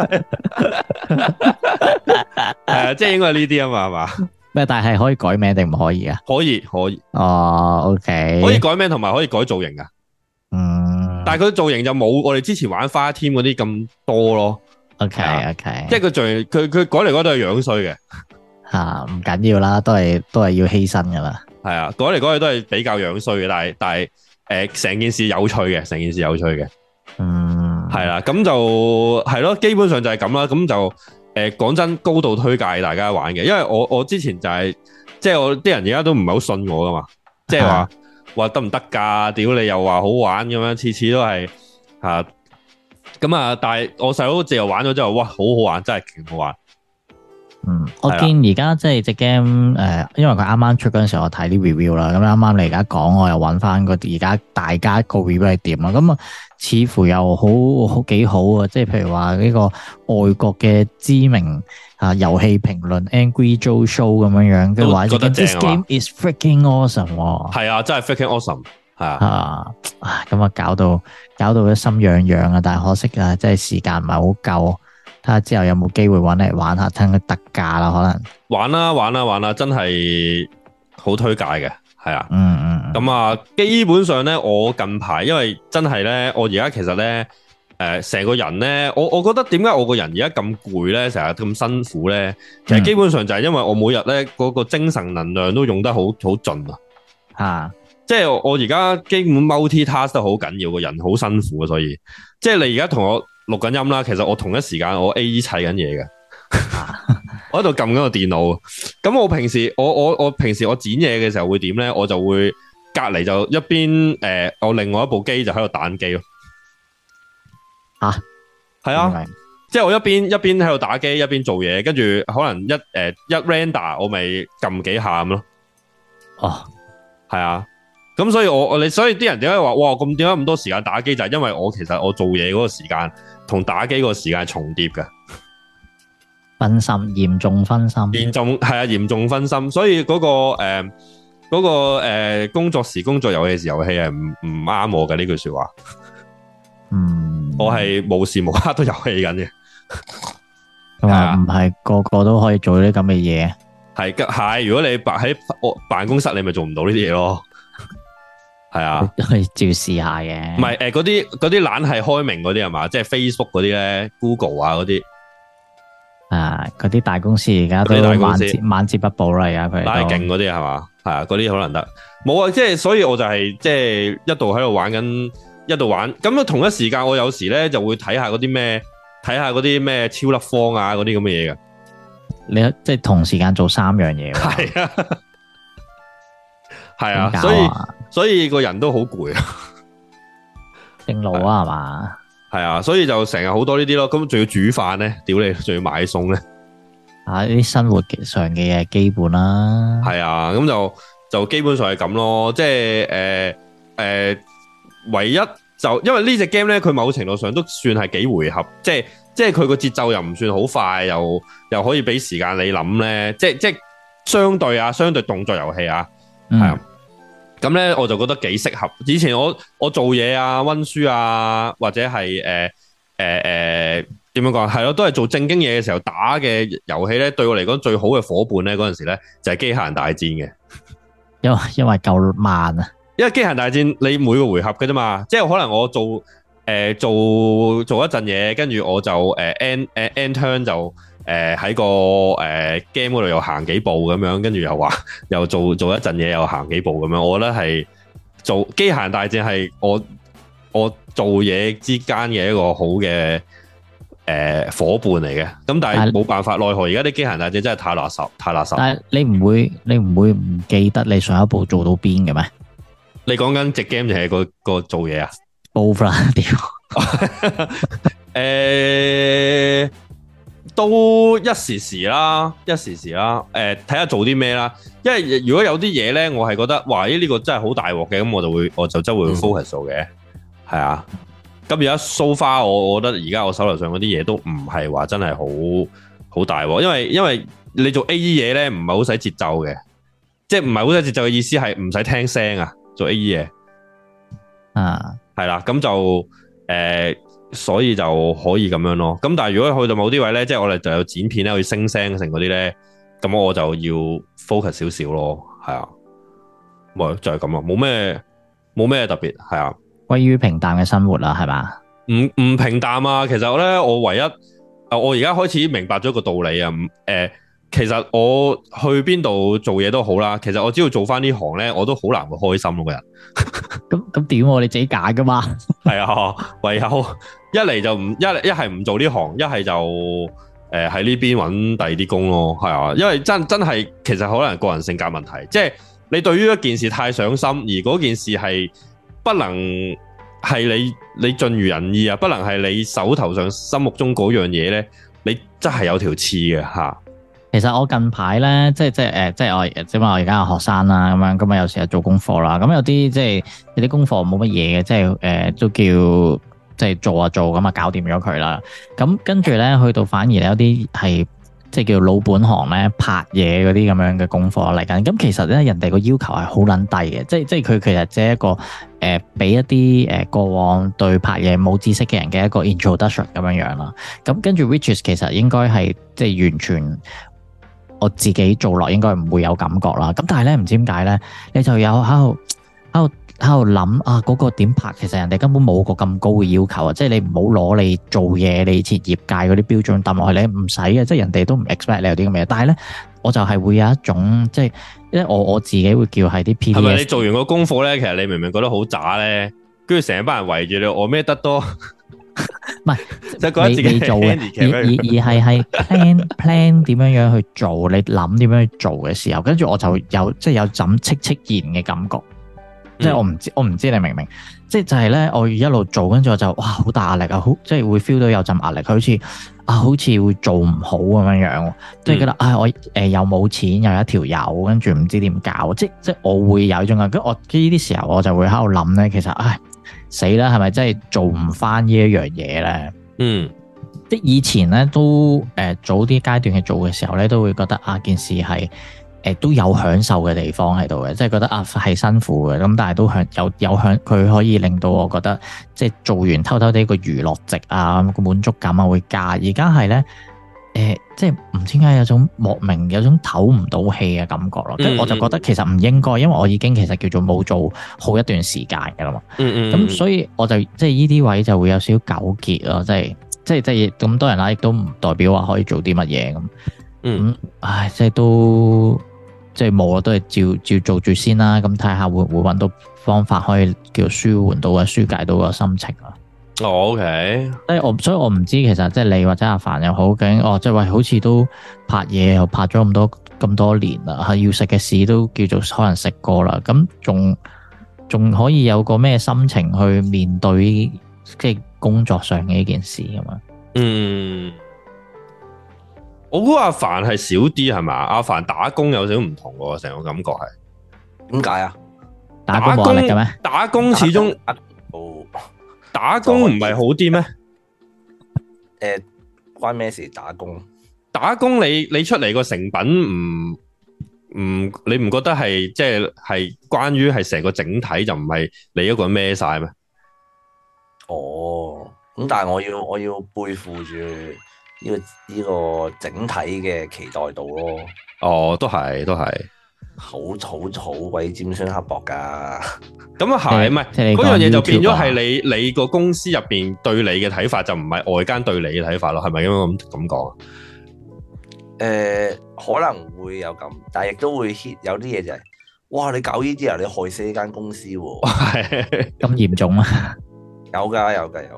[SPEAKER 1] 噶，即係應該係呢啲啊嘛，係嘛？
[SPEAKER 2] 咩？但係可以改名定唔可以啊？
[SPEAKER 1] 可以可以。
[SPEAKER 2] 哦，OK，
[SPEAKER 1] 可以改名同埋可以改造型噶。但係佢造型就冇我哋之前玩 Fire Team 嗰啲咁多咯。
[SPEAKER 2] OK，
[SPEAKER 1] 即係佢造型，佢改嚟改都係樣衰嘅。
[SPEAKER 2] 吓，唔緊要啦，都係要犧牲噶啦。
[SPEAKER 1] 係啊，改嚟改去都係比較樣衰嘅，但係成件事有趣嘅，成件事有趣嘅。係啦，咁就係咯，基本上就係咁啦。咁就講真，高度推介大家玩嘅，因為我之前就係即係我啲人而家都唔係好信我噶嘛，即係話得唔得噶？屌你又話好玩咁樣，次次都係吓咁啊！但係我細佬自由玩咗之後，哇，好好玩，真係勁好玩。
[SPEAKER 2] 我見而家即係隻 game 因為佢啱啱出嗰陣時候，我睇啲 review 啦，咁啱啱你而家講，我又揾翻個而家大家個 review 係點啊？咁啊，似乎又好幾好啊！即係譬如話呢個外國嘅知名遊戲評論 Angry Joe Show 咁樣樣，跟住話 This game is freaking awesome！ 係
[SPEAKER 1] 啊，真係 freaking awesome！ 係啊，
[SPEAKER 2] 咁啊搞到一心癢癢啊！但係可惜啊，即係時間唔係好夠。睇下之後有冇機會揾嚟玩下，聽佢特價啦，可能
[SPEAKER 1] 玩啦，真係好推介嘅，係啊，咁啊，基本上咧，我近排因為真係咧，我而家其實咧，成個人咧，我覺得點解我個人而家咁攰咧，成日咁辛苦咧，其實基本上就係因為我每日咧嗰個精神能量都用得好盡啊，即係我而家基本 multi-task 都好緊要，個人好辛苦啊，所以即係你而家同我錄緊音啦，其實我同一時間我 A.E. 砌緊嘢嘅，我喺度撳緊個電腦。咁我平時我平時我剪嘢嘅時候會點咧？我就會隔籬就一邊我另外一部機就喺度打機咯。係啊，即係我一邊喺度打機，一邊做嘢，跟住可能一 render 我咪撳幾下咁咯。係啊。咁所以所以啲人點解話哇咁點解咁多時間打機，就係因為我其實我做嘢嗰個時間同打機嗰個時間係重疊嘅，
[SPEAKER 2] 分心，嚴重分心，
[SPEAKER 1] 嚴重分心，所以嗰個工作時工作，遊戲時遊戲係唔啱我嘅呢句說話。我係無時無刻都遊戲緊嘅，
[SPEAKER 2] 咁啊唔係個個都可以做啲咁嘅嘢，
[SPEAKER 1] 係如果你喺辦公室，你咪做唔到呢啲嘢咯。係啊，
[SPEAKER 2] 可以照試下嘅。唔
[SPEAKER 1] 係嗰啲懶係開明嗰啲係嘛，即係 Facebook 嗰啲咧 ，Google 啊嗰啲，
[SPEAKER 2] 嗰啲大公司而家都晚節不保啦，而家佢
[SPEAKER 1] 懶係勁嗰啲係嘛，係啊，嗰啲可能得。冇啊，即係所以我就係即係一度喺度玩緊，一度玩。咁啊同一時間我有時咧就會睇下嗰啲咩超粒方啊嗰啲咁嘅嘢嘅。
[SPEAKER 2] 你即係同時間做3樣嘢。
[SPEAKER 1] 係啊。係啊，所以個人都好攰啊，
[SPEAKER 2] 正路啊係嘛，
[SPEAKER 1] 係啊，所以就成日好多呢啲咯，咁仲要煮飯咧，屌你，仲要買餸咧，
[SPEAKER 2] 呢啲生活上嘅嘢基本啦，
[SPEAKER 1] 係啊，咁就基本上係咁咯，即係唯一就因為呢隻 game 咧，佢某程度上都算係幾回合，即係佢個節奏又唔算好快，又可以俾時間你諗咧，即係相對動作遊戲啊。係啊，咁咧我就覺得幾適合。以前我做嘢啊、溫書啊，或者係點樣講，係咯，都係做正經嘢嘅時候打嘅遊戲咧，對我嚟講最好嘅夥伴咧，嗰陣時咧就係機械人大戰嘅。
[SPEAKER 2] 因為夠慢啊。因為
[SPEAKER 1] 機械人大戰你每個回合嘅啫嘛，即係可能我做一陣嘢，跟住我就end turn 就。喺個game 嗰度又行幾步咁樣，跟住又做一陣嘢，又行幾步咁樣。我覺得係做機械人大戰係我做嘢之間嘅一個好嘅夥伴嚟嘅。咁但係冇辦法，奈何而家啲機械人大戰真係太垃圾。但係你唔會唔記得你上一步做到邊嘅咩？你講緊隻 game 定係個做嘢啊？Both 啦，屌。都一時時啦，睇下做啲咩啦。因為如果有啲嘢咧，我係覺得，哇！呢個真係好大鑊嘅，咁我就真會 focus 做嘅，係啊。咁而家 so far，我覺得而家我手頭上嗰啲嘢都唔係話真係好大鑊，因為你做 A.E. 嘢咧，唔係好使節奏嘅，即係唔係好使節奏嘅意思係唔使聽聲啊，做 A.E. 嘢係啦，咁就所以就可以咁樣咯。咁但係如果去到某啲位咧，即係我哋就有剪片咧，去升聲成嗰啲咧，咁我就要 focus 少少咯。係啊，咪就係咁啊，冇咩特別，係啊，
[SPEAKER 2] 歸於平淡嘅生活啦，係嘛？
[SPEAKER 1] 唔平淡啊。其實咧，我唯一我而家開始明白咗個道理啊。其實我去邊度做嘢都好啦，其實我只要做翻呢行咧，我都好難會開心咯，個人。
[SPEAKER 2] 咁點？你自己揀噶嘛？
[SPEAKER 1] 係啊，唯有一嚟就唔一係唔做呢行，一係就喺呢邊揾第二啲工咯。係啊，因為真係其實可能個人性格問題，即係你對於一件事太上心，而嗰件事係不能係你盡如人意啊，不能係你手頭上心目中嗰樣嘢咧，你真係有條刺嘅吓。
[SPEAKER 2] 其實我近排咧，即係我而家係學生啦，咁有時係做功課啦，咁有啲即係有啲功課冇乜嘢嘅，即係都叫即係做咁啊，搞掂咗佢啦。咁跟住咧，去到反而有啲係即係叫老本行咧，拍嘢嗰啲咁樣嘅功課嚟緊。咁其實咧，人哋個要求係好撚低嘅，即係佢其實只係一個俾一啲過往對拍嘢冇知識嘅人嘅一個 introduction 咁樣樣啦。咁跟住 which is 其實應該係即係完全。我自己做落應該唔會有感覺啦，咁但係咧唔知點解咧，你就有喺度諗啊嗰個點拍，其實人哋根本冇個咁高嘅要求啊，即係你唔好攞你做嘢你設業界嗰啲標準抌落去，你唔使嘅，即係人哋都唔 expect 你有啲咁嘅嘢，但係咧我就係會有一種即係，因為我自己會叫係啲 PDS。係咪你做完個功課咧，其實你明明覺得好渣咧，跟住成班人圍住你，我咩得多？唔係，就覺得自己做嘅，而係 plan 點樣去做，你諗點樣去做嘅時候，跟住我就有即係有陣戚然嘅感覺，即係我唔知你明唔明？即係就係咧，我一路做，跟住我就哇好大壓力啊，好即係會 feel 到有陣壓力，好似會做唔好咁樣樣，即係覺得我又冇錢又一條友，跟住唔知點搞，即係我會有一種啊，跟住我呢啲時候我就會喺度諗咧，其實死啦，係咪真係做唔翻呢一樣嘢咧？即係以前咧都早啲階段去做嘅時候咧，都會覺得件事係都有享受嘅地方喺度嘅，即係覺得係辛苦嘅，咁但係都有享，佢可以令到我覺得即係做完偷偷地個娛樂值啊，個滿足感啊會加。而家係咧即係唔知點解有種莫名有種唞唔到氣嘅感覺咯，跟住我就覺得其實唔應該，因為我已經其實叫做冇做好一段時間㗎啦嘛。咁所以我就即係呢啲位就會有少少糾結咯，即係咁多人啦，亦都唔代表話可以做啲乜嘢咁。即係都即係冇啊，都係照做住先啦。咁睇下會唔會揾到方法可以叫舒緩到啊，舒解到個心情啊。
[SPEAKER 1] OK，
[SPEAKER 2] 所以我唔知其實即係你或者阿凡又好，究竟即係喂，好似都拍嘢又拍咗咁多年啦，要食嘅屎都叫做可能食過啦，咁仲可以有個咩心情去面對即係工作上嘅呢件事咁嘛？
[SPEAKER 1] 我估阿凡係少啲係嘛？阿凡打工有少少唔同喎，成個感覺係
[SPEAKER 3] 點解啊？
[SPEAKER 2] 打工冇壓力嘅咩？
[SPEAKER 1] 打工始終打工唔係好啲咩？
[SPEAKER 3] 關咩事？打工
[SPEAKER 1] 你出嚟個成品你唔覺得係即係關於係成個整體就唔係你一個人孭晒咩？
[SPEAKER 3] 咁但係我要背負住呢個整體嘅期待度咯。都係好鬼尖酸刻薄噶。咁啊係，唔係嗰樣嘢就變咗係你個公司入邊對你嘅睇法，就唔係外間對你嘅睇法咯，係咪咁講啊？ 可能會有咁，但係亦都會 hit 有啲嘢就係，哇！你搞呢啲啊，你害死呢間公司喎，
[SPEAKER 2] 咁嚴重啊？
[SPEAKER 3] 有噶。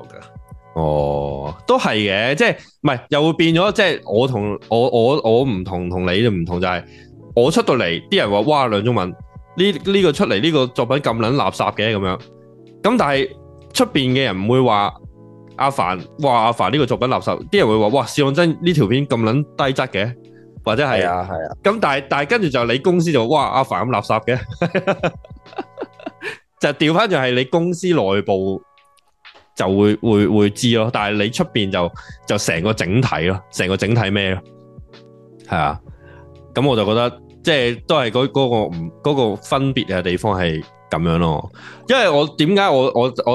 [SPEAKER 1] 都係嘅，即係唔係又會變咗，即係我唔同你就唔同，就係我出到嚟，啲人話哇梁仲文呢個出嚟呢個作品咁撚垃圾嘅咁樣，咁但係出邊嘅人唔會話阿凡呢個作品垃圾，啲人會話哇試當真呢條片咁撚低質嘅，或者係啊，咁但係跟住就你公司就哇阿凡咁垃圾嘅，就調翻就係你公司內部就會知咯，但係你出邊就成個整體咯，成個整體咩咯，係啊，咁我就覺得即係都係嗰個分別嘅地方係咁樣咯，因為我點解我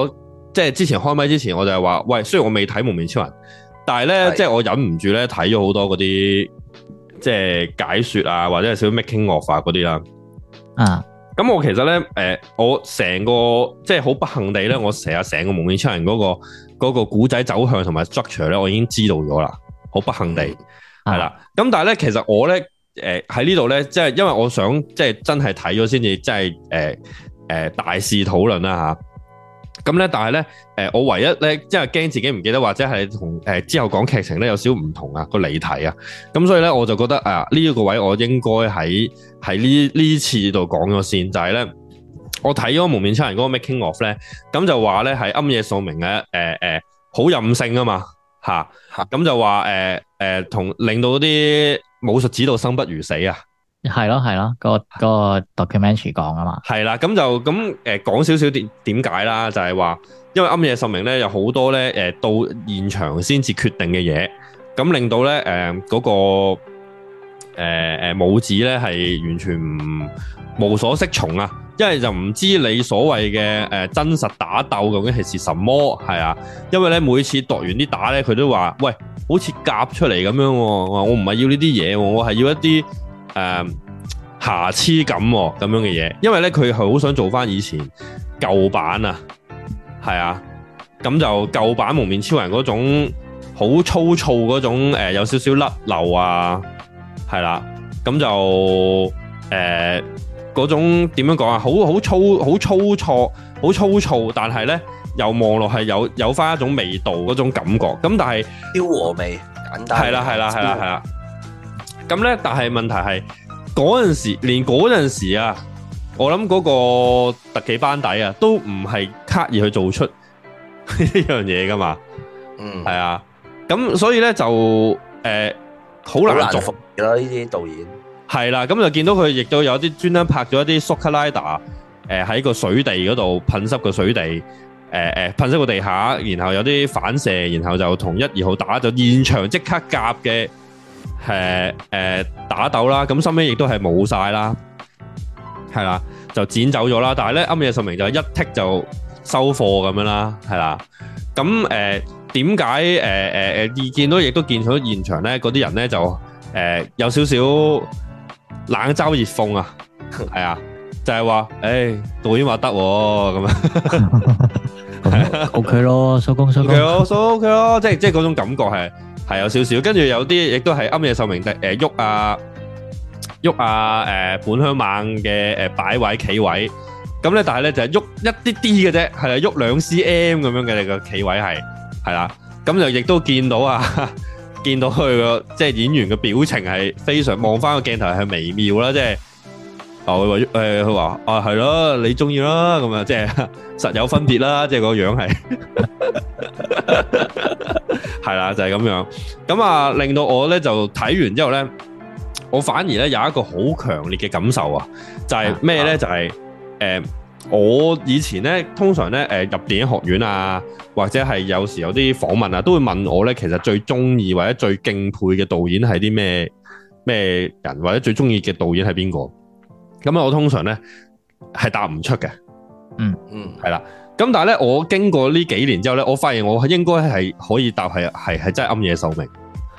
[SPEAKER 1] 即係之前開麥之前，我就係話，喂，雖然我未睇幪面超人，但係咧，即係我忍唔住咧睇咗好多嗰啲即係解說啊，或者係少少 making of 嗰啲啦。
[SPEAKER 2] 啊，
[SPEAKER 1] 咁我其實咧，我成個即係好不幸地咧，我成個幪面超人嗰個古仔走向同埋 structure 咧，我已經知道咗啦，好不幸地係啦。咁但係咧，其實我咧，喺呢度咧，即係因為我想即係真係睇咗先至，即係大肆討論啦吓。咁咧，但係咧，我唯一咧，即係驚自己唔記得，或者係同之後講劇情咧有少少唔同啊個離題啊。咁所以咧，我就覺得啊，呢一個位我應該喺呢次度講咗先，就係咧，我睇咗幪面超人嗰個 making of 咧，咁就話咧係庵野秀明嘅好任性啊嘛吓，咁就話同令到啲武術指導生不如死啊。
[SPEAKER 2] 係咯，嗰個 documentary 講啊嘛，
[SPEAKER 1] 係啦，咁就咁講少少點解啦，就係話，因為庵野秀明咧有好多咧到現場先至決定嘅嘢，咁令到咧嗰個武指咧係完全無所適從啊，因為就唔知你所謂嘅真實打鬥究竟係什麼，係啊，因為咧每次度完啲打咧，佢都話喂，好似夾出嚟咁樣，我唔係要呢啲嘢，我係要一啲瑕疵感咁樣嘅嘢，因為咧佢係好想做翻以前舊版啊，係啊，咁就舊版幪面超人嗰種好粗糙嗰種有少少甩漏啊，係啦，咁就嗰種點樣講啊，好粗糙，但係咧又望落係有翻一種味道嗰種感覺，咁但係
[SPEAKER 3] 調和味簡單，
[SPEAKER 1] 係啦。咁咧，但係問題係嗰陣時，連嗰陣時啊，我諗嗰個特技班底啊，都唔係刻意去做出呢樣嘢噶嘛。係啊。咁所以咧就好難做
[SPEAKER 3] 啦。呢啲導演
[SPEAKER 1] 係啦，咁就見到佢亦都有啲專登拍咗一啲 Soka Rider 喺個水地嗰度噴濕個水地，噴濕個地下，然後有啲反射，然後就同1、2號打，就現場即刻夾嘅。打鬥啦，咁收尾亦都係冇晒啦，係啦，就剪走咗啦。但係咧，庵野秀明就一剔就收貨咁樣啦，係啦。咁點解見到亦都見到現場咧，嗰啲人咧就有少少冷嘲熱諷啊，係啊，就係話導演話得咁啊
[SPEAKER 2] ，OK 咯，收工，OK
[SPEAKER 1] 咯，即係嗰種感覺係有少少，跟住有啲亦都係庵野秀明喐本鄉猛嘅擺位企位，咁咧但係咧就係喐一啲啲嘅啫，係啦，喐2 cm 咁樣嘅你個企位係啦，咁就亦都見到見到佢個即係演員嘅表情係非常望翻個鏡頭係微妙啦，即係佢話係咯，你中意啦，咁啊即係實有分別啦，即係個樣係。係啦，就係咁樣，咁啊令到我咧就睇完之後咧，我反而咧有一個好強烈嘅感受啊，就係咩咧？就係我以前咧通常咧入電影學院啊，或者係有時有啲訪問啊，都會問我咧，其實最中意或者最敬佩嘅導演係啲咩人，或者最中意嘅導演係邊個？咁啊，我通常咧係答唔出嘅，係啦。咁但係咧，我經過呢幾年之後咧，我發現我應該係可以答係真係庵野秀明，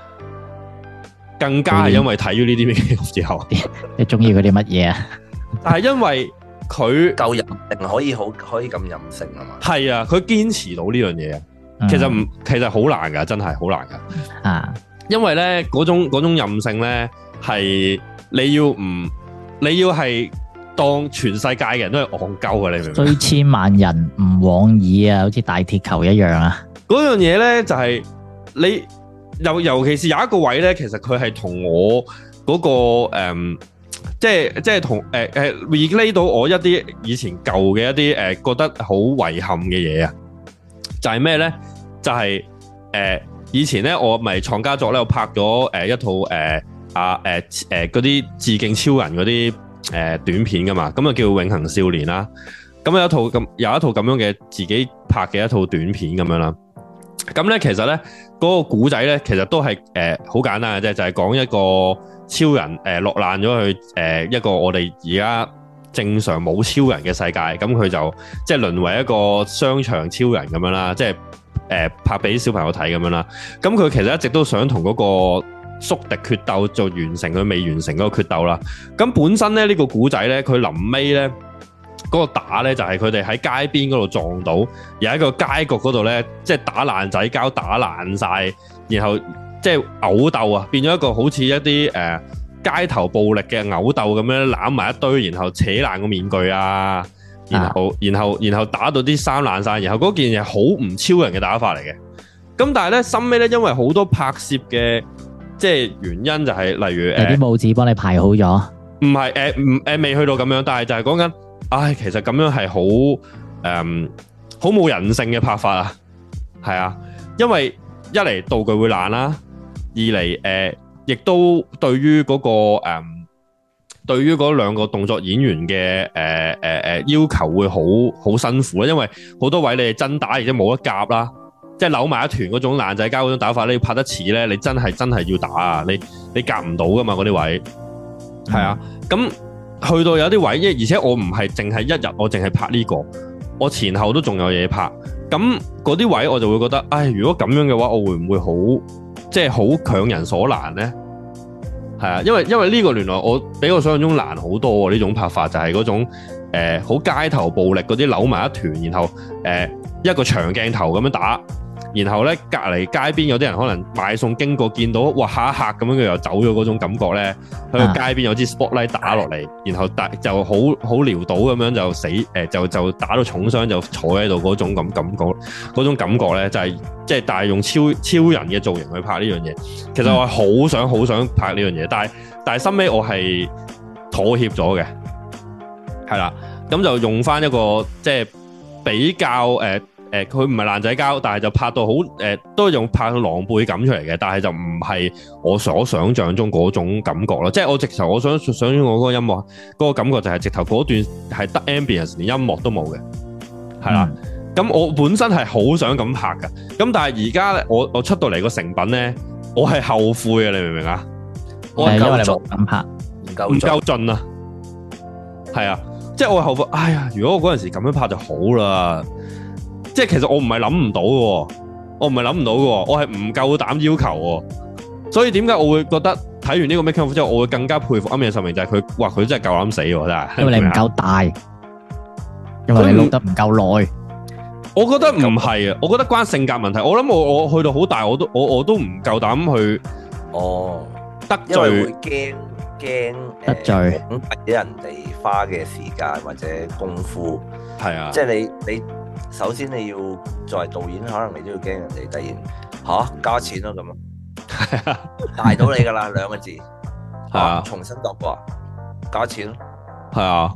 [SPEAKER 1] 更加係因為睇咗呢啲咩之後，
[SPEAKER 2] 你中意佢啲乜嘢啊？
[SPEAKER 1] 但係因為佢
[SPEAKER 3] 夠任性，可以咁任性啊嘛。係
[SPEAKER 1] 啊，佢堅持到呢樣嘢啊，其實好難噶，真係好難噶啊！因為咧嗰種任性咧係你要係。當全世界嘅人都係戇鳩嘅，你明唔明？追
[SPEAKER 2] 千萬人唔往矣啊，好似大鐵球一樣啊！
[SPEAKER 1] 嗰樣嘢咧就係你尤其是有一個位咧，其實佢係同我嗰個即係同relate 到我一啲以前舊嘅一啲覺得好遺憾嘅嘢啊！就係咩咧？就係以前咧我咪創家作咧，我拍咗一套嗰啲致敬超人嗰啲。短片噶嘛，咁啊叫永恆少年啦，咁有一套咁樣嘅自己拍嘅一套短片咁樣啦，咁咧其實咧嗰個古仔咧其實都係好簡單嘅啫，就係講一個超人落難咗去一個我哋而家正常冇超人嘅世界，咁佢就即係淪為一個商場超人咁樣啦，即係拍俾小朋友睇咁樣啦。咁佢其實一直都想同嗰個宿敵決鬥，就完成佢未完成嗰個決鬥啦。咁本身咧呢個古仔咧，佢臨尾咧嗰個打咧就係佢哋喺街邊嗰度撞到，有一個街角嗰度咧，即係打爛仔交打爛晒，然後即係毆鬥啊，變咗一個好似一啲街頭暴力嘅毆鬥咁樣攬埋一堆，然後扯爛個面具啊，然後打到啲衫爛晒，然後嗰件嘢好唔超人嘅打法嚟嘅。咁但係咧，深尾咧，因為好多拍攝嘅即係原因就係、是、例如
[SPEAKER 2] 有啲帽子幫你排好咗，
[SPEAKER 1] 唔係未去到咁樣，但係就係講緊，其實咁樣係好冇人性嘅拍法啊，係啊，因為一嚟道具會爛啦，二嚟亦都對於嗰、對於嗰兩個動作演員嘅要求會好辛苦啦，因為好多位你係真打而且冇得夾啦，即係扭埋一團嗰種爛仔交嗰種打法，你要拍得似咧，你真係要打啊！你夾唔到噶嘛嗰啲位，係啊，咁去到有啲位，而且我唔係淨係一日，我淨係拍呢個，我前後都仲有嘢拍，咁嗰啲位我就會覺得，如果咁樣嘅話，我會唔會好強人所難咧？係啊，因為呢個原來比我想象中難好多喎，呢種拍法就係嗰種好街頭暴力嗰啲扭埋一團，然後一個長鏡頭咁樣打，然後咧隔離街邊有啲人可能買餸經過見到，哇嚇一嚇咁樣佢又走咗嗰種感覺咧，喺個街邊有支 spotlight 打落嚟，然後就好潦倒咁樣就死就打到重傷就坐喺度嗰種嗰種感覺咧就係即係但係用超人嘅造型去拍呢樣嘢，其實我係好想拍呢樣嘢，但係收尾我係妥協咗嘅，係啦，咁就用翻一個即係比較佢唔係爛仔交，但係就拍到好都用拍到狼狽感出嚟嘅，但係就唔係我所想象中嗰種感覺咯。即係我直頭我想我嗰個音樂嗰個感覺就係直頭嗰段係得 ambience 連音樂都冇嘅，係啦。咁我本身係好想咁拍㗎，咁但係而家咧我出到嚟個成品咧，我係後悔嘅，你明唔明啊？我係因為你冇咁拍，唔夠盡啊，係啊，即係我後悔。哎呀，如果我嗰陣時咁樣拍就好啦。即係其實我唔係諗唔到嘅，我係唔夠膽要求喎。所以點解我會覺得睇完呢個 making of 之後，我會更加佩服庵野秀明，就係佢真係夠膽死喎，真係。因為你唔夠大，因為你錄得唔夠耐。我覺得唔係啊，我覺得關性格問題。我諗我去到好大，我都唔夠膽去得罪，因為會驚得罪俾人哋花嘅時間或者功夫。係啊，即係你。首先你要作為導演，可能你都要驚人哋突然加錢咯咁啊，大到你噶啦2個字，係啊，重新度過，加錢咯，係啊，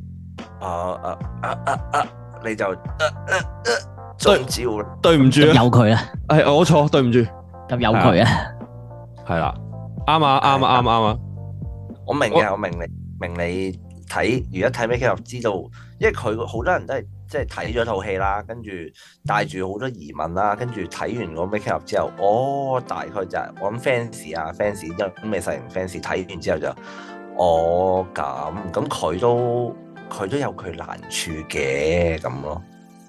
[SPEAKER 1] 你就中招啦，對唔住啊，有佢啦，係我錯，對唔住，咁有佢啊，係啦，啱啊，我明嘅，我明你睇，如果睇 making of 知道，因為佢好多人都係。即係睇咗套戲啦，跟住帶住好多疑問啦，跟住睇完個 making of 之後，大概就係我諗 fans 因咩細型 fans 睇完之後就，咁佢都有佢難處嘅咁咯，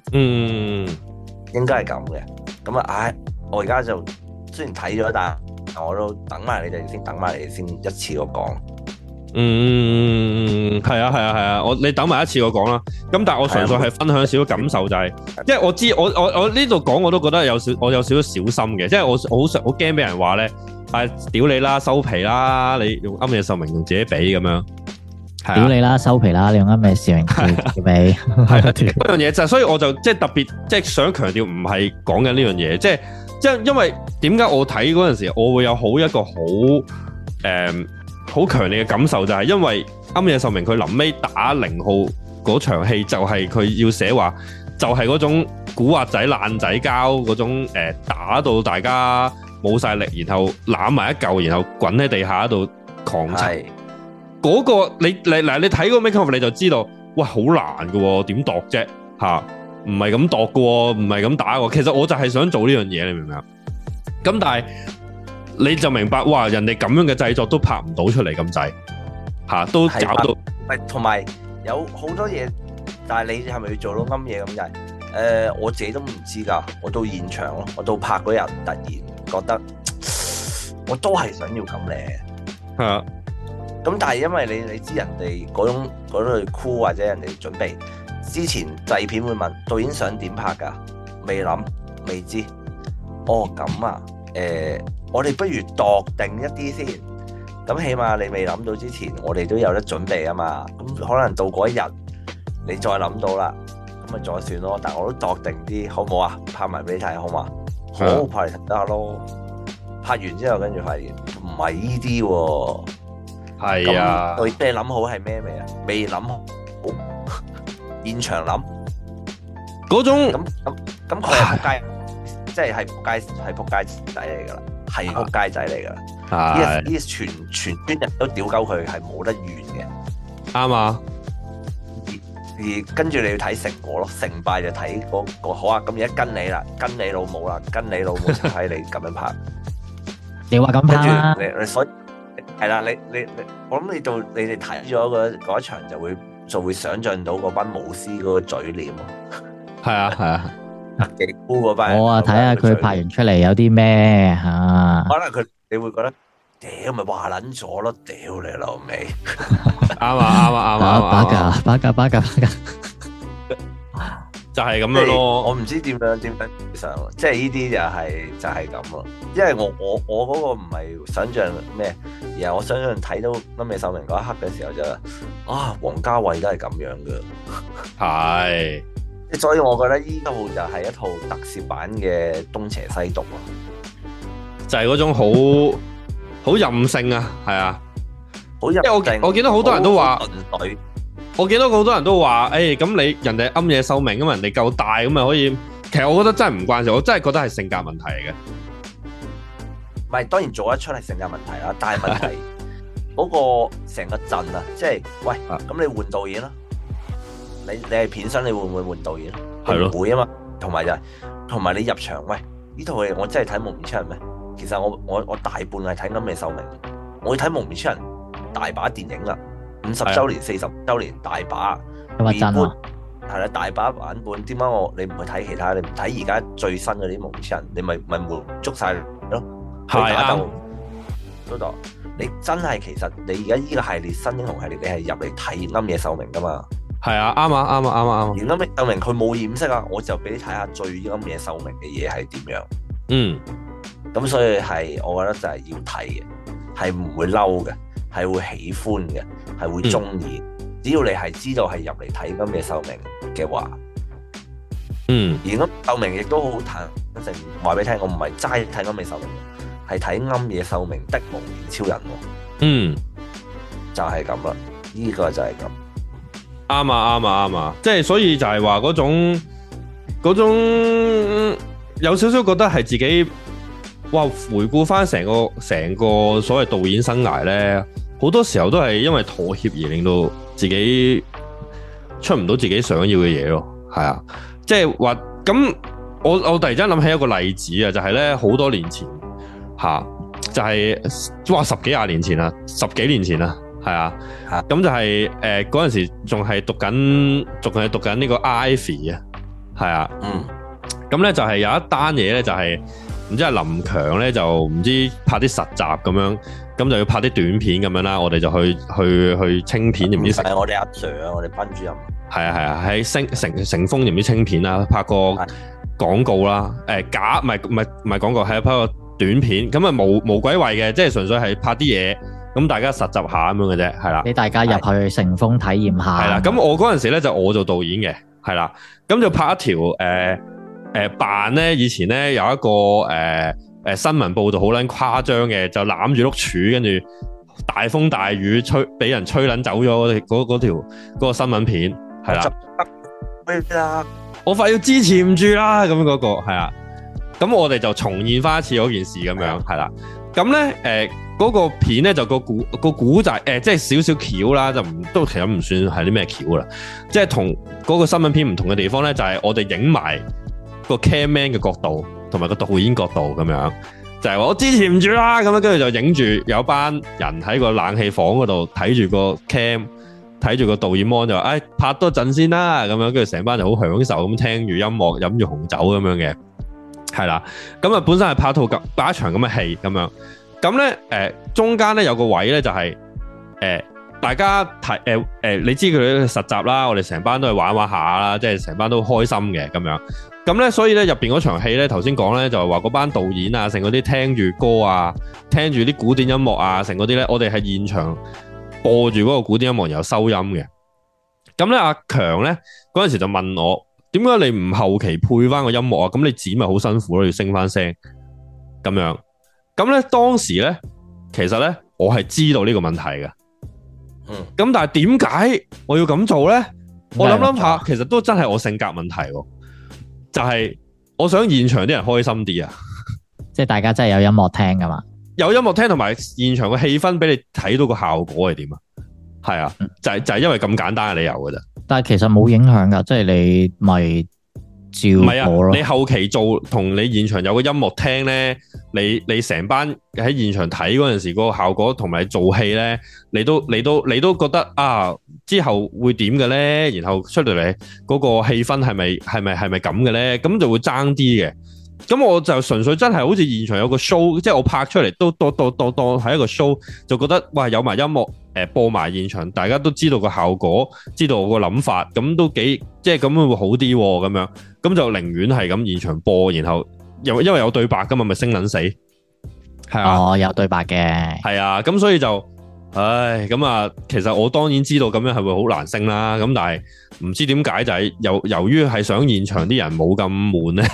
[SPEAKER 1] 應該係咁嘅，咁啊，我而家就雖然睇咗，但我都等埋你哋先一次過講。係啊，你等埋一次我講啦。咁但係我純粹係分享少少感受，就係，因為我知我呢度講我都覺得我有少少小心嘅，即係我好驚俾人話咧，屌你啦，收皮啦，你用庵野秀明同自己比咁樣，屌你啦，收皮啦，你用庵野秀明同自己比，係嗰樣嘢就，所以我就即係特別即係想強調，唔係講緊呢樣嘢，即係因為點解我睇嗰陣時，我會有一個好強烈嘅感受，就係因為庵野秀明佢臨尾打0號嗰場戲，就係佢要寫話，就係嗰種古惑仔爛仔交嗰種打到大家冇晒力，然後攬埋一嚿，然後滾喺地下度狂踩。嗰個你睇個 making of 你就知道，哇，好難㗎，點度啫吓？唔係咁度㗎，唔係咁打㗎。其實我就係想做呢樣嘢，你明唔明啊？咁但係。你就明白，哇！人哋咁樣嘅製作都拍唔到出嚟咁滯，都搞到。同埋
[SPEAKER 4] 有好多嘢，但係你係咪要做到啱嘢咁滯？我自己都唔知㗎。我到現場咯，我到拍嗰日突然覺得，我都係想要咁靚。
[SPEAKER 1] 係啊。
[SPEAKER 4] 咁但係因為你知人哋嗰類酷或者人哋準備之前製片會問導演想點拍㗎？未諗未知。哦咁啊，我哋不如度定一啲先。咁起碼你未諗到之前，我哋都有得準備啊嘛。咁可能到嗰一日你再諗到啦，咁咪再算咯。但係我都度定啲，好唔好啊？拍埋俾你睇好嘛？好，拍嚟睇下咯。拍完之後跟住發現唔係呢啲喎。
[SPEAKER 1] 係啊，
[SPEAKER 4] 你諗好係咩未啊？未諗好，現場諗
[SPEAKER 1] 嗰種
[SPEAKER 4] 咁佢係仆街，即係仆街仔嚟噶啦，係仆街仔嚟噶啦。呢全村人都屌鳩佢，係冇得怨嘅。
[SPEAKER 1] 啱啊！
[SPEAKER 4] 而跟住你要睇成果咯，成敗就睇個好啊。咁而家跟你啦，跟你老母啦，跟你老母就睇你咁樣拍。
[SPEAKER 2] 你話咁拍啦，
[SPEAKER 4] 你所以。係啦，你我諗你哋睇咗嗰一場就會想像到嗰班武師嗰個嘴臉咯。
[SPEAKER 1] 係啊，
[SPEAKER 4] 幾酷嗰班。
[SPEAKER 2] 我睇下佢拍完出嚟有啲咩嚇。
[SPEAKER 4] 可能你會覺得，屌咪話撚咗咯，屌你老味。
[SPEAKER 1] 啱啊，
[SPEAKER 2] 巴架。
[SPEAKER 1] 就係咁樣咯。
[SPEAKER 4] 我唔知點樣上，即係呢啲就係咁咯。因為我嗰個唔係想像咩，而係我想像睇到臨尾秀明嗰一刻嘅時候就王家衛都係咁樣嘅。
[SPEAKER 1] 係。
[SPEAKER 4] 所以我覺得呢套就係一套特攝版嘅東邪西毒咯。
[SPEAKER 1] 就係嗰種好任性啊，係啊。
[SPEAKER 4] 好任性。
[SPEAKER 1] 我見到好多人都話。我見到好多人都話，咁你人哋暗夜秀明咁，人哋夠大咁咪可以。其實我覺得真係唔關事，我真係覺得係性格問題嚟嘅。
[SPEAKER 4] 唔係，當然做得出係性格問題啦，但係問題嗰個成個陣啊，即係喂，咁你換導演啦，你係片商，你會唔會換導演？係咯，唔會啊嘛。同埋你入場，喂，呢套戲我真係睇蒙面超人咩？其實我大半係睇暗夜秀明，我會睇蒙面超人大把電影啦。50週年、40週年大把，
[SPEAKER 2] 係真啊？
[SPEAKER 4] 係啦，大把版本。點解你唔去睇其他？你唔睇而家最新嗰啲蒙面超人，你咪滿足晒咯？係啊，嗰度你真係其實你而家呢個系列新英雄系列，你係入嚟睇暗夜秀明噶嘛？
[SPEAKER 1] 係啊，啱啊。而暗夜
[SPEAKER 4] 秀明佢冇掩飾啊，我就俾你睇下最暗夜秀明嘅嘢係點樣。咁所以係我覺得就係要睇嘅，係唔會嬲嘅。係會喜歡嘅，係會中意。只要你係知道係入嚟睇暗夜秀明嘅話，而暗夜秀明亦都好坦誠話俾你聽，我唔係齋睇暗夜秀明，係睇暗夜秀明的蒙面超人。就係咁啦，呢個就係咁。
[SPEAKER 1] 啱啊，即係所以就係話嗰種有少少覺得係自己，哇！回顧翻成個所謂導演生涯咧。好多時候都係因為妥協而令到自己出唔到自己想要嘅嘢咯，係啊，即係話咁，我突然間諗起一個例子啊，就係咧好多年前就係哇10幾20年前啦，10幾年前啦，係啊，咁就係嗰陣時仲係讀緊呢個 Ivy 啊，係啊，咁咧就係有一單嘢咧就係唔知係林強咧就唔知拍啲實習咁樣。咁就要拍啲短片咁樣啦，我哋就去清片，唔知
[SPEAKER 4] 係我哋阿 Sir 啊，我哋班主任。係
[SPEAKER 1] 啊，喺成豐唔知清片啦，拍個廣告啦，假唔係廣告，係拍個短片，咁啊無鬼謂嘅，即係純粹係拍啲嘢，咁大家實習下咁樣嘅啫，係啦。
[SPEAKER 2] 俾大家入去成豐體驗下。係
[SPEAKER 1] 啦，咁我嗰陣時咧就我做導演嘅，係啦，咁就拍一條扮咧，以前咧有一個新聞報道好撚誇張嘅，就攬住碌柱，跟住大風大雨俾人吹撚走咗嗰個新聞片，係啦。我快要支持唔住啦，咁嗰個係啊。咁我哋就重現翻一次嗰件事咁樣，係啦。咁咧嗰個片咧就個古仔即係少少橋啦，都其實唔算係啲咩橋啦。即係同嗰個新聞片唔同嘅地方咧，就係我哋影埋個 camman 嘅角度。同埋個導演角度咁樣，就係話我支持唔住啦，咁樣跟住就影住有班人喺個冷氣房嗰度睇住個 cam， 睇住個導演 mon 就話，拍多陣先啦，咁樣跟住成班就好享受咁聽住音樂，飲住紅酒咁樣嘅，係啦。咁啊本身係拍一場咁嘅戲咁樣，咁咧中間咧有個位咧就係大家睇你知佢哋實習啦，我哋成班都係玩下啦，即係成班都開心嘅咁樣。咁咧，所以咧入邊嗰場戲咧，頭先講咧就係話嗰班導演啊，成嗰啲聽住歌啊，聽住啲古典音樂啊，成嗰啲咧，我哋係現場播住嗰個古典音樂然後收音嘅。咁咧阿強咧嗰陣時就問我，點解你唔後期配翻個音樂啊？咁你剪咪好辛苦咯，要升翻聲咁樣。咁咧當時咧，其實咧我係知道呢個問題嘅。咁但係點解我要咁做咧？我諗下，其實都真係我性格問題喎。就係我想現場啲人開心啲啊，
[SPEAKER 2] 即係大家真係有音樂聽噶嘛，
[SPEAKER 1] 有音樂聽同埋現場嘅氣氛俾你睇到個效果係點啊？係啊，就係因為咁簡單嘅理由噶咋。但
[SPEAKER 2] 係其實冇影響噶，即係你咪照播咯。
[SPEAKER 1] 你後期做同你現場有個音樂聽咧，你成班喺現場睇嗰陣時個效果同埋做戲咧，你都覺得啊之後會點嘅咧？然後出嚟嗰個氣氛係咪咁嘅咧？咁就會爭啲嘅。咁我就純粹真係好似現場有個 show， 即係我拍出嚟都當係一個 show， 就覺得哇有埋音樂播埋現場，大家都知道個效果，知道我個諗法，咁都幾即係咁會好啲咁樣，咁就寧願係咁現場播，然後因為有對白噶嘛，咪聲撚死，係啊，
[SPEAKER 2] 哦有對白嘅，
[SPEAKER 1] 係啊，咁所以就咁啊，其實我當然知道咁樣係會好難升啦，咁但係唔知點解就係由於係想現場啲人冇咁悶咧。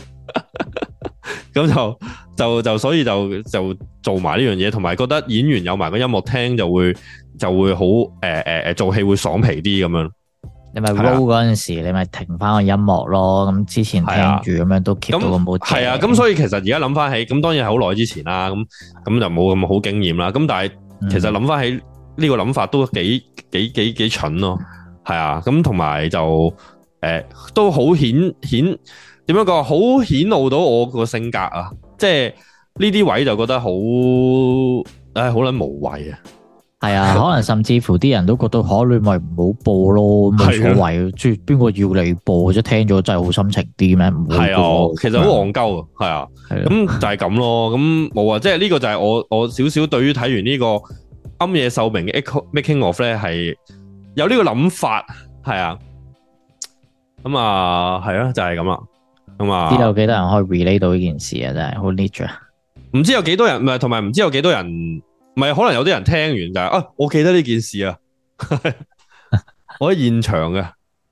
[SPEAKER 1] 咁就所以就做埋呢樣嘢，同埋覺得演員有埋個音樂聽就會好做戲會爽皮啲咁樣。
[SPEAKER 2] 你咪 roll 嗰陣時，你咪停翻個音樂咯。咁之前聽住咁樣都 keep 到個 mood。
[SPEAKER 1] 係啊，咁所以其實而家諗翻起，咁當然係好耐之前啦。咁就冇咁好經驗啦。咁但係其實諗翻起呢個諗法都幾蠢咯。係啊，咁同埋就都好顯。點樣講？好顯露到我個性格啊！即係呢啲位就覺得好撚無謂啊！
[SPEAKER 2] 係啊，可能甚至乎啲人都覺得你咪唔好播咯，冇所謂。即係邊個要你播，即係聽咗真係好心情啲咩？唔係
[SPEAKER 1] 啊，其實好戇鳩啊，係啊，咁就係咁咯。咁冇啊，即係呢個就係我少少對於睇完呢個暗夜秀明嘅 Making of 咧，係有呢個諗法，係啊。咁啊，係啊，就係咁啦。咁啊，
[SPEAKER 2] 知道幾多人可以 relate 到呢件事啊？真係好 niche 啊！
[SPEAKER 1] 唔知有幾多人，唔係同埋唔知有幾多人，唔係可能有啲人聽完就係我記得呢件事啊，我喺現場嘅，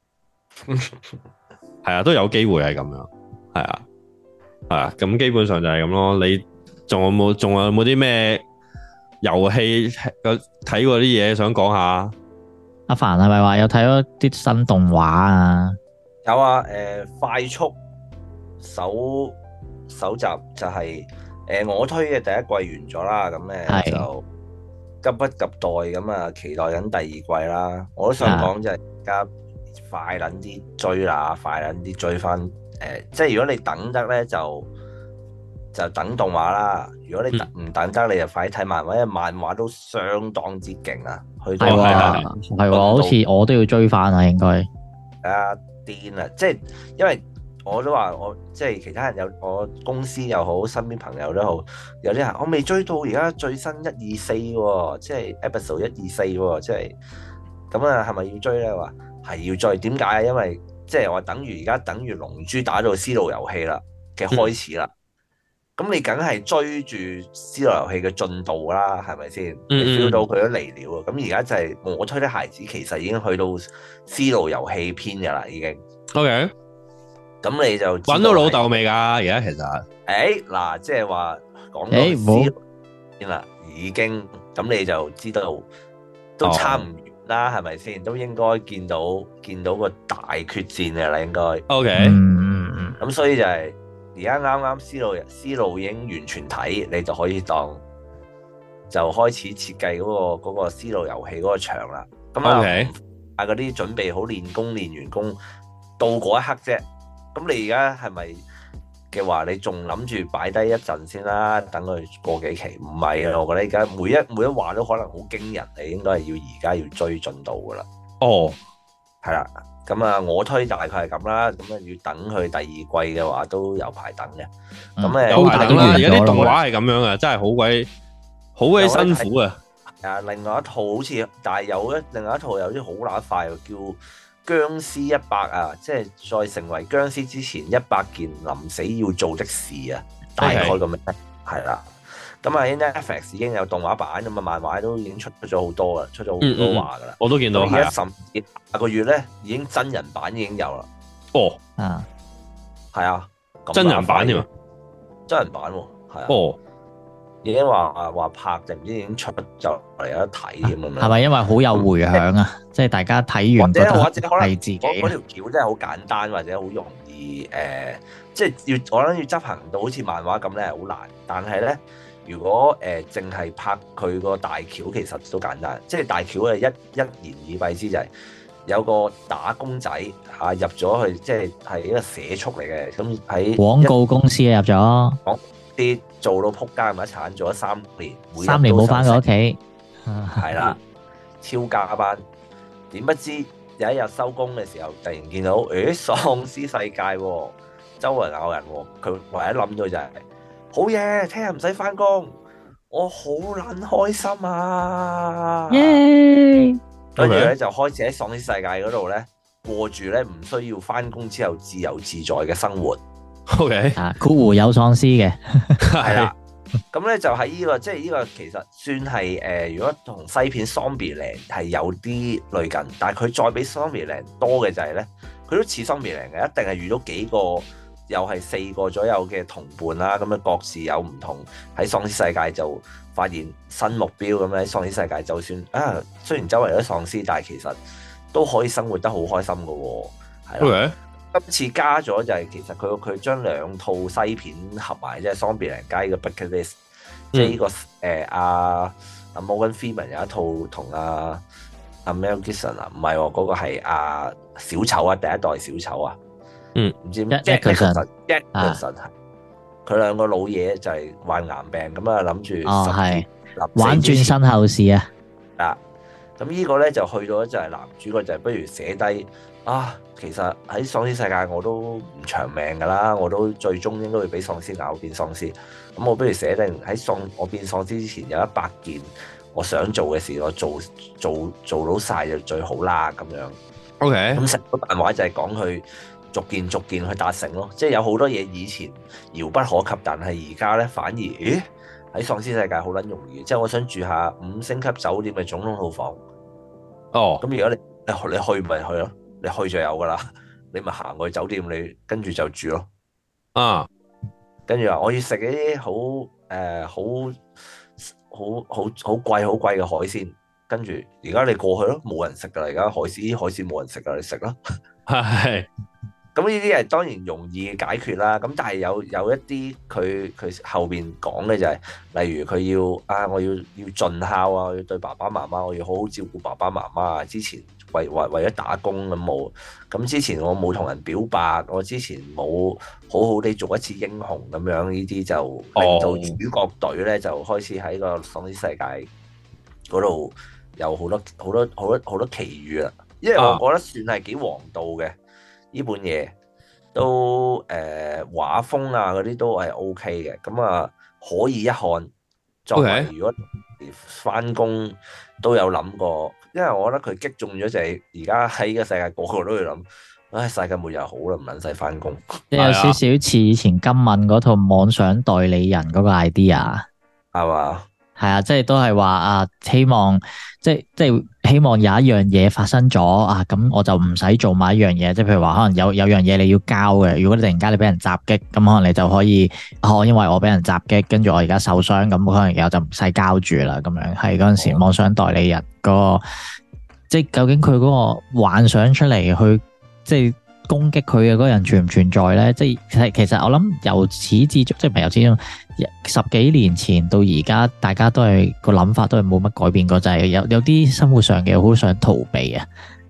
[SPEAKER 1] 係啊，都有機會係咁樣，係啊，咁基本上就係咁咯。你仲有冇啲咩遊戲睇過啲嘢想講下？
[SPEAKER 2] 阿凡係咪話有睇咗啲新動畫啊？
[SPEAKER 4] 有啊，快速首集就係我推嘅第一季完咗啦，咁就急不及待咁啊，期待緊第二季啦。我都想講就係而家快撚啲追啦，快撚啲追翻即係如果你等得咧就等動畫啦。如果你唔等得，你就快啲睇漫畫，因為漫畫都相當之勁啊。去到
[SPEAKER 2] 係喎，好似我都要追翻啊，應該
[SPEAKER 4] 癲啊！即係因為我都話我即係其他人有我公司又好，身邊朋友都好，有啲人我未追到而家最新1、2、4喎，即係 episode 1、2、4喎，即係咁啊，係咪要追咧？話係要追，點解啊？因為即係話而家等於龍珠打到絲路遊戲啦嘅開始啦，咁你梗係追住絲路遊戲嘅進度啦，係咪先？你 feel 到佢都嚟了啊！咁而家就係我推啲孩子，其實已經去到絲路遊戲篇噶啦，已經。OK。咁你就
[SPEAKER 1] 揾到老豆未㗎？而家其實，
[SPEAKER 4] 嗱，即係話講到絲路啦，已經咁你就知道都差唔遠啦，係咪先？都應該見到個大決戰嘅啦，應該。OK。咁所以就係而家啱啱絲路已經完全睇，你就可以當就開始設計嗰個絲路遊戲嗰個場啦。咁啊，嗰啲準備好練完功到嗰一刻啫。咁你而家係咪嘅話，你仲諗住擺低一陣先啦，等佢過幾期。唔係啊，我覺得而家每一話都可能好驚人，你應該係要而家要追進度噶啦。
[SPEAKER 1] 哦，
[SPEAKER 4] 係啦，咁啊，我推大概係咁啦。咁啊，要等佢第二季嘅話，都有排等嘅。咁
[SPEAKER 1] 有排等啦。而家啲動畫係咁樣啊，真係好鬼辛苦啊！
[SPEAKER 4] 啊，另外一套好似，但係另外一套有啲好乸快喎，叫《殭屍100》啊，即係再成為殭屍之前100件臨死要做的事啊，大概咁樣係啦。咁啊，Netflix 已經有動畫版，咁啊，漫畫都已經出咗好多啦，出咗好多話噶啦。
[SPEAKER 1] 我都見到。
[SPEAKER 4] 而家甚至下個月咧，已經真人版已經有啦。
[SPEAKER 1] 哦，
[SPEAKER 2] 啊，
[SPEAKER 4] 係啊，
[SPEAKER 1] 真人版添啊，
[SPEAKER 4] 真人版喎，係啊。
[SPEAKER 1] 哦。
[SPEAKER 4] 已經話拍定唔知已經出就嚟有得睇添咁樣。係
[SPEAKER 2] 咪因為好有迴響啊？即係大家睇完覺得
[SPEAKER 4] 或者可能
[SPEAKER 2] 係自己
[SPEAKER 4] 嗰條橋真係好簡單，或者好容易即係我諗要執行到好似漫畫咁咧，係好難。但係咧，如果淨係拍佢個大橋，其實都簡單。即係大橋係一言以蔽之就係有個打工仔入咗去，即係一個社畜嚟嘅。咁喺
[SPEAKER 2] 廣告公司入咗。
[SPEAKER 4] 啲做到撲街咁一鏟，做咗3年
[SPEAKER 2] ，3年冇翻過屋企，
[SPEAKER 4] 係啦，超加班。點不知有一日收工嘅時候，突然見到，喪屍世界喎，周圍咬人喎。佢唯一諗到就係，好嘢，聽日唔使翻工，我好撚開心啊！
[SPEAKER 2] 耶！
[SPEAKER 4] 跟住咧就開始喺喪屍世界嗰度咧過住咧唔需要翻工之後自由自在嘅生活。
[SPEAKER 1] OK，
[SPEAKER 2] 括弧有喪屍嘅，
[SPEAKER 4] 係啦，咁咧就喺呢個，即係呢個其實算係如果同西片 Zombieland 係有啲類近，但係佢再比 Zombieland 多嘅就係咧，佢都似 Zombieland 嘅，一定係遇到幾個又係4個左右嘅同伴啦，咁樣各自有唔同喺喪屍世界就發現新目標咁樣喺喪屍世界，就算雖然周圍有啲喪屍，但係其實都可以生活得好開心噶喎，係啦。Okay. 今次加咗就係其實佢將2套西片合埋，即係 Zombieland 加呢個 Bucket List，即係呢個阿 Morgan Freeman 有一套同阿 Mel Gibson 唔係喎，嗰個係阿小丑啊，第一代小丑啊，唔知咩 Jack Nicholson 佢2個老嘢就係患癌病咁啊，諗住
[SPEAKER 2] 玩轉身後事啊，
[SPEAKER 4] 咁呢個咧就去到就係男主角就係不如寫低。其實喺喪屍世界我都唔長命噶啦，我都最終應該會俾喪屍咬變喪屍。咁我不如寫定喺我變喪屍之前有100件我想做嘅事，我做到晒就最好啦咁樣。OK，咁成個漫畫就係講佢逐件去達成咯，即係有好多嘢以前遙不可及，但係而家咧反而喺喪屍世界好撚容易。即係我想住下5星級酒店嘅總統套房。咁如果你去咪去咯。你去就有噶啦，你咪行去酒店，你跟住就住咯。跟住話我要食一啲好貴嘅海鮮，跟住而家你過去咯，冇人食噶啦，而家海鮮冇人食噶，你食啦。係。咁呢啲係當然容易解決啦。咁但係有一啲佢後邊講嘅就係，例如佢要我要盡孝啊，我要對爸爸媽媽，我要好好照顧爸爸媽媽啊。之前為咗打工咁冇，咁之前我冇同人表白，我之前冇好好地做一次英雄咁樣，呢啲就令到主角隊咧就開始喺個喪屍世界嗰度有好多奇遇啦。因為我覺得算係幾王道嘅。呢本嘢都畫風啊嗰啲都係 OK 嘅，咁可以一看。作為如果返工都有諗過，因為我覺得佢擊中咗就係而家喺呢個世界個個都會諗，世界末日好啦，唔撚使返工。
[SPEAKER 2] 即係有少少似以前今敏嗰套妄想代理人嗰個 idea，
[SPEAKER 4] 係嘛？
[SPEAKER 2] 係啊，即係都係話希望即係希望有一樣嘢發生咗咁我就唔使做埋一樣嘢，即係譬如話可能有樣嘢你要交嘅，如果你突然間你俾人襲擊，咁可能你就可以因為我俾人襲擊，跟住我而家受傷，咁可能以後就唔使交住啦，咁樣係嗰陣時妄想代理人嗰個，即係究竟佢嗰個幻想出嚟去即係攻擊佢嘅嗰個人存唔存在咧？即係其實我諗由始至終，即係唔係由始至終10幾年前到而家，大家都係個諗法都係冇乜改變過，就係有啲生活上嘅好想逃避啊！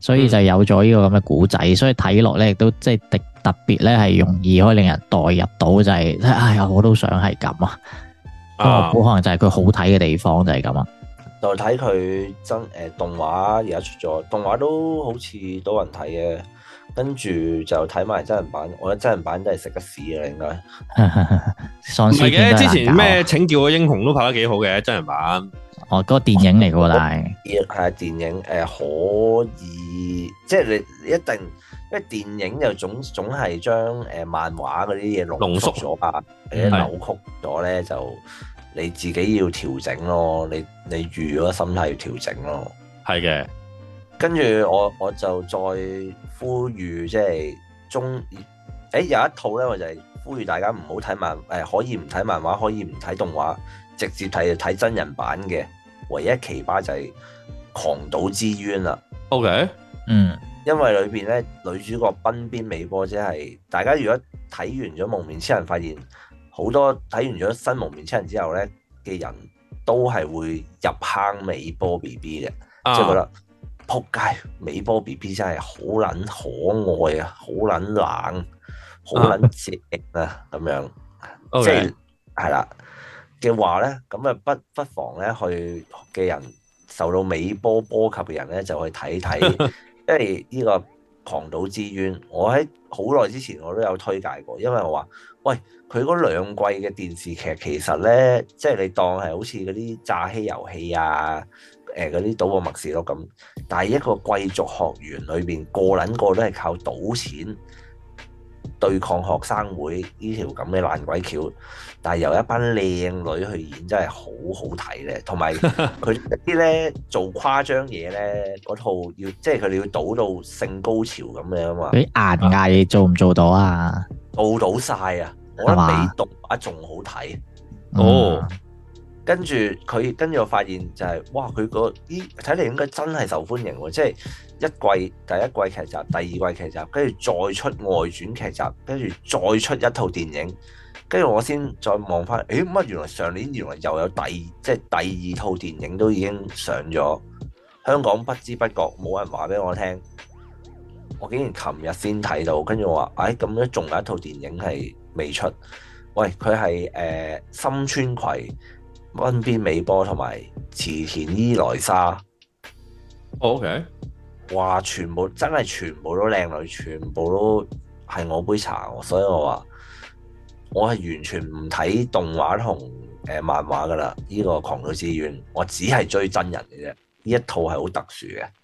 [SPEAKER 2] 所以就有咗呢個咁嘅古仔，所以睇落咧亦都即係特別咧係容易可以令人代入到，就係哎呀我都想係咁啊！我估可能就係佢好睇嘅地方就係咁啊！
[SPEAKER 4] 就睇佢動畫而家出咗，動畫都好似多人睇嘅，跟住就睇埋真人版，我覺得真人版都係食得屎嘅應該。
[SPEAKER 2] 喪屍片都係難搞。
[SPEAKER 1] 之前咩請叫個英雄都拍得幾好嘅真人版。
[SPEAKER 2] 哦，嗰個電影嚟嘅喎，但係
[SPEAKER 4] 電影可以，即係你一定，因為電影就總係將漫畫嗰啲嘢濃縮咗啊，或者扭曲咗咧就。你自己要調整咯，你預咗心態要調整咯。
[SPEAKER 1] 係嘅，
[SPEAKER 4] 跟住我就再呼籲，即係有一套咧，我就係呼籲大家唔好睇可以唔睇漫畫，可以唔睇動畫，直接睇真人版嘅。唯一奇葩就係《狂賭之淵》啦。
[SPEAKER 1] OK，
[SPEAKER 4] 因為裏邊咧女主角濱邊美波，即係大家如果睇完咗《蒙面超人》，發現。好多睇完咗新蒙面超人之後咧嘅人都係會入坑美波 BB 嘅，即係覺得撲街美波 BB 真係好撚可愛啊，好撚冷，好撚正啊咁樣，即係係啦嘅話咧，咁啊不妨咧去嘅人受到美波波及嘅人咧就去睇睇，因為呢個狂賭之淵，我喺好耐之前我都有推介過，因為我話喂。佢嗰2季嘅電視劇其實咧，即係你當係好似嗰啲詐欺遊戲啊，嗰啲賭博默示錄咁，但係一個貴族學園裏邊個撚個都係靠賭錢對抗學生會呢條咁嘅爛鬼橋，但係由一班靚女去演真係好好睇咧，同埋佢啲咧做誇張嘢咧，嗰套要即係佢哋要賭到性高潮咁樣啊嘛，
[SPEAKER 2] 啲顏藝做唔做到啊？
[SPEAKER 4] 做到晒啊！我覺得比動畫仲好睇
[SPEAKER 1] 哦，
[SPEAKER 4] 跟住我發現就係、是，哇！佢睇嚟應該真係受歡迎喎，即係第一季劇集、第二季劇集，跟住再出外傳劇集，跟住再出一套電影，跟住我先再望翻，乜原來上年又有第二套電影都已經上咗，香港不知不覺冇人話俾我聽，我竟然琴日先睇到，跟住我話，咁樣仲有一套電影係未出，喂，佢係深川葵、濱邊美波同埋池田伊萊莎。
[SPEAKER 1] OK，
[SPEAKER 4] 哇！全部都靚女，全部都係我杯茶，所以我話我係完全唔睇動畫同漫畫噶啦。呢個狂賭之淵，我只係追真人嘅啫。呢一套係好特殊嘅。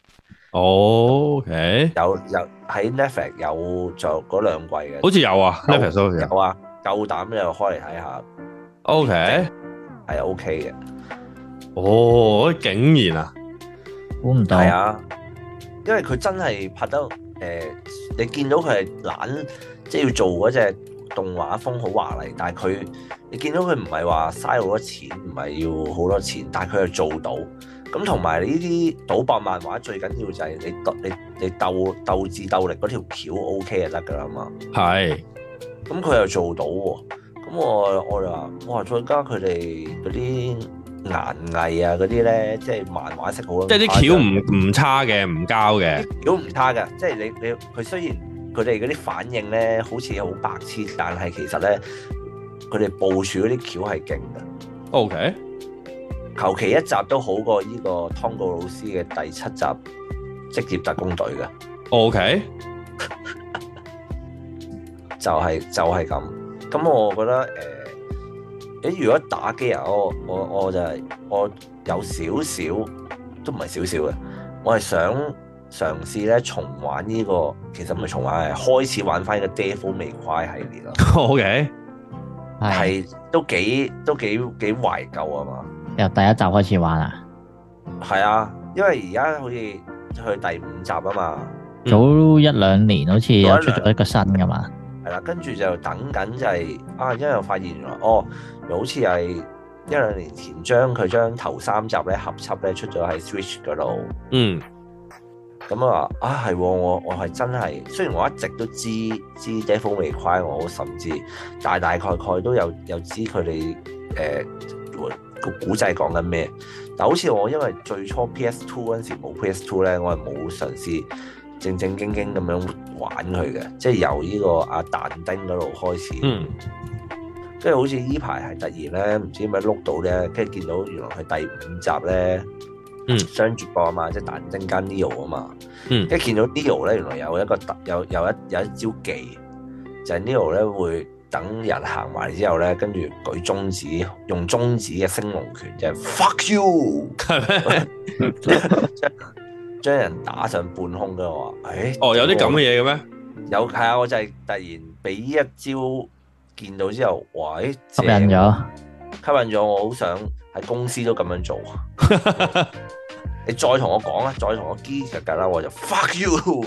[SPEAKER 1] OK，
[SPEAKER 4] 有喺 Netflix 有做嗰2季嘅，
[SPEAKER 1] 好似有啊 ，Netflix 都有
[SPEAKER 4] 啊，夠膽又開嚟睇下。
[SPEAKER 1] OK，
[SPEAKER 4] 係 OK 嘅。
[SPEAKER 1] 哦，竟然啊，
[SPEAKER 2] 估唔到。
[SPEAKER 4] 係啊，因為佢真係拍得你見到佢係懶，即係要做嗰隻動畫風好華麗，但係你見到佢唔係話嘥好多錢，唔係要好多錢，但係佢係做到。咁同埋呢啲賭博漫畫最緊要就係你鬥智鬥力嗰條橋 OK 就得㗎啦嘛。係。咁佢又做到喎，咁我就話，哇！再加佢哋嗰啲顏藝啊嗰啲咧，即係漫畫式好，
[SPEAKER 1] 即係啲橋唔差嘅，唔膠嘅，
[SPEAKER 4] 橋唔差嘅，即係佢雖然佢哋嗰啲反應咧好似好白痴，但係其實咧佢哋部署嗰啲橋係勁嘅。OK。求其一集都好過呢個湯告老師嘅第7集職業特工隊嘅。OK， 就係咁。咁我覺得如果打機啊，我就係我有少少都唔係少少嘅，我係想嘗試咧重玩呢個，其實唔係重玩，係開始玩翻呢個 Devil May Cry 系列咯。OK， 係都幾懷舊啊嘛。
[SPEAKER 2] 由第1集開始玩啊？
[SPEAKER 4] 係啊，因為而家好似去第5集啊嘛。
[SPEAKER 2] 早1-2年好似又出咗一個新噶嘛。
[SPEAKER 4] 係啦，跟住就等緊就係因為我發現原來又好似係1-2年前將頭3集咧合輯咧出咗喺 Switch 嗰度。咁啊係我係真係，雖然我一直都知 Devil May Cry，我甚至大概都有知佢哋個古仔講緊咩。但好似我因為最初 PS2 嗰陣時冇 PS2 咧，我係冇嘗試正正經經咁樣玩佢嘅，即係由呢個阿但丁嗰度開始。跟住好似呢排係突然咧，唔知點解碌到咧，跟住見到原來佢第5集咧，雙主角啊嘛，即係但丁加 Neo 啊嘛。跟住見到 Neo 咧，原來有一個有一招技，就係 Neo 咧會等人行埋之後咧，跟住舉中指，用中指嘅升龍拳，即係 fuck you， 係咩？將人打上半空嘅話，
[SPEAKER 1] 有啲咁嘅嘢嘅咩？
[SPEAKER 4] 有係啊，我就係突然俾呢一招見到之後，哇！
[SPEAKER 2] 吸引咗，
[SPEAKER 4] 我好想喺公司都咁樣做。你再同我講啊，再同我基格啦，我就 fuck you。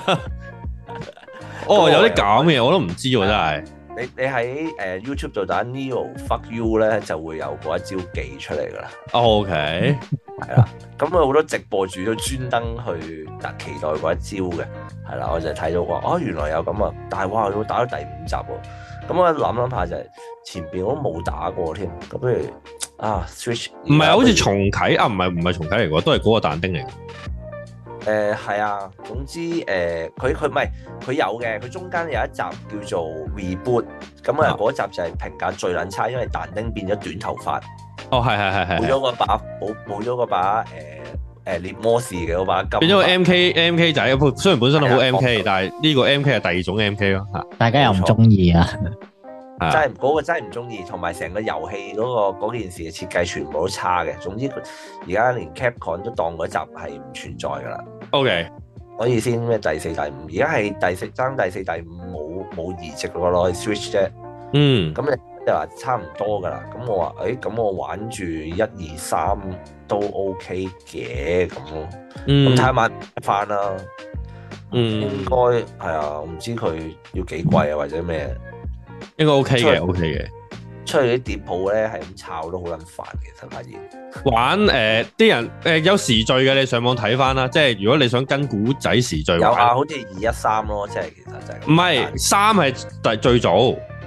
[SPEAKER 1] 有啲咁嘅嘢我都唔知喎，真係。
[SPEAKER 4] 你喺YouTube 度打 Neo fuck you 咧，就會有嗰一招技出嚟噶啦。
[SPEAKER 1] OK，
[SPEAKER 4] 係啦，咁啊好多直播主都專登去期待嗰一招嘅，係啦，我就睇到話原來有咁啊，但係哇，要打到第5集喎，咁我諗下就係前邊我都冇打過添，咁不如Switch
[SPEAKER 1] 唔係好似重啟啊？唔係重啟嚟嘅，都係嗰個但丁嚟嘅。
[SPEAKER 4] 係啊，總之佢唔係佢有嘅，佢中間有一集叫做 Reboot， 咁嗰集就係評價最撚差，因為但丁變咗短頭髮。係。冇咗嗰把獵魔士嘅嗰把金。變咗個
[SPEAKER 1] MK 仔，雖然本身都好 MK，但係呢個 MK 係第2種 MK 咯。
[SPEAKER 2] 大家又唔中意啊？
[SPEAKER 4] 真係嗰個真係唔中意，同埋成個遊戲嗰件事嘅設計全部都差嘅。總之而家連 Capcom 都當嗰集係唔存在噶啦。
[SPEAKER 1] OK，
[SPEAKER 4] 所以先咩第4、第5，而家係第4、第5冇移植落去 Switch 啫。咁你話差唔多噶啦。咁我話咁我玩住1、2、3都 OK 嘅咁咯。咁睇下買翻啦。應該係啊，我唔知佢要幾貴啊或者咩。
[SPEAKER 1] 應該 OK 嘅，OK 嘅。
[SPEAKER 4] 出去啲碟鋪咧係咁炒都好撚煩，其實發現。
[SPEAKER 1] 玩啲人有時序嘅，你上網睇翻啦。即係如果你想跟古仔時序，
[SPEAKER 4] 有好似213咯，即係其實就係。唔
[SPEAKER 1] 係3係最早。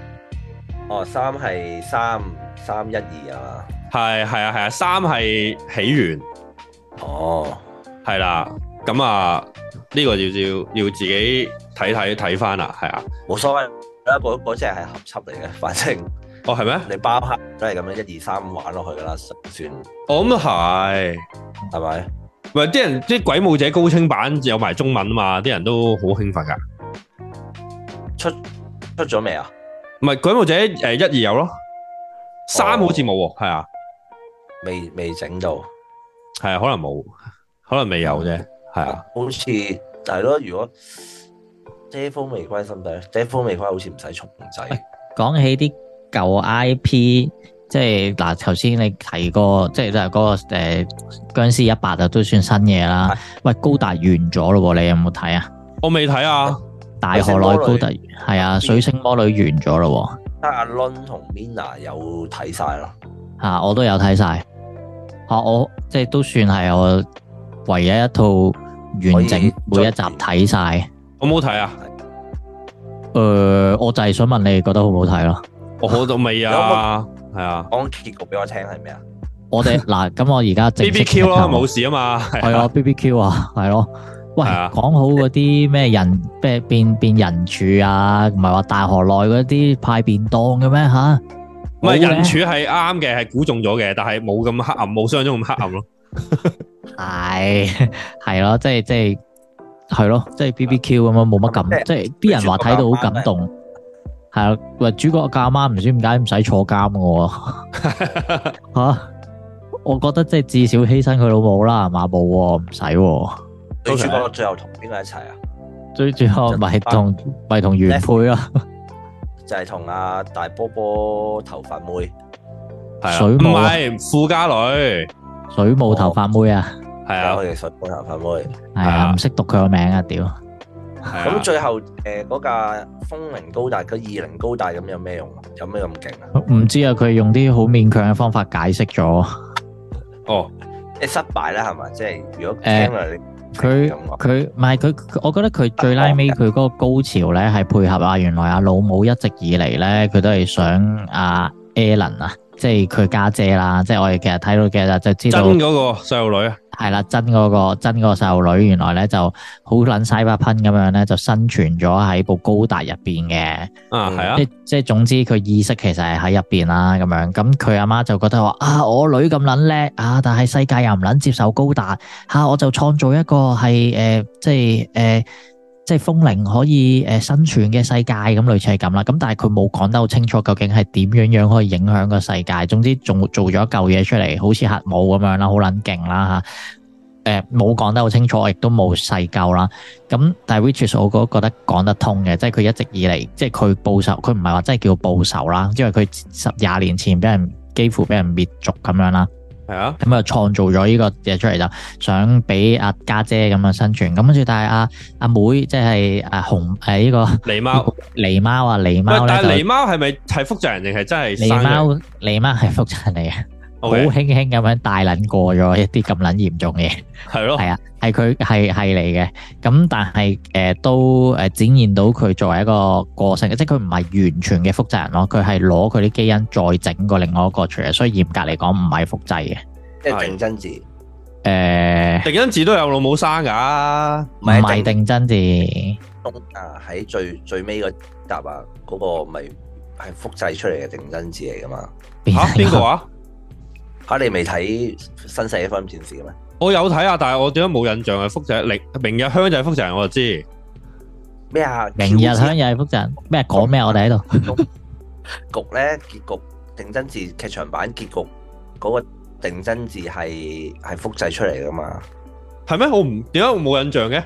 [SPEAKER 4] 3係312啊。
[SPEAKER 1] 係啊，3係起源。係啦，咁呢個要自己睇翻啦，係啊，
[SPEAKER 4] 冇所謂。嗰隻係合輯嚟嘅，反正
[SPEAKER 1] 係咩？
[SPEAKER 4] 你包黑都係咁樣1、2、3玩落去噶啦，算。
[SPEAKER 1] 咁都係
[SPEAKER 4] 咪？
[SPEAKER 1] 喂，啲人啲鬼武者高清版有埋中文啊嘛，啲人都好興奮噶。出咗未啊？唔係鬼武者1、2有咯，3好似冇喎，係啊，
[SPEAKER 4] 未整到，
[SPEAKER 1] 係啊，可能冇，可能未有啫，係啊，
[SPEAKER 4] 好似係咯，如果。Devil May Cry 心底 Devil May Cry 好似唔使重製。
[SPEAKER 2] 講起啲舊 IP，即係嗱，頭先你提過，即係嗰個殭屍100都算新嘢啦。喂，高達完咗咯，你有冇睇啊？
[SPEAKER 1] 我未睇啊。
[SPEAKER 2] 大河內高達係啊，水星魔女完咗咯。
[SPEAKER 4] 阿 Lon 同 Mina 有睇晒啦。
[SPEAKER 2] 我都有睇晒。我即係都算係我唯一一套完整每一集睇晒。
[SPEAKER 1] 我冇睇啊！
[SPEAKER 2] 我就係想問你覺得好唔好睇咯？
[SPEAKER 1] 我好到未啊，係啊。
[SPEAKER 4] 講結局俾我聽係咩啊？
[SPEAKER 2] 我哋嗱，咁我而家正式
[SPEAKER 1] BBQ 咯，冇事啊嘛。
[SPEAKER 2] 係啊 BBQ 啊，係咯。喂，講好嗰啲咩人變人柱啊，唔係話大河內嗰啲派便當嘅咩吓？
[SPEAKER 1] 唔係人柱係啱嘅，係估中咗嘅，但係冇咁黑暗，冇想象中咁黑暗咯。
[SPEAKER 2] 係咯，即係。係咯，即係 BBQ 咁樣冇乜感，即係啲人話睇到好感動。係啊，喂，主角個阿媽唔知點解唔使坐監嘅喎。我覺得即係至少犧牲佢老母啦，係嘛？冇唔使。
[SPEAKER 4] 女主角最後同邊個一齊啊？
[SPEAKER 2] 最後咪同原配咯，
[SPEAKER 4] 就係同阿大波波頭髮妹。
[SPEAKER 2] 水母
[SPEAKER 1] 唔係富家女，
[SPEAKER 2] 水母頭髮妹啊！
[SPEAKER 1] 係啊，
[SPEAKER 4] 佢哋水母頭髮妹
[SPEAKER 2] 係啊，唔識讀佢個名啊！屌，
[SPEAKER 4] 咁最後嗰架風靈高達個20高達咁有咩用啊？有咩咁勁啊？
[SPEAKER 2] 唔知啊，佢用啲好勉強嘅方法解釋咗。
[SPEAKER 4] 即係失敗啦，係嘛？即係如果聽落你
[SPEAKER 2] 佢唔係佢，我覺得佢最拉尾佢嗰個高潮咧係配合原來阿老母一直以嚟咧，佢都係想 Ellen 啊，即係佢家姐啦，即係我哋其實睇到嘅就知道
[SPEAKER 1] 真嗰個細路女啊，
[SPEAKER 2] 係啦，真嗰個細路女原來咧就好撚cyberpunk咁樣咧，就生存咗喺部高達入邊嘅。
[SPEAKER 1] 啊係啊，
[SPEAKER 2] 即係總之佢意識其實係喺入邊啦咁樣。咁佢阿媽就覺得話啊，我女咁撚叻啊，但係世界又唔撚接受高達嚇，我就創造一個係即係風靈可以生存嘅世界咁，類似係咁啦。咁但係佢冇講得好清楚，究竟係點樣可以影響個世界。總之仲做咗一嚿嘢出嚟，好似核武咁樣啦，好撚勁啦嚇。冇講得好清楚，亦都冇細究啦。咁但係 which is 我覺得講得通嘅，即係佢一直以嚟，即係佢報仇，佢唔係話真係叫報仇啦，因為佢10-20年前幾乎俾人滅族咁樣啦。
[SPEAKER 1] 係啊，
[SPEAKER 2] 咁啊創造咗呢個嘢出嚟，就想俾阿家姐咁樣生存。咁跟住，但係阿妹即係紅呢個
[SPEAKER 1] 狸貓
[SPEAKER 2] 狸貓啊，狸貓咧，
[SPEAKER 1] 但係狸貓係咪係複製人定係真係生嘅？
[SPEAKER 2] 狸貓係複製人嚟嘅，好
[SPEAKER 1] Okay
[SPEAKER 2] 輕輕咁樣帶撚過咗一啲咁撚嚴重嘅嘢。
[SPEAKER 1] 係咯，
[SPEAKER 2] 係啊，係佢係嚟嘅。咁但係都展現到佢作為一個個性，即係佢唔係完全嘅複製人咯，佢係攞佢啲基因再整過另外一個出嚟，所以嚴格嚟講唔係複製嘅，
[SPEAKER 4] 即係定真字。
[SPEAKER 1] 定真字都有老母生㗎，
[SPEAKER 2] 唔係定真字。
[SPEAKER 4] 喺最尾嗰集啊，嗰個咪係複製出嚟嘅定真字嚟㗎嘛？
[SPEAKER 1] 邊個啊？
[SPEAKER 4] 嚇你未睇新世紀福音戰士嘅咩？
[SPEAKER 1] 我有睇啊，但係我點解冇印象係複製？明日香就係複製人，我就知
[SPEAKER 4] 咩啊？
[SPEAKER 2] 明日香又係複製人咩？講咩？我哋喺度
[SPEAKER 4] 局咧，結局定真字劇場版結局嗰個定真字係複製出嚟噶嘛？
[SPEAKER 1] 係咩？點解我冇印象嘅？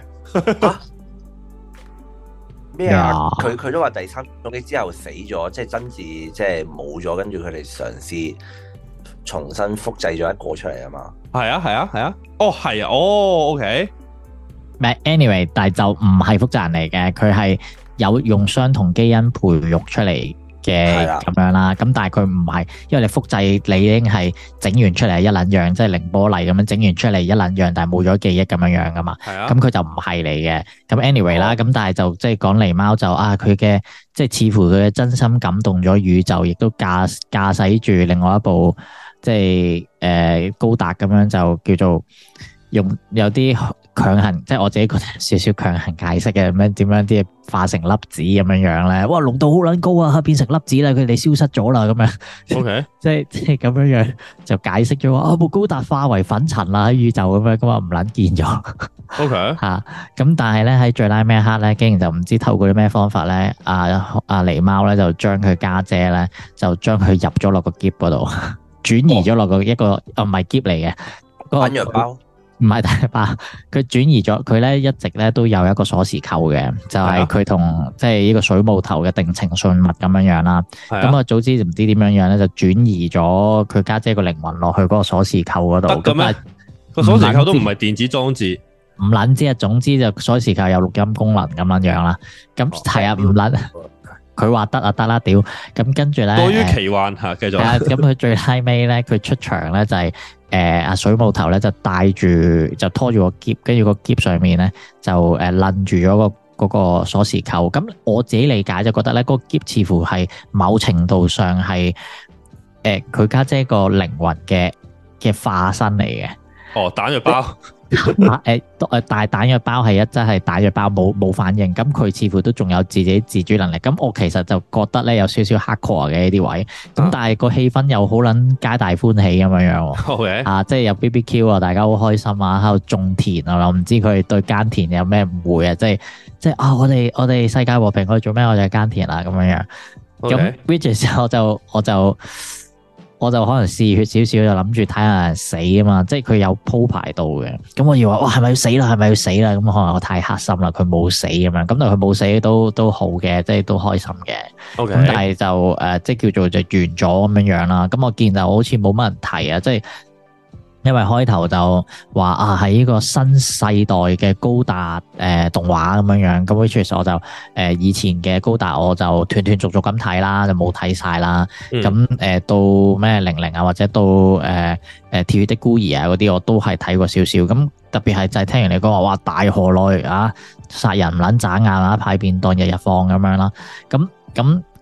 [SPEAKER 4] 咩啊？佢都話第三種機之後死咗，即係真字即係冇咗，跟住佢哋嘗試重新複製咗一個出嚟啊嘛。
[SPEAKER 1] 係啊，哦係啊，哦 OK，
[SPEAKER 2] 唔係 anyway，但係就唔係複製人嚟嘅，佢係有用相同基因培育出嚟嘅咁樣啦。咁但係佢唔係，因為你複製你已經係整完出嚟一撚樣，即係凌波麗咁樣整完出嚟一撚樣，但係冇咗記憶咁樣樣噶嘛。
[SPEAKER 1] 係啊，
[SPEAKER 2] 咁佢就唔係嚟嘅。咁 anyway 啦，咁但係就即係講狸貓就佢嘅即係似乎佢嘅真心感動咗宇宙，亦都駕駛住另外一部。即係高達咁樣就叫做用有啲強行，即係我自己覺得少少強行解釋嘅，咁樣點樣啲嘢化成粒子咁樣樣咧？哇，濃度好撚高啊，變成粒子啦，佢哋消失咗啦，咁樣。OK，即係咁樣樣就解釋咗話部高達化為粉塵啦，喺宇宙咁樣，咁啊唔撚見咗。
[SPEAKER 1] OK，
[SPEAKER 2] 咁但係咧喺最拉尾一刻咧，竟然就唔知透過啲咩方法咧，阿狸貓咧就將佢家姐咧就將佢入咗落個篋嗰度。轉移咗落一個唔係篋嚟嘅，
[SPEAKER 4] 彈藥包
[SPEAKER 2] 唔係彈藥包，佢轉移咗佢咧一直咧都有一個鎖匙扣嘅，就係佢同即係呢個水母頭嘅定情信物咁樣樣啦。咁早知唔知點樣樣咧，就轉移咗佢家姐個靈魂落去嗰個鎖匙扣嗰度。
[SPEAKER 1] 得嘅咩？個鎖匙扣都唔係電子裝置，
[SPEAKER 2] 唔撚知啊。總之就鎖匙扣有錄音功能咁樣樣啦。咁係啊，唔撚。佢話得啊，得啦，屌！咁跟住咧，
[SPEAKER 1] 多於奇幻嚇，繼續。
[SPEAKER 2] 咁佢最後尾咧，佢出場咧就係阿水母頭咧就帶住就拖住個篋，跟住個篋上面咧就攆住咗嗰個鎖匙扣。咁我自己理解就覺得咧，嗰個篋似乎係某程度上係佢家姐個靈魂嘅化身嚟嘅。哦，
[SPEAKER 1] 彈藥包。
[SPEAKER 2] 但係彈藥包係真係彈藥包冇反應，咁佢似乎都仲有自己自主能力。咁我其實就覺得咧有少少 hardcore 嘅呢啲位，咁但係個氣氛又好撚皆大歡喜咁樣樣。
[SPEAKER 1] Okay.
[SPEAKER 2] 即係有 BBQ 啊，大家好開心啊，喺度種田啊，我唔知佢對耕田有咩誤會啊，即係我哋世界和平，我哋做咩？我哋耕田啊咁樣樣。咁 which 我就可能嗜血少少，就諗住睇下人死啊嘛，即係佢有鋪排到嘅。咁我以為哇，係咪要死啦？係咪要死啦？咁可能我太黑心啦，佢冇死咁樣。咁但係佢冇死都好嘅，即係都開心嘅。咁但係就即係叫做就完咗咁樣樣啦。咁我見就好似冇乜人提啊，即係。因為開頭就話喺呢個新世代嘅高達動畫咁樣樣，咁 which 我就以前嘅高達我就斷斷續續咁睇啦，就冇睇晒啦。咁到咩00啊，或者到跳躍的孤兒啊嗰啲，我都係睇過少少。咁特別係就係聽人哋講話，哇大河內殺人唔撚眨眼啊，派便當日日放咁樣啦。咁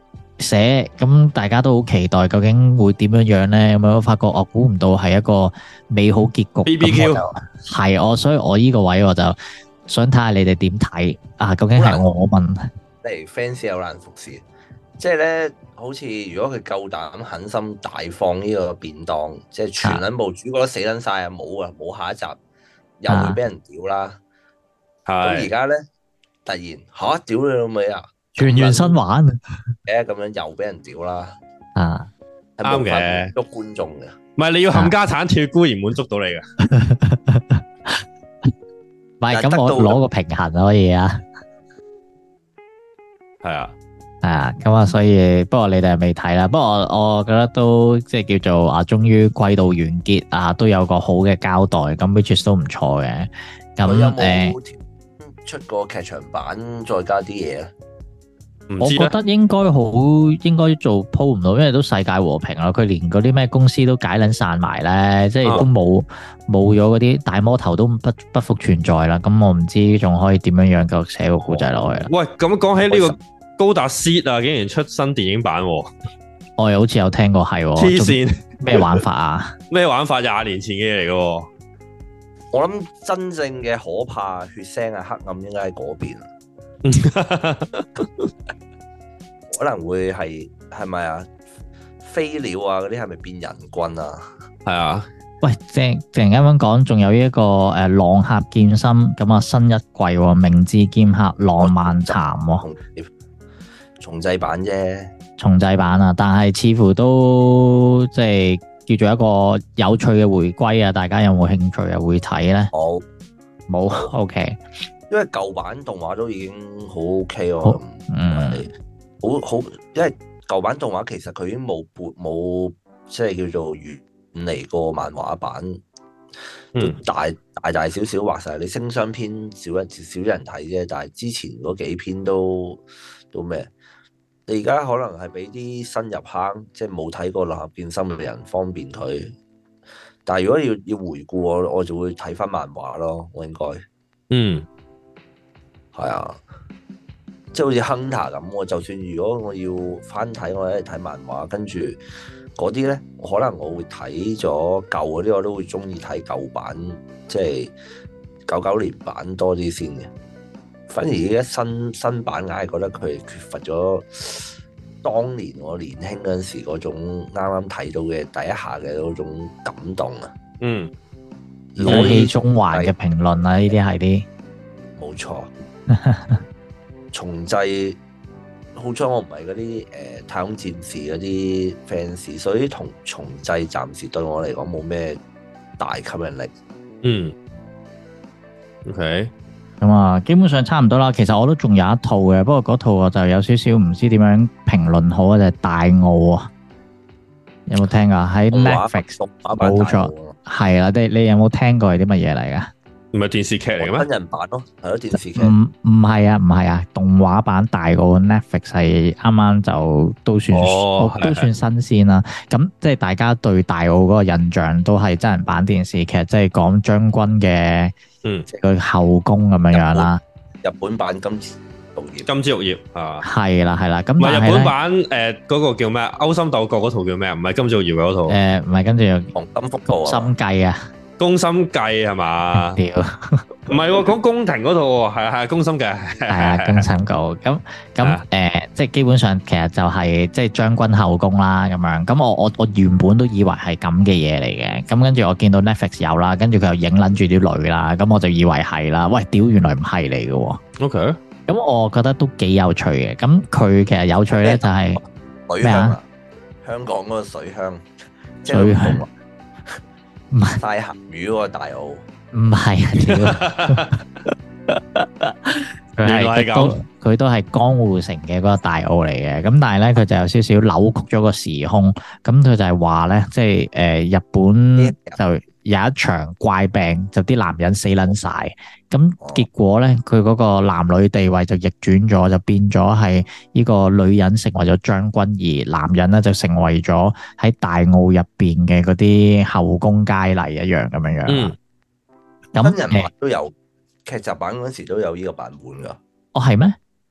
[SPEAKER 2] 寫，咁大家都好期待究竟會點樣樣咧？咁樣我發覺我估唔到係一個美好結局。
[SPEAKER 1] BBQ
[SPEAKER 2] 係我，所以我呢個位我就想睇下你哋點睇啊？究竟係我問？
[SPEAKER 4] 嚟 fans 有難服侍，即係咧，好似如果佢夠膽狠心大放呢個便當，即係全撚部主角都死撚晒啊！冇下一集，又會俾人屌啦。咁而家咧，突然吓屌你老味啊！
[SPEAKER 2] 全員新玩
[SPEAKER 4] 咁樣又俾人屌啦。
[SPEAKER 2] 啊，
[SPEAKER 1] 啱嘅，
[SPEAKER 4] 捉觀眾嘅。
[SPEAKER 1] 唔係你要冚家產跳孤兒滿足到你嘅。
[SPEAKER 2] 唔係咁，我攞個平衡可以啊。
[SPEAKER 1] 係啊，
[SPEAKER 2] 係啊，咁啊，所以不過你哋係未睇啦。不過我覺得都即係叫做啊，終於季度完結啊，都有個好嘅交代，咁 which 都唔錯嘅。咁
[SPEAKER 4] 有冇出個劇場版再加啲嘢咧？
[SPEAKER 2] 我覺得應該做鋪唔到，因為都世界和平啦。佢連嗰啲咩公司都解撚散埋咧，即係都冇咗嗰啲大魔頭都不復存在啦。咁我唔知仲可以點樣樣繼續寫個故仔落去啦。
[SPEAKER 1] 喂，咁講起呢個高達 Seed 啊，竟然出新電影版，
[SPEAKER 2] 我又好似有聽過係
[SPEAKER 1] 黐線
[SPEAKER 2] 咩玩法啊？
[SPEAKER 1] 咩玩法？20年前嘅嘢嚟嘅。
[SPEAKER 4] 我諗真正嘅可怕、血腥啊、黑暗應該喺嗰邊。可能會係咪啊？飛鳥啊，嗰啲係咪變人棍啊？
[SPEAKER 1] 係啊。
[SPEAKER 2] 喂，正啱啱講，仲有一個浪客劍心咁啊，新一季明智劍客浪漫談
[SPEAKER 4] 重製版啫，
[SPEAKER 2] 重製版啊，但係似乎都即係叫做一個有趣嘅回歸啊！大家有冇興趣啊？會睇咧？冇，OK。因為
[SPEAKER 4] 舊版動畫都已經好 OK 喎，好，因為舊版動畫其實佢已經冇即係叫做遠離過漫畫版，都大小小畫晒。你星霜篇少人睇啫，但係之前嗰幾篇都咩？你而家可能係俾啲新入坑，即係冇睇過《浪客劍心》嘅人方便佢。但係如果要回顧我就會睇翻漫畫咯，我應該係啊，即係好似 Hunter 咁，我就算如果我要翻睇，我一係睇漫畫，跟住嗰啲咧，可能我會睇咗舊嗰啲，我都會中意睇舊版，即係99年版多啲先嘅。反而而家新版硬係覺得佢缺乏咗當年我年輕嗰陣時嗰種啱啱睇到嘅第一下嘅嗰種感動啊！
[SPEAKER 2] 老氣中環嘅評論啊，呢啲係啲
[SPEAKER 4] 冇錯。重製好彩我唔係嗰啲太空戰士嗰啲 fans，所以重製暫時對我嚟講冇咩大吸引力。
[SPEAKER 1] OK。
[SPEAKER 2] 咁啊，基本上差唔多啦。其實我都仲有一套嘅，不過嗰套我就有少少唔知點樣評論好啊。就係大奧啊，有冇聽啊？喺 Netflix 冇錯，係啦。你有冇聽過係啲乜嘢嚟噶？
[SPEAKER 1] 唔係電視劇嚟嘅咩？真
[SPEAKER 4] 人版咯，係咯電視劇。
[SPEAKER 2] 唔係啊，動畫版大奧 Netflix 係啱啱就都算新鮮啦。咁即係大家對大奧嗰個印象都係真人版電視劇，即係講將軍嘅。即係個後宮咁樣樣啦。
[SPEAKER 4] 日本版金枝玉葉
[SPEAKER 1] 啊，
[SPEAKER 2] 係啦。咁
[SPEAKER 1] 唔係日本版嗰個叫咩？勾心鬥角嗰套叫咩？唔係金枝玉葉嗰套。唔係跟住
[SPEAKER 4] 黃金福報
[SPEAKER 2] 心計啊，
[SPEAKER 1] 宮心計係嘛？屌，唔係講宮廷嗰套喎，係宮心計，係
[SPEAKER 2] 啊宮心計。咁即係基本上其實就係即係將軍後宮啦咁樣。咁我原本都以為係咁嘅嘢嚟嘅。咁跟住我見到 Netflix 有啦，跟住佢又影撚住啲女啦，咁我就以為係啦。喂，屌原來唔係嚟嘅。
[SPEAKER 1] OK。咁
[SPEAKER 2] 我覺得都幾有趣嘅。咁佢其實有趣咧就係
[SPEAKER 4] 咩啊？香港嗰個水鄉，水鄉。唔係曬鹹魚嗰個大澳，
[SPEAKER 2] 唔係啊！佢都係江戶城嘅嗰個大澳嚟嘅，咁但係咧佢就有少少扭曲咗個時空，咁佢就係話咧，即係日本就有一場怪病，就啲男人死撚晒，咁結果咧佢嗰個男女地位就逆轉咗，就變咗係呢個女人成為咗將軍，而男人咧就成為咗喺大澳入邊嘅嗰啲後宮佳麗一樣咁樣樣。
[SPEAKER 4] 真人版都有，劇集版嗰時都有呢個版本噶。
[SPEAKER 2] 哦，係咩？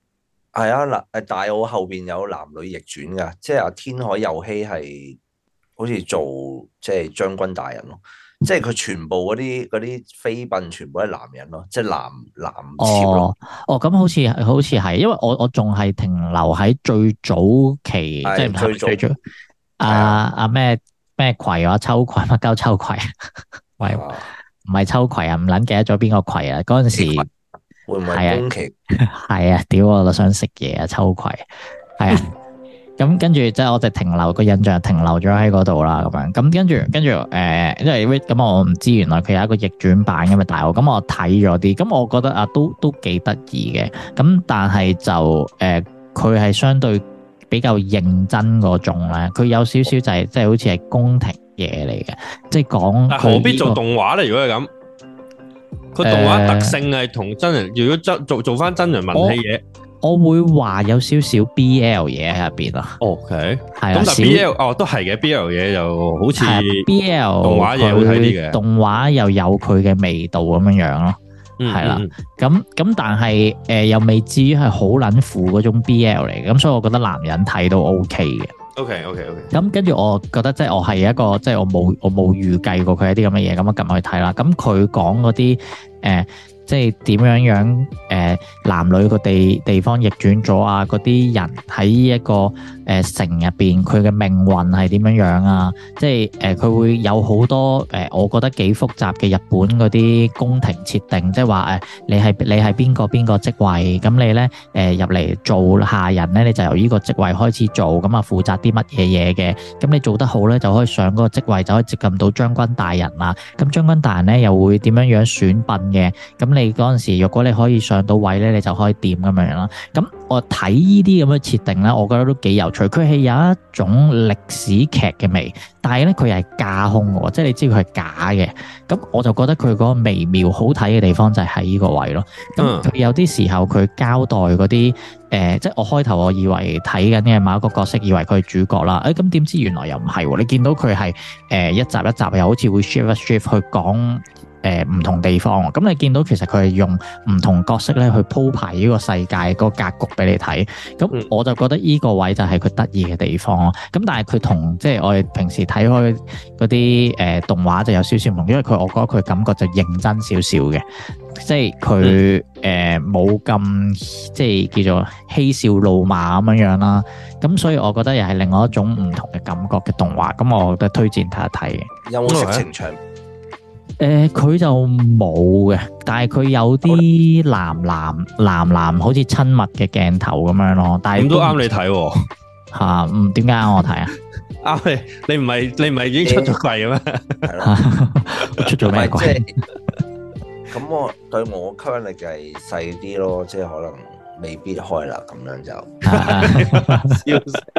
[SPEAKER 4] 係啊，嗱大澳後邊有男女逆轉噶，即係阿天海佑希係好似做即係將軍大人咯，即係佢全部嗰啲妃嬪全部都係男人咯，即係男妾咯。
[SPEAKER 2] 咁好似係，因為我仲係停留喺最早期，即係最早阿咩葵啊，秋葵乜鳩秋葵，喂，唔係秋葵啊，唔撚記得咗邊個葵啊？嗰陣時。
[SPEAKER 4] 會唔會係宮崎？
[SPEAKER 2] 係啊，屌我都想食嘢啊，秋葵係啊，咁跟住即係我就停留個印象停留咗喺嗰度啦，咁樣咁跟住因為咁我唔知原來佢有一個逆轉版咁嘅大澳，咁我睇咗啲，咁我覺得啊都幾得意嘅，咁但係就佢係相對比較認真嗰種咧，佢有少少就係即係好似係宮廷嘢嚟嘅，即係講。但
[SPEAKER 1] 何必做動畫咧？如果係咁？佢動畫特性係同真人，如果做翻真人文戲嘢，
[SPEAKER 2] 我會話有少少 BL 嘢喺入邊啊。
[SPEAKER 1] OK，
[SPEAKER 2] 係
[SPEAKER 1] 咁但 BL 都係嘅 BL 嘢就好似
[SPEAKER 2] BL
[SPEAKER 1] 動畫嘢好睇啲嘅，
[SPEAKER 2] 動畫又有佢嘅味道咁樣樣咯。係啦，咁但係又未至於係好撚腐嗰種 BL 嚟嘅，咁所以我覺得男人睇都 OK 嘅。
[SPEAKER 1] OK。
[SPEAKER 2] 咁跟住我覺得即係我係一個即係我冇預計過佢一啲咁嘅嘢，咁我撳去睇啦。咁佢講嗰啲即係點樣男女個地方逆轉咗啊？嗰啲人喺一個城入邊，佢嘅命運係點樣樣啊？即係佢會有好多我覺得幾複雜嘅日本嗰啲宮廷設定，即係話你係邊個職位，咁你咧入嚟做下人咧，你就由呢個職位開始做，咁啊負責啲乜嘢嘢嘅，咁你做得好咧，就可以上嗰個職位，就可以接近到將軍大人啦。咁將軍大人咧又會點樣選拔嘅？咁你嗰陣時，如果你可以上到位咧，你就可以掂咁樣啦。咁我睇呢啲咁嘅設定咧，我覺得都幾有趣。佢係有一種歷史劇嘅味，但係咧佢係架空嘅，即係你知佢係假嘅。咁我就覺得佢嗰個微妙好睇嘅地方就係喺呢個位咯。咁佢有啲時候佢交代嗰啲即係我開頭我以為睇緊嘅某一個角色，以為佢係主角啦。咁點知原來又唔係喎。你見到佢係一集一集又好似會 shift 去講。唔同地方，咁你見到其實佢係用唔同角色咧去鋪排呢個世界個格局俾你睇，咁我就覺得呢個位就係佢得意嘅地方咯。咁但係佢同即係我哋平時睇開嗰啲動畫就有少少唔同，因為我覺得佢感覺就認真少少嘅，即係佢冇咁即係叫做嬉笑怒罵咁樣啦。咁所以我覺得又係另外一種唔同嘅感覺嘅動畫，咁我覺得推薦睇一睇嘅。
[SPEAKER 4] 有冇色情場？
[SPEAKER 2] 佢就冇嘅，但係佢有啲男好似親密嘅鏡頭咁樣咯。但係咁都啱你睇喎嚇，點解啱我睇啊？
[SPEAKER 1] 啱你唔係已經出咗櫃嘅咩？
[SPEAKER 4] 係咯，
[SPEAKER 2] 出咗咩櫃？
[SPEAKER 4] 咁我對我吸引力就係細啲咯，即係可能未必開啦，咁樣就。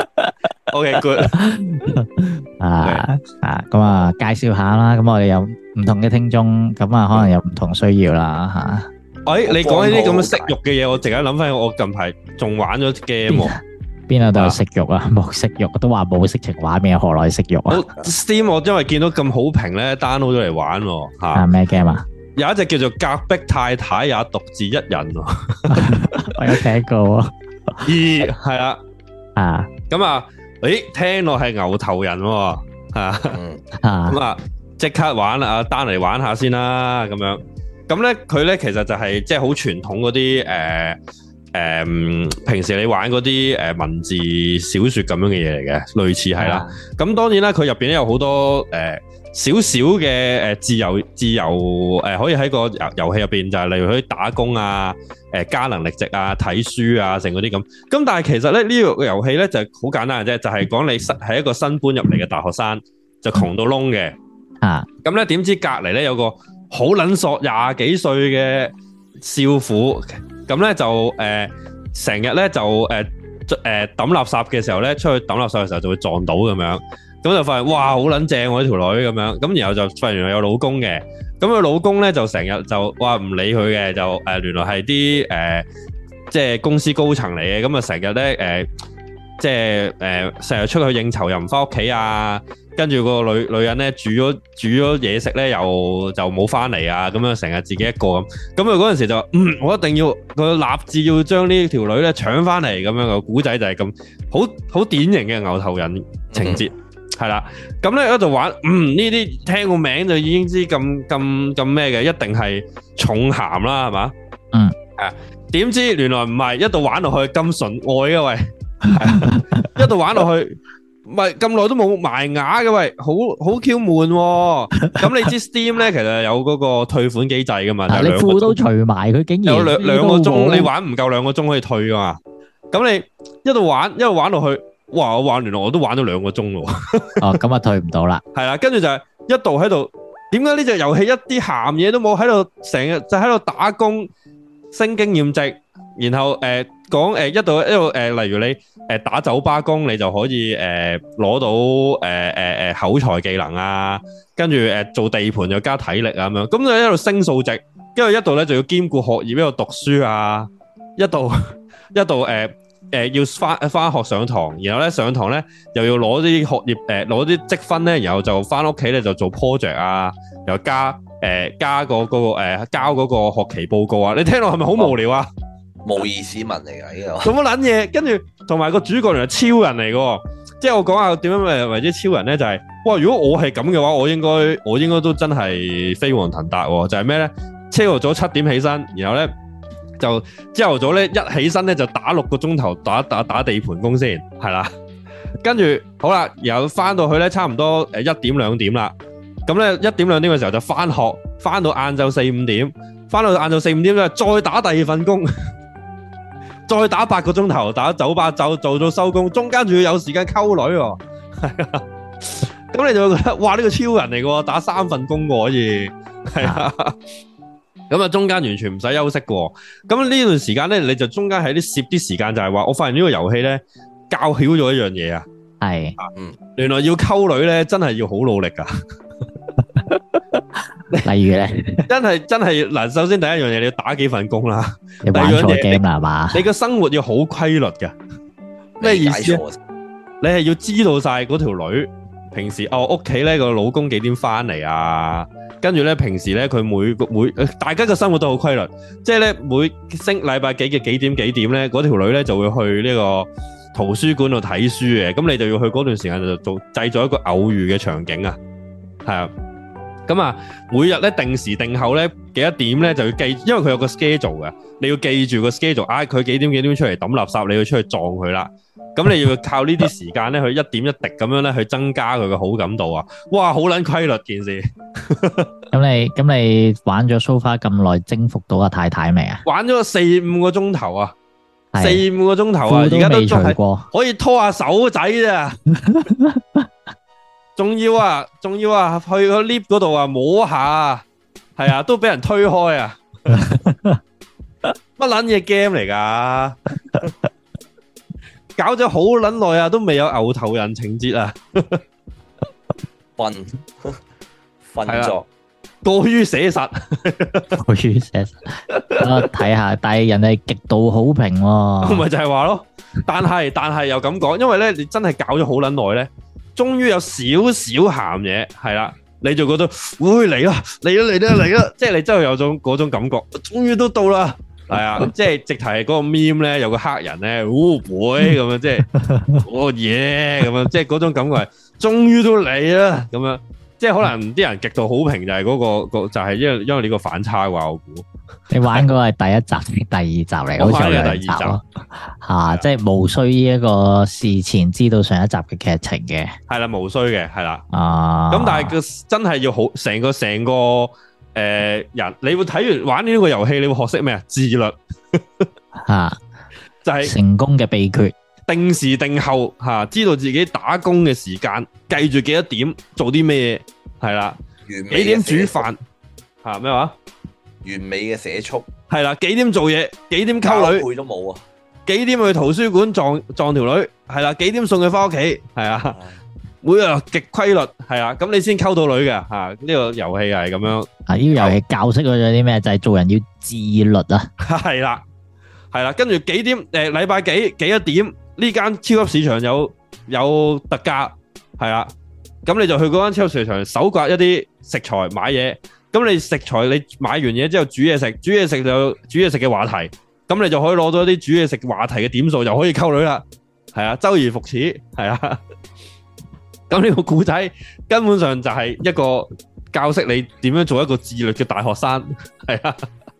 [SPEAKER 1] OK good
[SPEAKER 2] 咁啊介紹下啦，咁我哋有唔同嘅聽眾，咁啊可能有唔同需要啦吓。
[SPEAKER 1] 你講呢啲咁嘅色欲嘅嘢，我突然間諗翻，我近排仲玩咗 game。
[SPEAKER 2] 邊度有色欲啊？冇色欲，都話冇色情畫面，何來色欲啊
[SPEAKER 1] ？Steam 我因為見到咁好評咧，download 咗嚟玩吓。
[SPEAKER 2] 咩 game 啊？
[SPEAKER 1] 有一隻叫做隔壁太太也獨自一人。
[SPEAKER 2] 我有聽過。
[SPEAKER 1] 係啦。咁啊。聽落係牛頭人喎，咁啊，即刻玩啦，阿丹嚟玩下先啦，咁樣，咁咧佢咧其實就係即係好傳統嗰啲平時你玩嗰啲文字小說咁樣嘅嘢嚟嘅，類似係啦。咁當然啦，佢入邊咧有好多少少嘅自由可以喺個遊戲入邊就係例如可以打工啊。加能力值啊，睇書啊，成嗰啲咁。咁但係其實咧呢個遊戲咧就好簡單嘅啫，就係講你係一個新搬入嚟嘅大學生，就窮到窿嘅。咁咧點知隔離咧有個好撚索20幾歲嘅少婦，咁咧就成日咧就抌垃圾嘅時候咧，出去抌垃圾嘅時候就會撞到咁樣，咁就發現哇好撚正喎呢條女咁樣，咁然後就發現原來有老公嘅。咁佢老公咧就成日就話唔理佢嘅，就原來係啲即係公司高層嚟嘅，咁啊成日咧即係成日出去應酬又唔翻屋企啊， 跟住個女人咧煮咗嘢食咧，又就冇翻嚟啊，咁樣成日自己一個咁。咁佢嗰陣時就話我一定要佢立志要將呢條女咧搶翻嚟，咁樣個古仔就係咁好典型嘅牛頭人情節。係啦，咁咧喺度玩，呢啲聽個名就已經知咁咩嘅，一定係重鹹啦，係嘛？點知原來唔係，一度玩落去咁純愛嘅喂，一度玩落去，唔係咁耐都冇埋牙嘅喂，好 Q 悶。咁你知 Steam 咧，其實有嗰個退款機制噶嘛？你
[SPEAKER 2] 褲都除埋，佢竟然
[SPEAKER 1] 有兩個鐘，你玩唔夠2個鐘可以退噶嘛？咁你一度玩落去。哇！我玩原來我都玩咗2個鐘咯。
[SPEAKER 2] 哦，咁啊退唔到啦。
[SPEAKER 1] 係啦，跟住就係一度喺度，點解呢隻遊戲一啲鹹嘢都冇？喺度成日就喺度打工升經驗值，然後講一度例如你打酒吧工，你就可以攞到口才技能啊，跟住做地盤又加體力啊咁樣，咁就喺度升數值，跟住一度咧就要兼顧學業，一度讀書啊，一度要翻學上堂，然後咧上堂咧又要攞啲學業攞啲積分咧，然後就翻屋企咧就做 project 啊，又加交嗰個學期報告啊，你聽落係咪好無聊啊？
[SPEAKER 4] 模擬市民嚟㗎呢個，
[SPEAKER 1] 做乜撚嘢？跟住同埋個主角原來超人嚟嘅，即係我講下點樣為之超人咧，就係哇！如果我係咁嘅話，我應該都真係飛黃騰達喎。就係咩咧？朝頭早7點起身，然後咧。就朝頭早咧一起身咧就打6個鐘頭打地盤工先係啦，跟住好啦，然後翻到去咧差唔多1點2點啦，咁咧1點2點嘅時候就翻學，翻到晏晝4、5點，翻到晏晝4、5點咧再打第2份工，再打8個鐘頭打酒吧做到收工，中間仲要有時間溝女喎，係啊，咁你就會覺得哇呢個超人嚟嘅，打3份工可以係啊。咁啊，中間完全唔使休息嘅。咁呢段時間咧，你就中間喺啲攝啲時間，就係話，我發現呢個遊戲咧教曉咗一樣嘢啊。係，原來要溝女咧，真係要好努力噶。
[SPEAKER 2] 例如咧，
[SPEAKER 1] 真係嗱，首先第一樣嘢你要打幾份工啦。
[SPEAKER 2] 你玩錯 game 啦係嘛？
[SPEAKER 1] 你個生活要好規律嘅。咩意思？你係要知道晒嗰條女平時屋企咧個老公幾點翻嚟啊？跟住咧，平時咧佢每大家嘅生活都好規律，即係咧每禮拜幾嘅幾點咧，嗰條女咧就會去呢個圖書館度睇書嘅，咁你就要去嗰段時間就製造一個偶遇嘅場景啊，係啊，咁啊每日咧定時定候咧幾多點咧就要記，因為佢有個 schedule 嘅，你要記住個 schedule，佢幾點出嚟抌垃圾，你要出去撞佢啦。咁你要靠呢啲時間咧，去一點一滴咁樣咧，去增加佢嘅好感度啊！哇，好撚規律件事。
[SPEAKER 2] 咁你玩咗 so far 咁耐，征服到阿太太未啊？
[SPEAKER 1] 玩咗4、5個鐘頭啊，4、5個鐘頭啊，而家都仲係可以拖下手仔咋？仲要啊，去個 lift 嗰度啊，摸下，係啊，都俾人推開啊！乜撚嘢 game 嚟噶？搞咗好撚耐啊，都未有牛頭人情節啊！
[SPEAKER 4] 瞓咗，
[SPEAKER 1] 過於寫實，
[SPEAKER 2] 過於寫實。我睇下，但係人哋極度好評喎。
[SPEAKER 1] 咪就係話咯，但係又咁講，因為咧你真係搞咗好撚耐咧，終於有少少鹹嘢，係啦，你就覺得會嚟啦，即係你真係有嗰種感覺，終於都到啦。係啊，即係直頭係嗰個 meme 咧，有個黑人咧，會咁樣，即係耶咁樣，即係嗰種感覺係，終於都嚟啦咁樣，即係可能啲人極度好評就係嗰個就係因為呢個反差啩，我估。你玩嗰個係第一集定第二集嚟？好似係第二集咯。吓，即係無需呢一個事前知道上一集嘅劇情嘅。係啦，無需嘅，係啦。咁但係佢真係要好成個。人，你會睇完玩呢個遊戲，你會學識咩啊？自律吓，就係成功嘅秘訣。定時定候吓，知道自己打工嘅時間，計住幾多點做啲咩嘢，係啦。幾點煮飯吓？咩話？
[SPEAKER 4] 完美嘅寫速
[SPEAKER 1] 係啦。幾點做嘢？幾點溝女？
[SPEAKER 4] 配都冇啊。
[SPEAKER 1] 幾點去圖書館撞條女？係啦。幾點送佢翻屋企？係啊。每日極規律，係啊，咁你先溝到女嘅吓，呢個遊戲係咁樣。啊，呢個遊戲教識咗啲咩？就係做人要自律啊。係啦，跟住幾點？禮拜幾多點？呢間超級市場有特價，係啦。 咁你就去嗰間超級市場搜刮一啲食材買嘢。咁你食材你買完嘢之後煮嘢食，煮嘢食就有煮嘢食嘅話題。咁你就可以攞到一啲煮嘢食話題嘅點數，就可以溝女啦。係啊，周而復始，係啊。咁呢個故仔根本上就係一個教識你點樣做一個自律嘅大學生，係啊。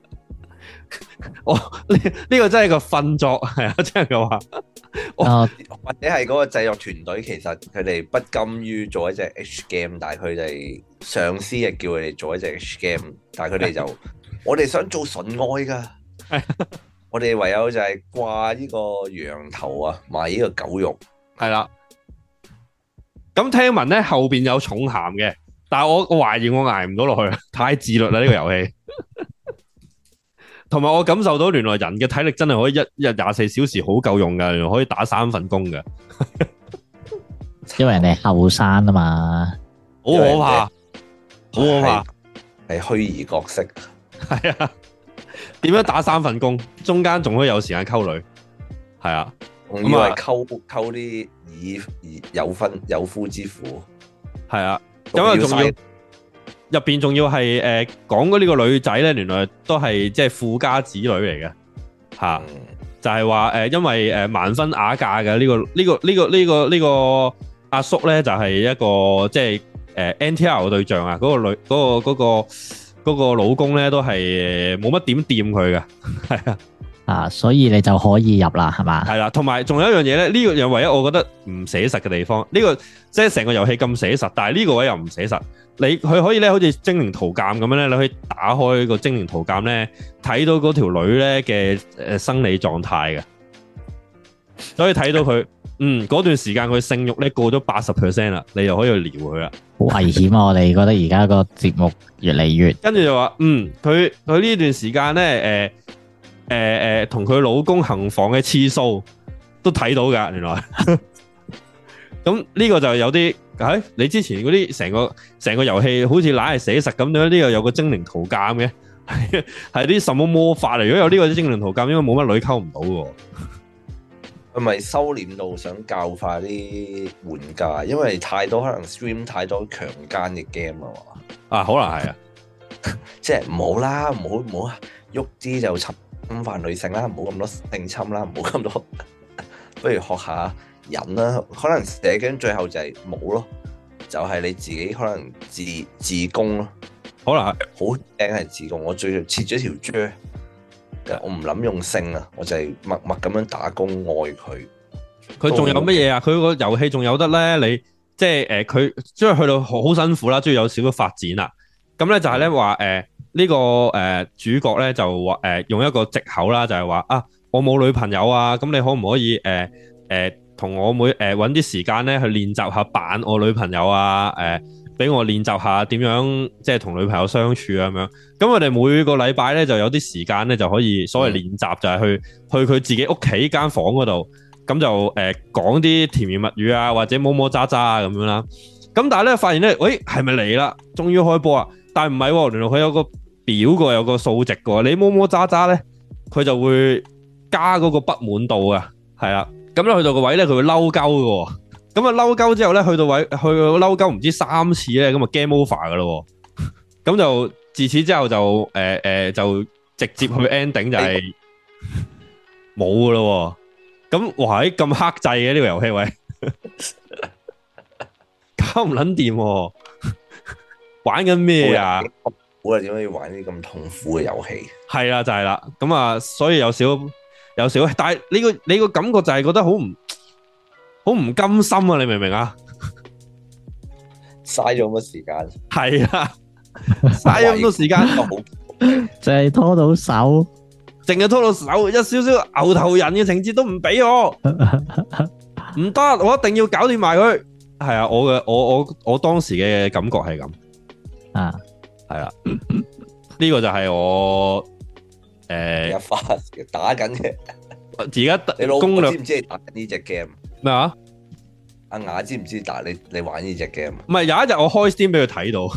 [SPEAKER 1] 呢個真係個訓作，係啊，真係嘅話。
[SPEAKER 4] 或者係嗰個製作團隊，其實佢哋不甘於做一隻 H game， 但係佢哋上司係叫佢哋做一隻 H game， 但係佢哋就我哋想做純愛噶，我哋唯有就係掛呢個羊頭啊，賣呢個狗肉，
[SPEAKER 1] 係啦。咁聽聞咧後邊有重鹹嘅，但係我懷疑我捱唔到落去，太自律啦呢個遊戲。同埋我感受到原來人嘅體力真係可以一日24小時好夠用噶，原來可以打3份工噶。
[SPEAKER 2] 因為人哋後生啊嘛，
[SPEAKER 1] 好可怕，好可怕，
[SPEAKER 4] 係虛擬角色。
[SPEAKER 1] 係啊，點樣打3份工？中間仲可以有時間溝女，係啊，
[SPEAKER 4] 仲以為溝啲以有夫之婦，
[SPEAKER 1] 係啊，咁啊仲要。入邊仲要係講嗰呢個女仔咧，原來都係即係富家子女嚟嘅嚇，就係話因為盲婚啞嫁嘅呢個阿叔咧，就係一個即係NTR 嘅對象啊，嗰個老公咧都係冇乜點掂佢嘅，係啊，
[SPEAKER 2] 所以你就可以入啦，係嘛？
[SPEAKER 1] 係啦，同埋仲有一樣嘢咧，呢個又唯一我覺得唔寫實嘅地方，呢個即係成個遊戲咁寫實，但係呢個位又唔寫實。佢可以咧，好似精靈圖鑑咁樣咧，你可以打開個精靈圖鑑咧，睇到嗰條女咧嘅生理狀態嘅，所以睇到佢嗰段時間佢性慾咧過咗80% 啦，你又可以去撩佢啦。
[SPEAKER 2] 好危險啊！我哋覺得而家個節目越嚟越，
[SPEAKER 1] 跟住就話佢呢段時間咧同佢老公行房嘅次數都睇到噶，原來。咁呢個就有啲。你之前嗰啲成個遊戲好似懶係寫實咁樣，呢個有個精靈圖鑑嘅，係啲什麼魔法嚟？如果有呢個精靈圖鑑，應該冇乜女溝唔到喎。
[SPEAKER 4] 係咪收斂到想教化啲玩家？因為太多可能 stream 太多強姦嘅 game 啊嘛。
[SPEAKER 1] 可能係啊，
[SPEAKER 4] 即係唔好啦，唔好喐啲就侵犯女性啦，唔好咁多性侵啦，唔好咁多，不如學下。人啦，可能射驚最後就係冇咯，就係你自己可能自宮咯，可能好驚係自宮。我最切咗條蕉，我唔諗用性啊，我就係默默咁樣打工愛佢。
[SPEAKER 1] 佢仲有乜嘢啊？佢個遊戲仲有得咧，你即係佢即係去到好辛苦啦，都要有少少發展啦。咁咧就係咧話呢個主角咧就話用一個藉口啦，就係話我冇女朋友啊，咁你可唔可以同我妹揾啲時間咧去練習下扮我女朋友啊，俾我練習下點樣即係同女朋友相處啊咁樣。咁我哋每個禮拜咧就有啲時間咧就可以所謂練習，就係去佢自己屋企間房嗰度，咁就講啲甜言蜜語啊，或者摸摸渣渣啊咁樣啦。咁但係咧發現咧，喂係咪嚟啦？終於開波啊！但係唔係，原來佢有個表個，有個數值個。你摸摸渣渣咧，佢就會加嗰個不滿度啊，係啦。咁咧去到個位咧，佢會嬲鳩嘅，咁啊嬲鳩之後咧，去到嬲鳩唔知3次咧，咁啊 game over 噶咯，咁就自此之後就就直接去 ending 就係冇噶咯，咁哇咁克制嘅呢個遊戲喂，搞唔撚掂，玩緊咩啊？
[SPEAKER 4] 我係點解要玩啲咁痛苦嘅遊戲？
[SPEAKER 1] 係啦，就係啦，咁啊，所以有少，但係你個感覺就係覺得好唔甘心啊！你明唔明啊？
[SPEAKER 4] 嘥咗咁多時間，
[SPEAKER 1] 係啊，嘥咗咁多時間，
[SPEAKER 2] 就係拖到手，
[SPEAKER 1] 淨係拖到手，一少少牛頭人嘅情節都唔俾我，唔得，我一定要搞掂埋佢。係啊，我當時嘅感覺係咁
[SPEAKER 2] 啊，
[SPEAKER 1] 係啊，呢個就係我。
[SPEAKER 4] 一發打緊嘅，
[SPEAKER 1] 而家
[SPEAKER 4] 你老公知唔知你打緊呢隻 game？
[SPEAKER 1] 咩啊？
[SPEAKER 4] 阿雅知唔知打你玩呢隻 game？
[SPEAKER 1] 唔係，有一日我開 Steam 俾佢睇到，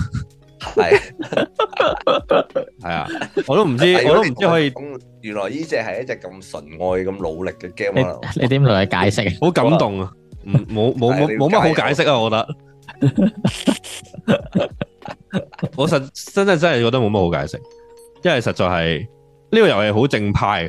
[SPEAKER 1] 係啊，我都唔知可以。
[SPEAKER 4] 原來呢隻係一隻咁純愛、咁努力嘅 game 啊！
[SPEAKER 2] 你點同佢解釋？
[SPEAKER 1] 好感動啊！冇乜好解釋啊！我覺得我真係覺得冇乜好解釋，因為實在係呢個遊戲好正派。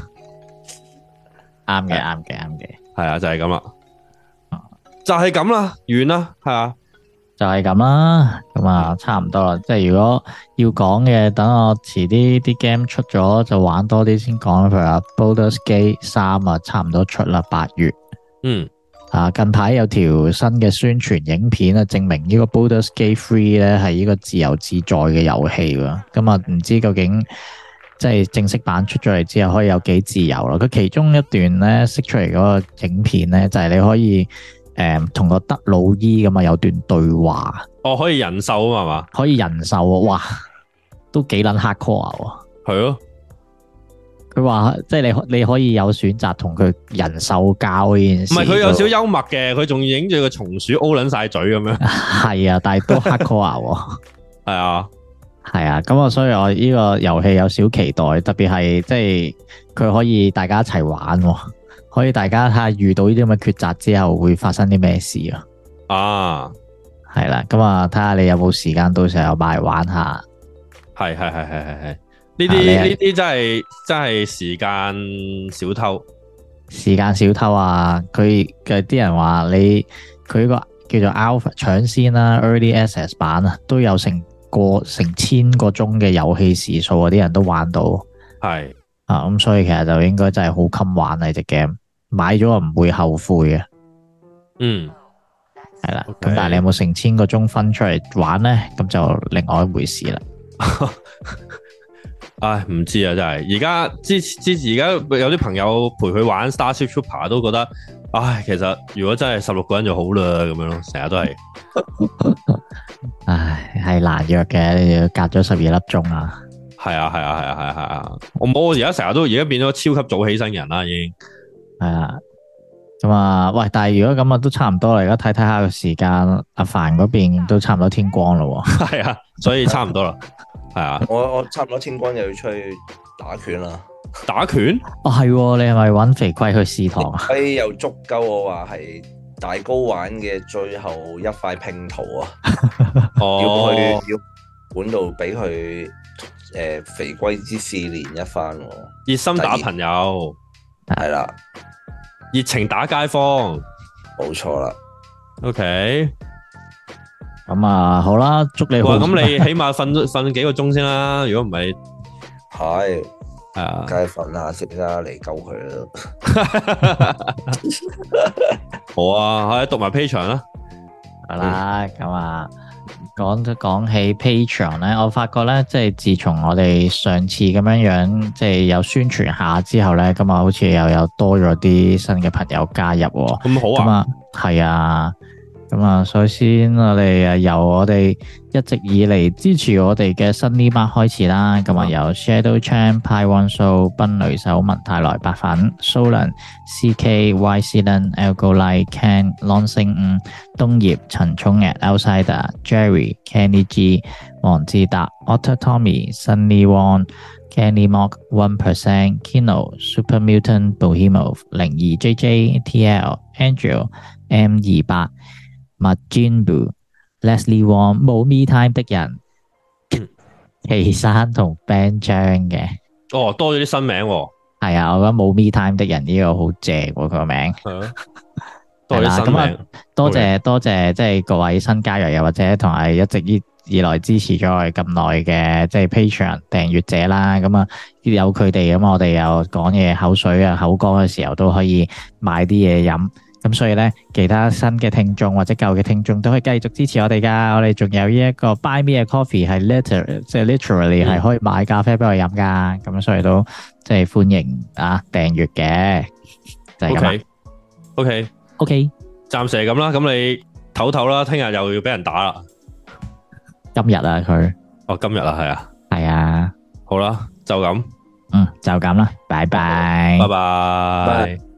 [SPEAKER 2] 啱嘅，
[SPEAKER 1] 係啊，就係咁啦，就係咁啦，完啦，係啊，
[SPEAKER 2] 就係咁啦，咁啊差唔多啦。即係如果要講嘅，等我遲啲 game 出咗就玩多啲先講。譬如話 Baldur's Gate 3啊，差唔多出啦，8月。近排有條新嘅宣傳影片啊，證明呢個 Baldur's Gate 3咧係呢個自由自在嘅遊戲喎。咁啊，唔知究竟即係正式版出咗嚟之後可以有幾自由咯？佢其中一段咧釋出嚟嗰個影片咧，就係你可以同個德魯伊咁啊有段對話。
[SPEAKER 1] 哦，可以人獸啊嘛？
[SPEAKER 2] 可以人獸啊！哇，都幾撚 hardcore 喎。
[SPEAKER 1] 係咯。
[SPEAKER 2] 佢話即係你可以有選擇同佢人獸交呢件事。唔係，
[SPEAKER 1] 佢有少少幽默嘅，佢仲影住個松鼠 O 撚晒嘴咁樣。
[SPEAKER 2] 係啊，但係都 hardcore 喎。
[SPEAKER 1] 係啊。
[SPEAKER 2] 係啊，咁所以我呢個遊戲有少期待，特別係即係佢可以大家一齊玩，可以大家睇下遇到呢啲咁嘅抉擇之後會發生啲咩事啊！
[SPEAKER 1] 啊，
[SPEAKER 2] 係啦，咁啊睇下你有冇時間到時候買嚟玩下。
[SPEAKER 1] 係，呢啲真係時間小偷。時間小偷啊！佢嘅啲人話佢個叫做 Alpha 搶先啦 ，Early Access 版啊，都有成千個鐘嘅遊戲時數啊，啲人都玩到。係啊，咁所以其實就應該真係好襟玩啊！呢隻 game 買咗唔會後悔嘅。係啦，咁但係你有冇成千個鐘分出嚟玩咧？咁就另外一回事啦。唉，唔知啊，真係而家而家有啲朋友陪佢玩 Starship Trooper 都覺得，唉，其實如果真係16個人就好啦，咁樣咯，成日都係。唉，係難約嘅，你要隔咗12粒鐘啊。係啊，我而家成日都變咗超級早起身人啦，已經。係啊，咁啊，喂，但係如果咁啊，都差唔多啦。而家睇睇下個時間，阿凡嗰邊都差唔多天光啦。係啊，所以差唔多啦。係啊，我差唔多天光又要出去打拳啦。打拳？哦，係，你係咪搵肥龜去試堂啊？又足夠我話係大高玩嘅最後一塊拼圖啊！要管到俾佢肥龜之試練一番。熱心打朋友，係啦，熱情打街坊，冇錯啦。OK。咁啊，好啦，祝你好。咁你起碼瞓幾個鐘先啦，如果唔係，係啊，梗係瞓下先啦，嚟救佢啦。好啊，讀埋 Patreon 啦。係啦，咁啊，講起 Patreon 咧，我發覺咧，即係自從我哋上次咁樣，即係有宣傳下之後咧，咁啊，好似又有多咗啲新嘅朋友加入。咁好啊。咁啊，係啊。咁啊，首先我哋由我哋一直以嚟支持我哋嘅新呢班開始啦。咁啊，由 Shadow Chan、Pi One Soul、賓雷手、文泰來白粉、Solan、CK、Y Celan、Elgo Lai、Ken、Long 星5、東葉、陳聰嘅 Outsider、Jerry、Kenny G、黃志達、Otter Tommy、Sunny Wong、Kenny Mock、1%、Kino、Super Mutant、Bohemov、02 JJ、TL、Andrew、M28、Majinbu、Leslie Wong、冇 Me Time 的人、奇山同 Ben 張嘅。哦，多咗啲新名喎。係啊，我覺得冇 Me Time 的人呢個好正喎，佢個名。係啊，多咗新名。多謝，即係各位新加入又或者同係一直以來支持咗我哋咁耐嘅即係 Patreon 訂閱者啦。咁啊，有佢哋咁，我哋又講嘢口水啊口乾嘅時候都可以買啲嘢飲。咁所以咧，其他新嘅聽眾或者舊嘅聽眾都可以繼續支持我哋噶。我哋仲有呢一個 Buy Me a Coffee 係 literally 係可以買咖啡俾我飲噶。咁所以都即係歡迎啊訂閱嘅，就係咁啦。OK，暫時係咁啦。咁你唞唞啦，聽日又要俾人打啦。今日啊，佢今日啊，係啊，係啊。好啦，就咁，就咁啦，拜拜，拜拜。